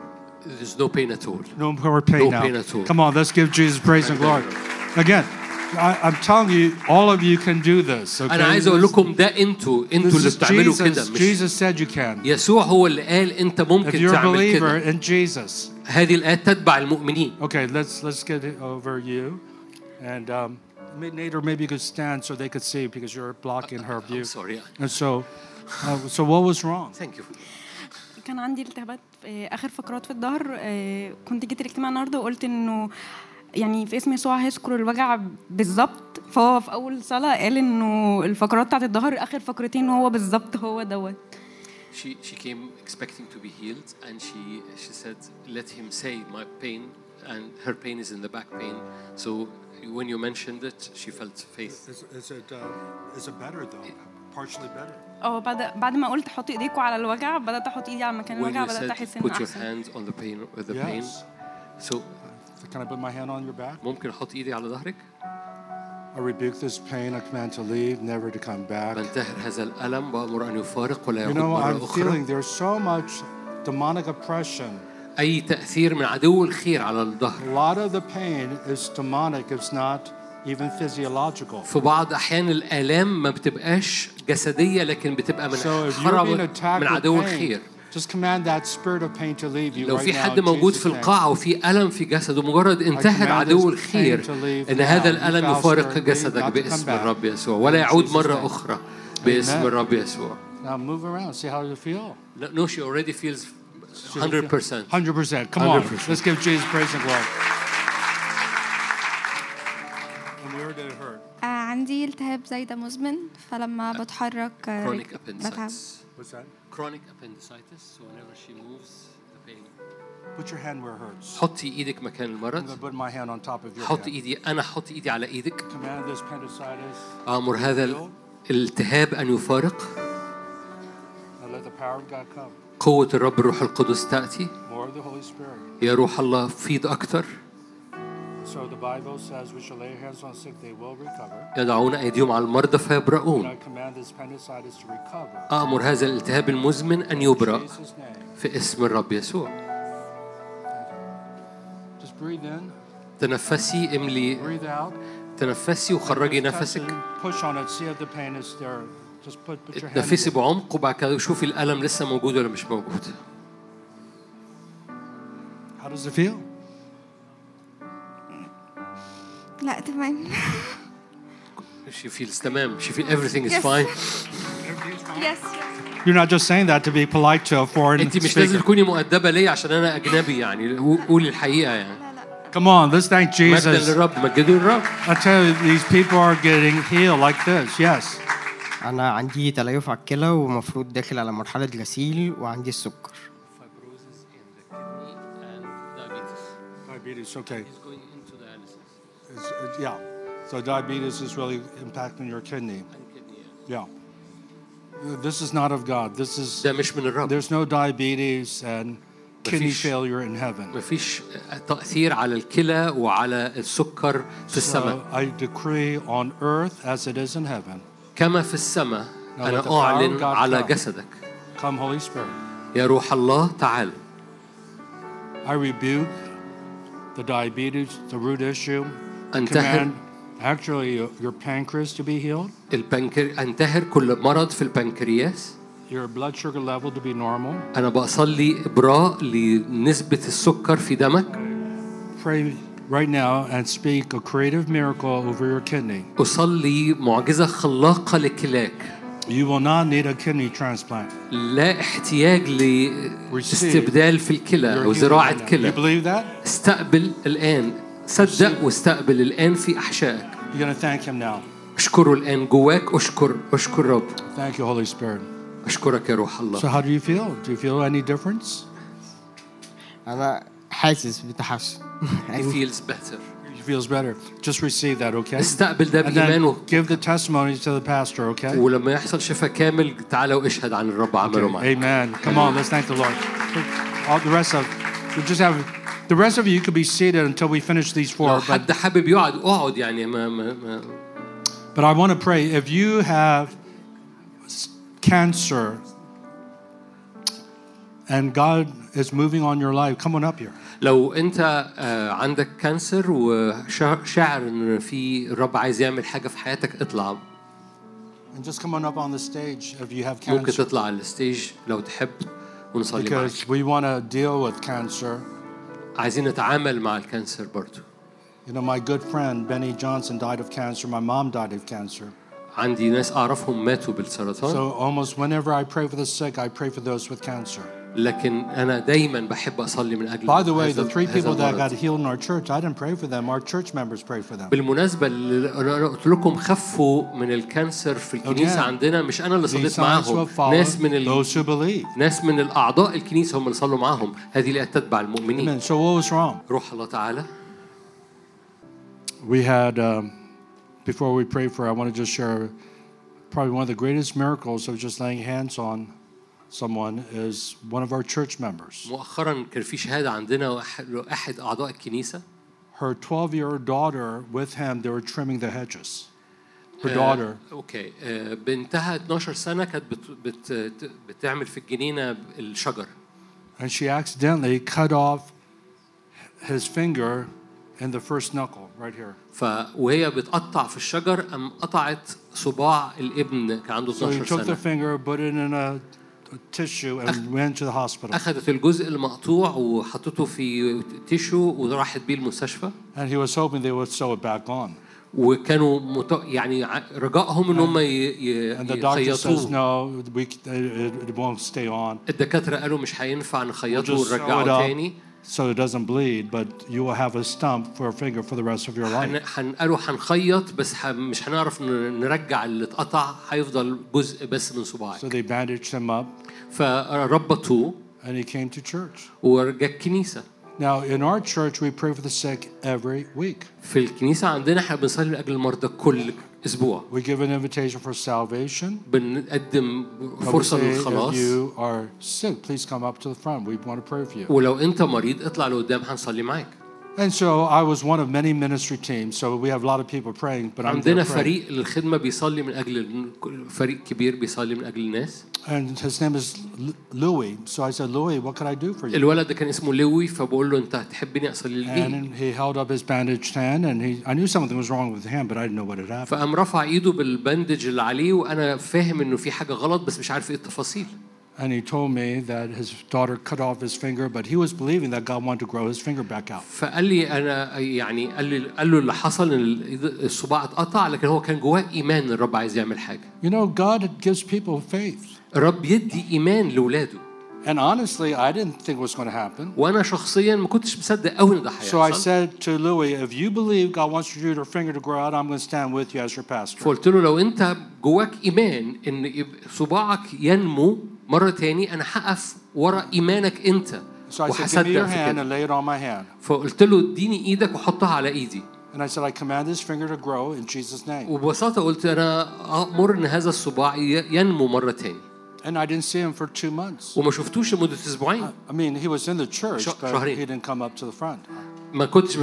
S1: There's no pain at all.
S2: No more pain
S1: No
S2: now.
S1: pain at all.
S2: Come on, let's give Jesus praise and glory. Again, I, I'm telling you, all of you can do this. Okay?
S1: أنا عايز أقول لكم ده أنتوا أنتوا
S2: This
S1: اللي
S2: is
S1: بتعملوا كده
S2: Jesus.
S1: مش
S2: Jesus said you can.
S1: يسوع هو اللي قال أنت
S2: If
S1: ممكن
S2: you're a
S1: تعمل
S2: believer
S1: كده.
S2: in Jesus.
S1: هذه الآيات تتبع المؤمنين.
S2: Okay, let's let's get it over you, and um, Nate, or maybe you could stand so they could see because you're blocking her view.
S1: I'm sorry.
S2: And so, uh, so what was wrong?
S1: Thank you.
S10: كان عندي التهابات في اخر فقرات في الظهر. كنت جيت الاجتماع النهارده وقلت انه يعني في اسم يسوع هيذكر الوجع بالظبط. فهو في اول صلاه قال انه الفقرات بتاعت الظهر اخر فقرتين هو بالظبط هو دوت.
S1: She she came expecting to be healed and she she said let him say my pain and her pain is in the back pain. So when you mentioned it she felt faith.
S2: Is, is it uh, is it better though? Partially better.
S10: اه بعد بعد ما قلت حطي ايديكوا على الوجع بدات احط ايدي على مكان الوجع بدات احس انه
S1: put your
S10: احسن.
S1: hand on the pain with the
S2: Yes.
S1: pain. So
S2: can I put my hand on your back?
S1: ممكن احط ايدي على ظهرك؟
S2: I rebuke this pain. I command to leave, never to come back.
S1: بنتهر هذا الألم وأمر أن يفارق ولا
S2: You
S1: يعود
S2: know,
S1: مرة
S2: I'm
S1: أخرى.
S2: feeling there's so much demonic oppression.
S1: أي تأثير من عدو الخير على الظهر.
S2: A lot of the pain is demonic. It's not even physiological.
S1: في بعض أحيان الآلام ما بتبقاش جسدية لكن بتبقى من
S2: So if you're being
S1: حرب
S2: attacked
S1: من
S2: with
S1: عدو
S2: pain,
S1: الخير.
S2: just command that spirit of pain to leave you
S1: لو
S2: right
S1: في
S2: now
S1: حد
S2: in
S1: موجود
S2: Jesus'
S1: في
S2: name.
S1: القاعة وفي ألم في جسده مجرد انتهر عدو الخير إن هذا الألم يفارق جسدك باسم الرب يسوع ولا يعود مرة أخرى باسم الرب يسوع.
S2: Now move around. See how you feel.
S1: No, she already feels one hundred percent.
S2: one hundred percent. Come
S1: one hundred
S2: on.
S1: percent.
S2: Let's give Jesus praise and glory. And where did it hurt?
S11: آه عندي التهاب زايدة مزمن فلما بتحرك آه،
S1: Chronic
S11: بتعب.
S1: appendicitis.
S2: What's that?
S1: Chronic appendicitis. So whenever she moves, the pain.
S2: Put your hand where it hurts.
S1: حطي إيدك مكان
S2: I'm
S1: المرض.
S2: going to put my hand on top of your
S1: حطي
S2: head.
S1: إيدي أنا حطي إيدي على إيدك.
S2: Command this appendicitis.
S1: أمر هذا الالتهاب أن يفارق.
S2: And let the power of God come.
S1: قوة الرب الروح القدس تأتي.
S2: More of the Holy Spirit.
S1: يا روح الله فيض أكتر.
S2: So the Bible says we shall lay hands on sick, they will recover.
S1: يضعون أيديهم على المرضى
S2: And
S1: فيبرؤون.
S2: I command this appendicitis to recover.
S1: أمر هذا الالتهاب المزمن أن يبرأ
S2: In Jesus' name.
S1: في اسم الرب يسوع.
S2: Just breathe in,
S1: تنفسي املي
S2: breathe out.
S1: تنفسي وخرجي
S2: Just touch
S1: نفسك.
S2: it, push on it, see if the pain is there. Just put, put your hand
S1: تنفسي
S2: in.
S1: بعمق وبعد كده شوفي الألم لسه موجود ولا مش موجود.
S2: How does it feel?
S11: لا تمام.
S1: She feels تمام. She feels everything is fine.
S11: Yes.
S2: You're not just saying that to be polite to a foreign
S1: أنت مش لازم
S2: speaker.
S1: تكوني مؤدبة ليه عشان أنا أجنبي يعني قولي الحقيقة يعني.
S2: Come on, let's thank
S1: مجدا
S2: Jesus.
S1: للرب مجدوا الرب.
S2: I tell you, these people are getting healed like this. Yes.
S12: أنا عندي تليف على الكلى ومفروض داخل على مرحلة غسيل وعندي السكر.
S2: Diabetes, okay.
S1: He's going into dialysis.
S2: It's, it, yeah. So diabetes is really impacting your kidney. Yeah. This is not of God. This is.
S1: ده مش من الرب.
S2: There's no diabetes and kidney
S1: مفيش-
S2: failure in heaven.
S1: مفيش تأثير على الكلى وعلى السكر في السماء.
S2: So I decree on earth as it is in heaven.
S1: كما في السماء
S2: Now let the
S1: أنا
S2: power of
S1: أعلن
S2: God
S1: على
S2: come.
S1: جسدك.
S2: Come, Holy Spirit.
S1: يا روح الله تعال.
S2: I rebuke the diabetes, the root issue.
S1: أنتهر
S2: Command actually your, your pancreas to be healed.
S1: البنكر أنتهر كل مرض في البنكرياس.
S2: Your blood sugar level to be normal.
S1: أنا بصلي إبراء لنسبة السكر في دمك.
S2: Pray right now and speak a creative miracle over your kidney.
S1: أصلي معجزة خلاقة لكلاك.
S2: You will not need a kidney transplant.
S1: لا احتياج لاستبدال في الكلى
S2: You're
S1: أو
S2: healed
S1: زراعة
S2: right now. You
S1: كلى.
S2: believe that?
S1: استقبل الآن. صدق واستقبل الآن في أحشائك.
S2: You're going to thank him now.
S1: اشكره الآن جواك. أشكر أشكر رب.
S2: Thank you, Holy Spirit.
S1: أشكرك يا روح الله.
S2: So how do you feel? Do you feel any difference?
S12: أنا حاسس بتحسن.
S1: He feels better.
S2: He feels better. Just receive that, okay?
S1: استقبل ده
S2: And
S1: بإيمان و...
S2: then give the testimony to the pastor, okay?
S1: ولما يحصل شفاء كامل تعالى واشهد عن الرب عمله معك.
S2: Amen. Come on, let's thank the Lord. All the rest of, we just have, the rest of you could be seated until we finish these four.
S1: لو
S2: But,
S1: حد حابب يقعد اقعد يعني ما ما ما
S2: but I want to pray. If you have cancer and God is moving on your life, come on up here.
S1: لو أنت عندك كانسر وشاعر إن في الرب عايز يعمل حاجة في حياتك، اطلع.
S2: And just come on up on the stage if you have
S1: ممكن
S2: cancer.
S1: تطلع على الستيج لو تحب ونصلي معاك.
S2: Because we want to deal with cancer.
S1: عايزين نتعامل مع الكانسر برضو.
S2: You know, my good friend Benny Johnson died of cancer. My mom died of cancer.
S1: عندي ناس أعرفهم ماتوا بالسرطان.
S2: So almost whenever I pray for the sick, I pray for those with cancer.
S1: لكن أنا دايماً بحب أصلي من أجل.
S2: By the way, the three people that got healed in our church, I didn't pray for them. Our church members prayed for them.
S1: بالمناسبة اللي أنا قلت لكم خفوا من الكانسر في الكنيسة عندنا، مش أنا اللي صليت معاهم، ناس من ال...
S2: those who believe.
S1: ناس من الأعضاء الكنيسة هم اللي صلوا معاهم. هذه اللي تتبع المؤمنين.
S2: So what was wrong?
S1: روح الله تعالى.
S2: We had um, before we pray for, I want to just share probably one of the greatest miracles of just laying hands on someone is one of our church members.
S1: مؤخرا كان في شهادة عندنا أحد أعضاء الكنيسة.
S2: Her twelve-year-old daughter with him, they were trimming the hedges. Her daughter.
S1: أوكي. بنتها اتناشر سنة كانت بت بت بتعمل في الجنينة الشجر.
S2: And she accidentally cut off his finger in the first knuckle right here.
S1: فوهي بتقطع في الشجر أم قطعت صباع الابن كان عنده اتناشر
S2: سنة. So he took the
S1: سنة.
S2: finger, put it in a tissue and went to the hospital.
S1: أخذت الجزء المقطوع وحطته في تيشو وراحت بيه المستشفى.
S2: And he was hoping they would sew it back on.
S1: وكانوا مت... يعني رجائهم إن هم ي...
S2: And the doctor says
S1: يخيطوه.
S2: no, we, it, it won't stay on.
S1: الدكاترة قالوا مش هينفع نخيطه
S2: We'll just sew it
S1: ونرجعه
S2: up
S1: تاني.
S2: so it doesn't bleed, but you will have a stump for a finger for the rest of your life.
S1: حن... حن... قالوا هنخيط بس ح... مش هنعرف ن... نرجع اللي اتقطع، هيفضل جزء بس من صباعك.
S2: So they bandaged him up.
S1: فربطوه.
S2: And he came to church.
S1: ورجع الكنيسة.
S2: Now in our church we pray for the sick every week.
S1: في الكنيسة عندنا احنا بنصلي لأجل المرضى كل أسبوع.
S2: We give an invitation for salvation.
S1: بنقدم فرصة للخلاص.
S2: If you are sick, please come up to the front. We want to pray for you.
S1: ولو أنت مريض اطلع لقدام هنصلي معاك.
S2: And so I was one of many ministry teams, so we have a lot of people praying, but I'm
S1: عندنا
S2: there praying.
S1: فريق للخدمة بيصلي من أجل فريق كبير بيصلي من أجل الناس.
S2: And his name is Louis. So I said, Louis, what can I do for you?
S1: الولد ده كان اسمه لوي، فبقول له أنت هتحبني أصلي ليه؟
S2: And he held up his bandaged hand, and he, I knew something was wrong with him, but I didn't know what had happened.
S1: فقام رفع إيده بالبندج اللي عليه وأنا فاهم إنه في حاجة غلط بس مش عارف إيه التفاصيل.
S2: And he told me that his daughter cut off his finger, but he was believing that God wanted to grow his finger back out.
S1: فقال لي أنا يعني قال لي قال له اللي حصل إن الصباع اتقطع، لكن هو كان جواه إيمان إن الرب عايز يعمل حاجة.
S2: You know, God gives people faith.
S1: الرب يدي إيمان لولاده.
S2: And honestly, I didn't think it was going to happen.
S1: وأنا شخصياً ما كنتش مصدق أوي إن ده هيحصل.
S2: So I said to Louis, if you believe God wants your finger to grow out, I'm going to stand with you as your pastor.
S1: فقلت له لو أنت جواك إيمان إن صباعك ينمو مرة تاني، أنا هقف ورا إيمانك أنت.
S2: So I said, give me your hand and lay it on my hand.
S1: فقلت له اديني إيدك وحطها على إيدي.
S2: And I said, I command this finger to grow in Jesus' name.
S1: وببساطة قلت أنا أمر إن هذا الصباع ينمو مرة تاني.
S2: And I didn't see him for two months.
S1: وما شفتوش لمدة أسبوعين.
S2: I mean, he was in the church, but
S1: شهرين.
S2: he didn't come up to the front.
S1: ما كنتش.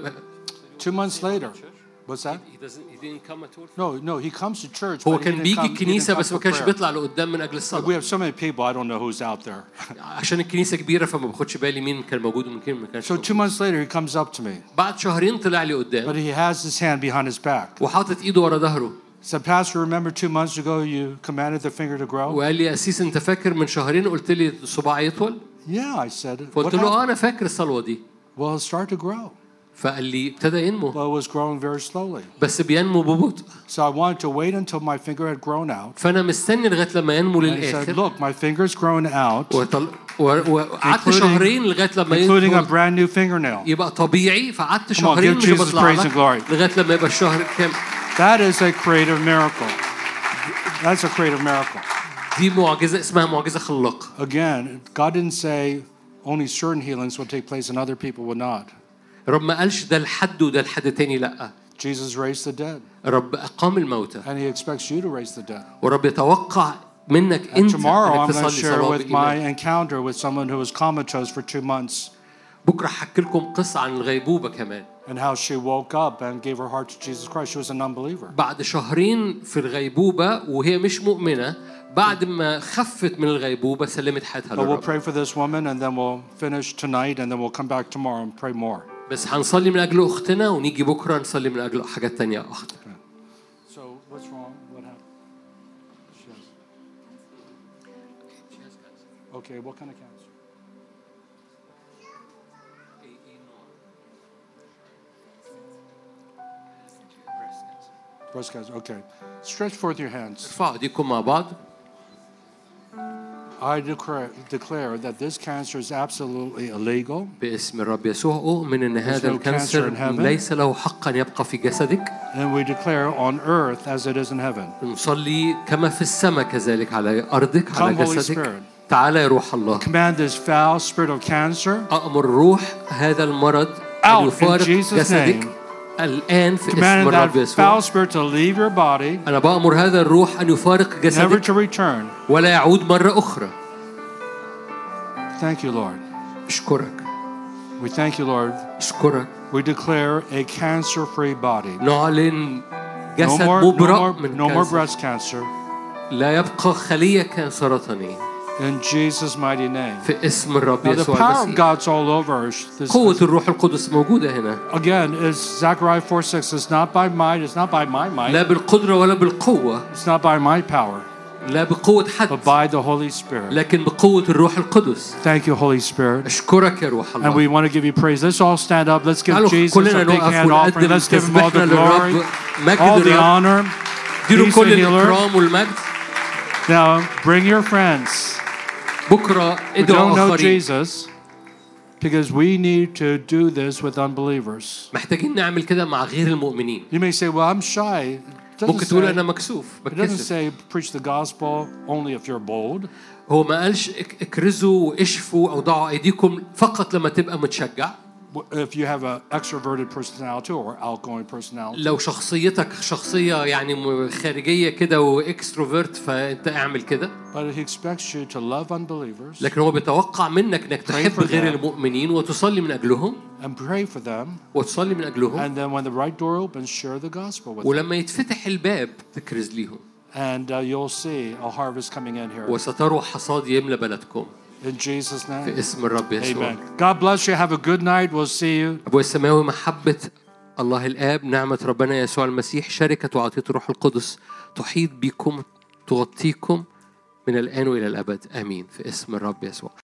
S2: Two months later. What's that?
S1: He doesn't. He didn't come at all.
S2: No, no, he comes to church.
S1: هو
S2: but he
S1: كان
S2: didn't
S1: بيجي
S2: come- he didn't
S1: الكنيسة
S2: come
S1: بس ما
S2: for
S1: كانش
S2: prayer.
S1: بيطلع لقدام من أجل
S2: We
S1: الصلاة.
S2: have so many people, I don't know who's out there.
S1: عشان الكنيسة كبيرة فما باخدش بالي مين كان موجود ومين كان ما كانش.
S2: So two months later, he comes up to me.
S1: بعد شهرين طلع لي
S2: But
S1: قدام.
S2: he has his hand behind his back.
S1: وحاطط إيده ورا ظهره.
S2: Said, Pastor, remember two months ago you commanded the finger to grow?
S1: وقال لي أسيس أنت فاكر من شهرين قلت لي الصباع يطول؟
S2: Yeah, I said. What
S1: فقلت له آه
S2: happened?
S1: أنا فاكر الصلوة دي.
S2: Well, it started to grow.
S1: فقال لي ابتدى ينمو.
S2: Well, it was growing very slowly.
S1: بس بينمو ببطء.
S2: So I wanted to wait until my finger had grown out.
S1: فأنا مستني لغاية لما ينمو
S2: And he said,
S1: للآخر.
S2: look, my finger's grown out,
S1: وطل... و- وقعدت
S2: including-
S1: شهرين لغاية لما
S2: including a
S1: يطول
S2: brand new fingernail.
S1: يبقى طبيعي، فقعدت
S2: Come on,
S1: شهرين
S2: give
S1: مش
S2: Jesus
S1: بطلع
S2: praise and
S1: لك
S2: glory.
S1: لغاية لما يبقى الشهر كام.
S2: That is a creative miracle. That's a creative miracle.
S1: دي معجزة اسمها معجزة خلاقة.
S2: Again, God didn't say only certain healings will take place and other people would not.
S1: رب ما قالش ده لحد وده لحد تاني، لأ.
S2: Jesus raised the dead.
S1: رب أقام الموتى.
S2: And he expects you to raise the dead.
S1: ورب يتوقع منك
S2: And
S1: أنت
S2: tomorrow
S1: إنك
S2: I'm going to
S1: تصلي
S2: share
S1: صلاة
S2: with my
S1: بإيمان.
S2: encounter with someone who was comatose for two months
S1: بكرة هحكي لكم قصة عن الغيبوبة كمان.
S2: and how she woke up and gave her heart to Jesus Christ. She was a non-believer.
S1: بعد شهرين في الغيبوبة وهي مش مؤمنة، بعد ما خفت من الغيبوبة سلمت حياتها
S2: But we'll
S1: للرب.
S2: pray for this woman and then we'll finish tonight and then we'll come back tomorrow and pray more.
S1: بس هنصلي من أجل أختنا ونيجي بكرة نصلي من أجل حاجات تانية أخت.
S2: So what's wrong? What happened? She has. Okay, what kind of cancer? Breast cancer. Okay. Stretch forth your hands.
S1: ارفعوا ايديكم مع بعض.
S2: I declare, declare that this cancer is absolutely illegal.
S1: باسم الرب يسوع أؤمن إن هذا
S2: no
S1: الكانسر
S2: cancer in heaven.
S1: ليس له حقا يبقى في جسدك.
S2: And we declare on earth as it is in heaven.
S1: نصلي كما في السماء كذلك على أرضك
S2: Come,
S1: على
S2: Holy
S1: جسدك.
S2: Spirit.
S1: تعالى يا روح الله.
S2: Command this foul spirit of cancer
S1: أأمر روح هذا المرض
S2: out
S1: أن
S2: in
S1: يفارق
S2: Jesus'
S1: جسدك
S2: name.
S1: الآن في اسم
S2: Command
S1: الرب
S2: that
S1: يسوع.
S2: foul spirit to leave your body,
S1: أنا بأمر هذا الروح أن يفارق
S2: never
S1: جسدك
S2: to return.
S1: ولا يعود مرة أخرى.
S2: Thank you, Lord.
S1: أشكرك.
S2: We thank you, Lord.
S1: أشكرك.
S2: We declare a cancer-free body.
S1: نعلن
S2: No
S1: جسد
S2: more, no
S1: مبرأ
S2: more,
S1: من
S2: no more
S1: كانسر.
S2: breast cancer.
S1: لا يبقى خلية كانسرطانية.
S2: In Jesus' mighty name.
S1: في اسم الرب
S2: Now the
S1: يسوع
S2: power of
S1: المسيح.
S2: God's all over. This,
S1: قوة الروح القدس موجودة هنا.
S2: again, it's Zechariah four six. It's not by might. It's not by my might.
S1: لا بالقدرة ولا بالقوة.
S2: It's not by my power.
S1: لا بقوة حد.
S2: But by the Holy Spirit.
S1: لكن بقوة الروح القدس.
S2: Thank you, Holy Spirit.
S1: أشكرك يا روح الله.
S2: And we want to give you praise. Let's all stand up. Let's give Jesus
S1: كلنا
S2: a big
S1: نقف
S2: hand offering.
S1: ونقدم
S2: Let's give him all the
S1: تسبيحنا
S2: glory,
S1: للرب. مجد
S2: all the
S1: الرب.
S2: honor.
S1: اديله
S2: He's
S1: كل
S2: the healer.
S1: الإكرام والمجد.
S2: Now bring your friends.
S1: بكرة
S2: We
S1: ادعوا
S2: don't know
S1: آخرين.
S2: Jesus because we need to do this with unbelievers.
S1: محتاجين نعمل كده مع غير المؤمنين.
S2: You may say, well, I'm shy. It doesn't
S1: ممكن تقول
S2: say,
S1: أنا مكسوف
S2: it doesn't
S1: بتكسف.
S2: say preach the gospel only if you're bold.
S1: هو ما قالش اك- اكرزوا واشفوا أو ضعوا أيديكم فقط لما تبقى متشجع.
S2: If you have an extroverted personality or outgoing personality.
S1: لو شخصيتك شخصية يعني م- خارجية كده واكستروفيرت فأنت اعمل كده.
S2: But he expects you to love unbelievers
S1: لكن هو بيتوقع منك انك تحب
S2: for
S1: غير
S2: them.
S1: المؤمنين وتصلي من اجلهم
S2: and pray for them.
S1: وتصلي من اجلهم.
S2: And then when the right door opens, share the gospel with them.
S1: ولما يتفتح الباب تكرز ليهم.
S2: And uh, you'll see a harvest coming in here.
S1: وستروا حصاد يملى بلدكم.
S2: In Jesus' name.
S1: في اسم الرب يسوع.
S2: Amen. God bless you. Have a good night. We'll see you.
S1: أبوي السماوي محبة الله الآب نعمة ربنا يسوع المسيح شركة وعطية الروح القدس تحيط بكم تغطيكم من الآن وإلى الأبد آمين في اسم الرب يسوع.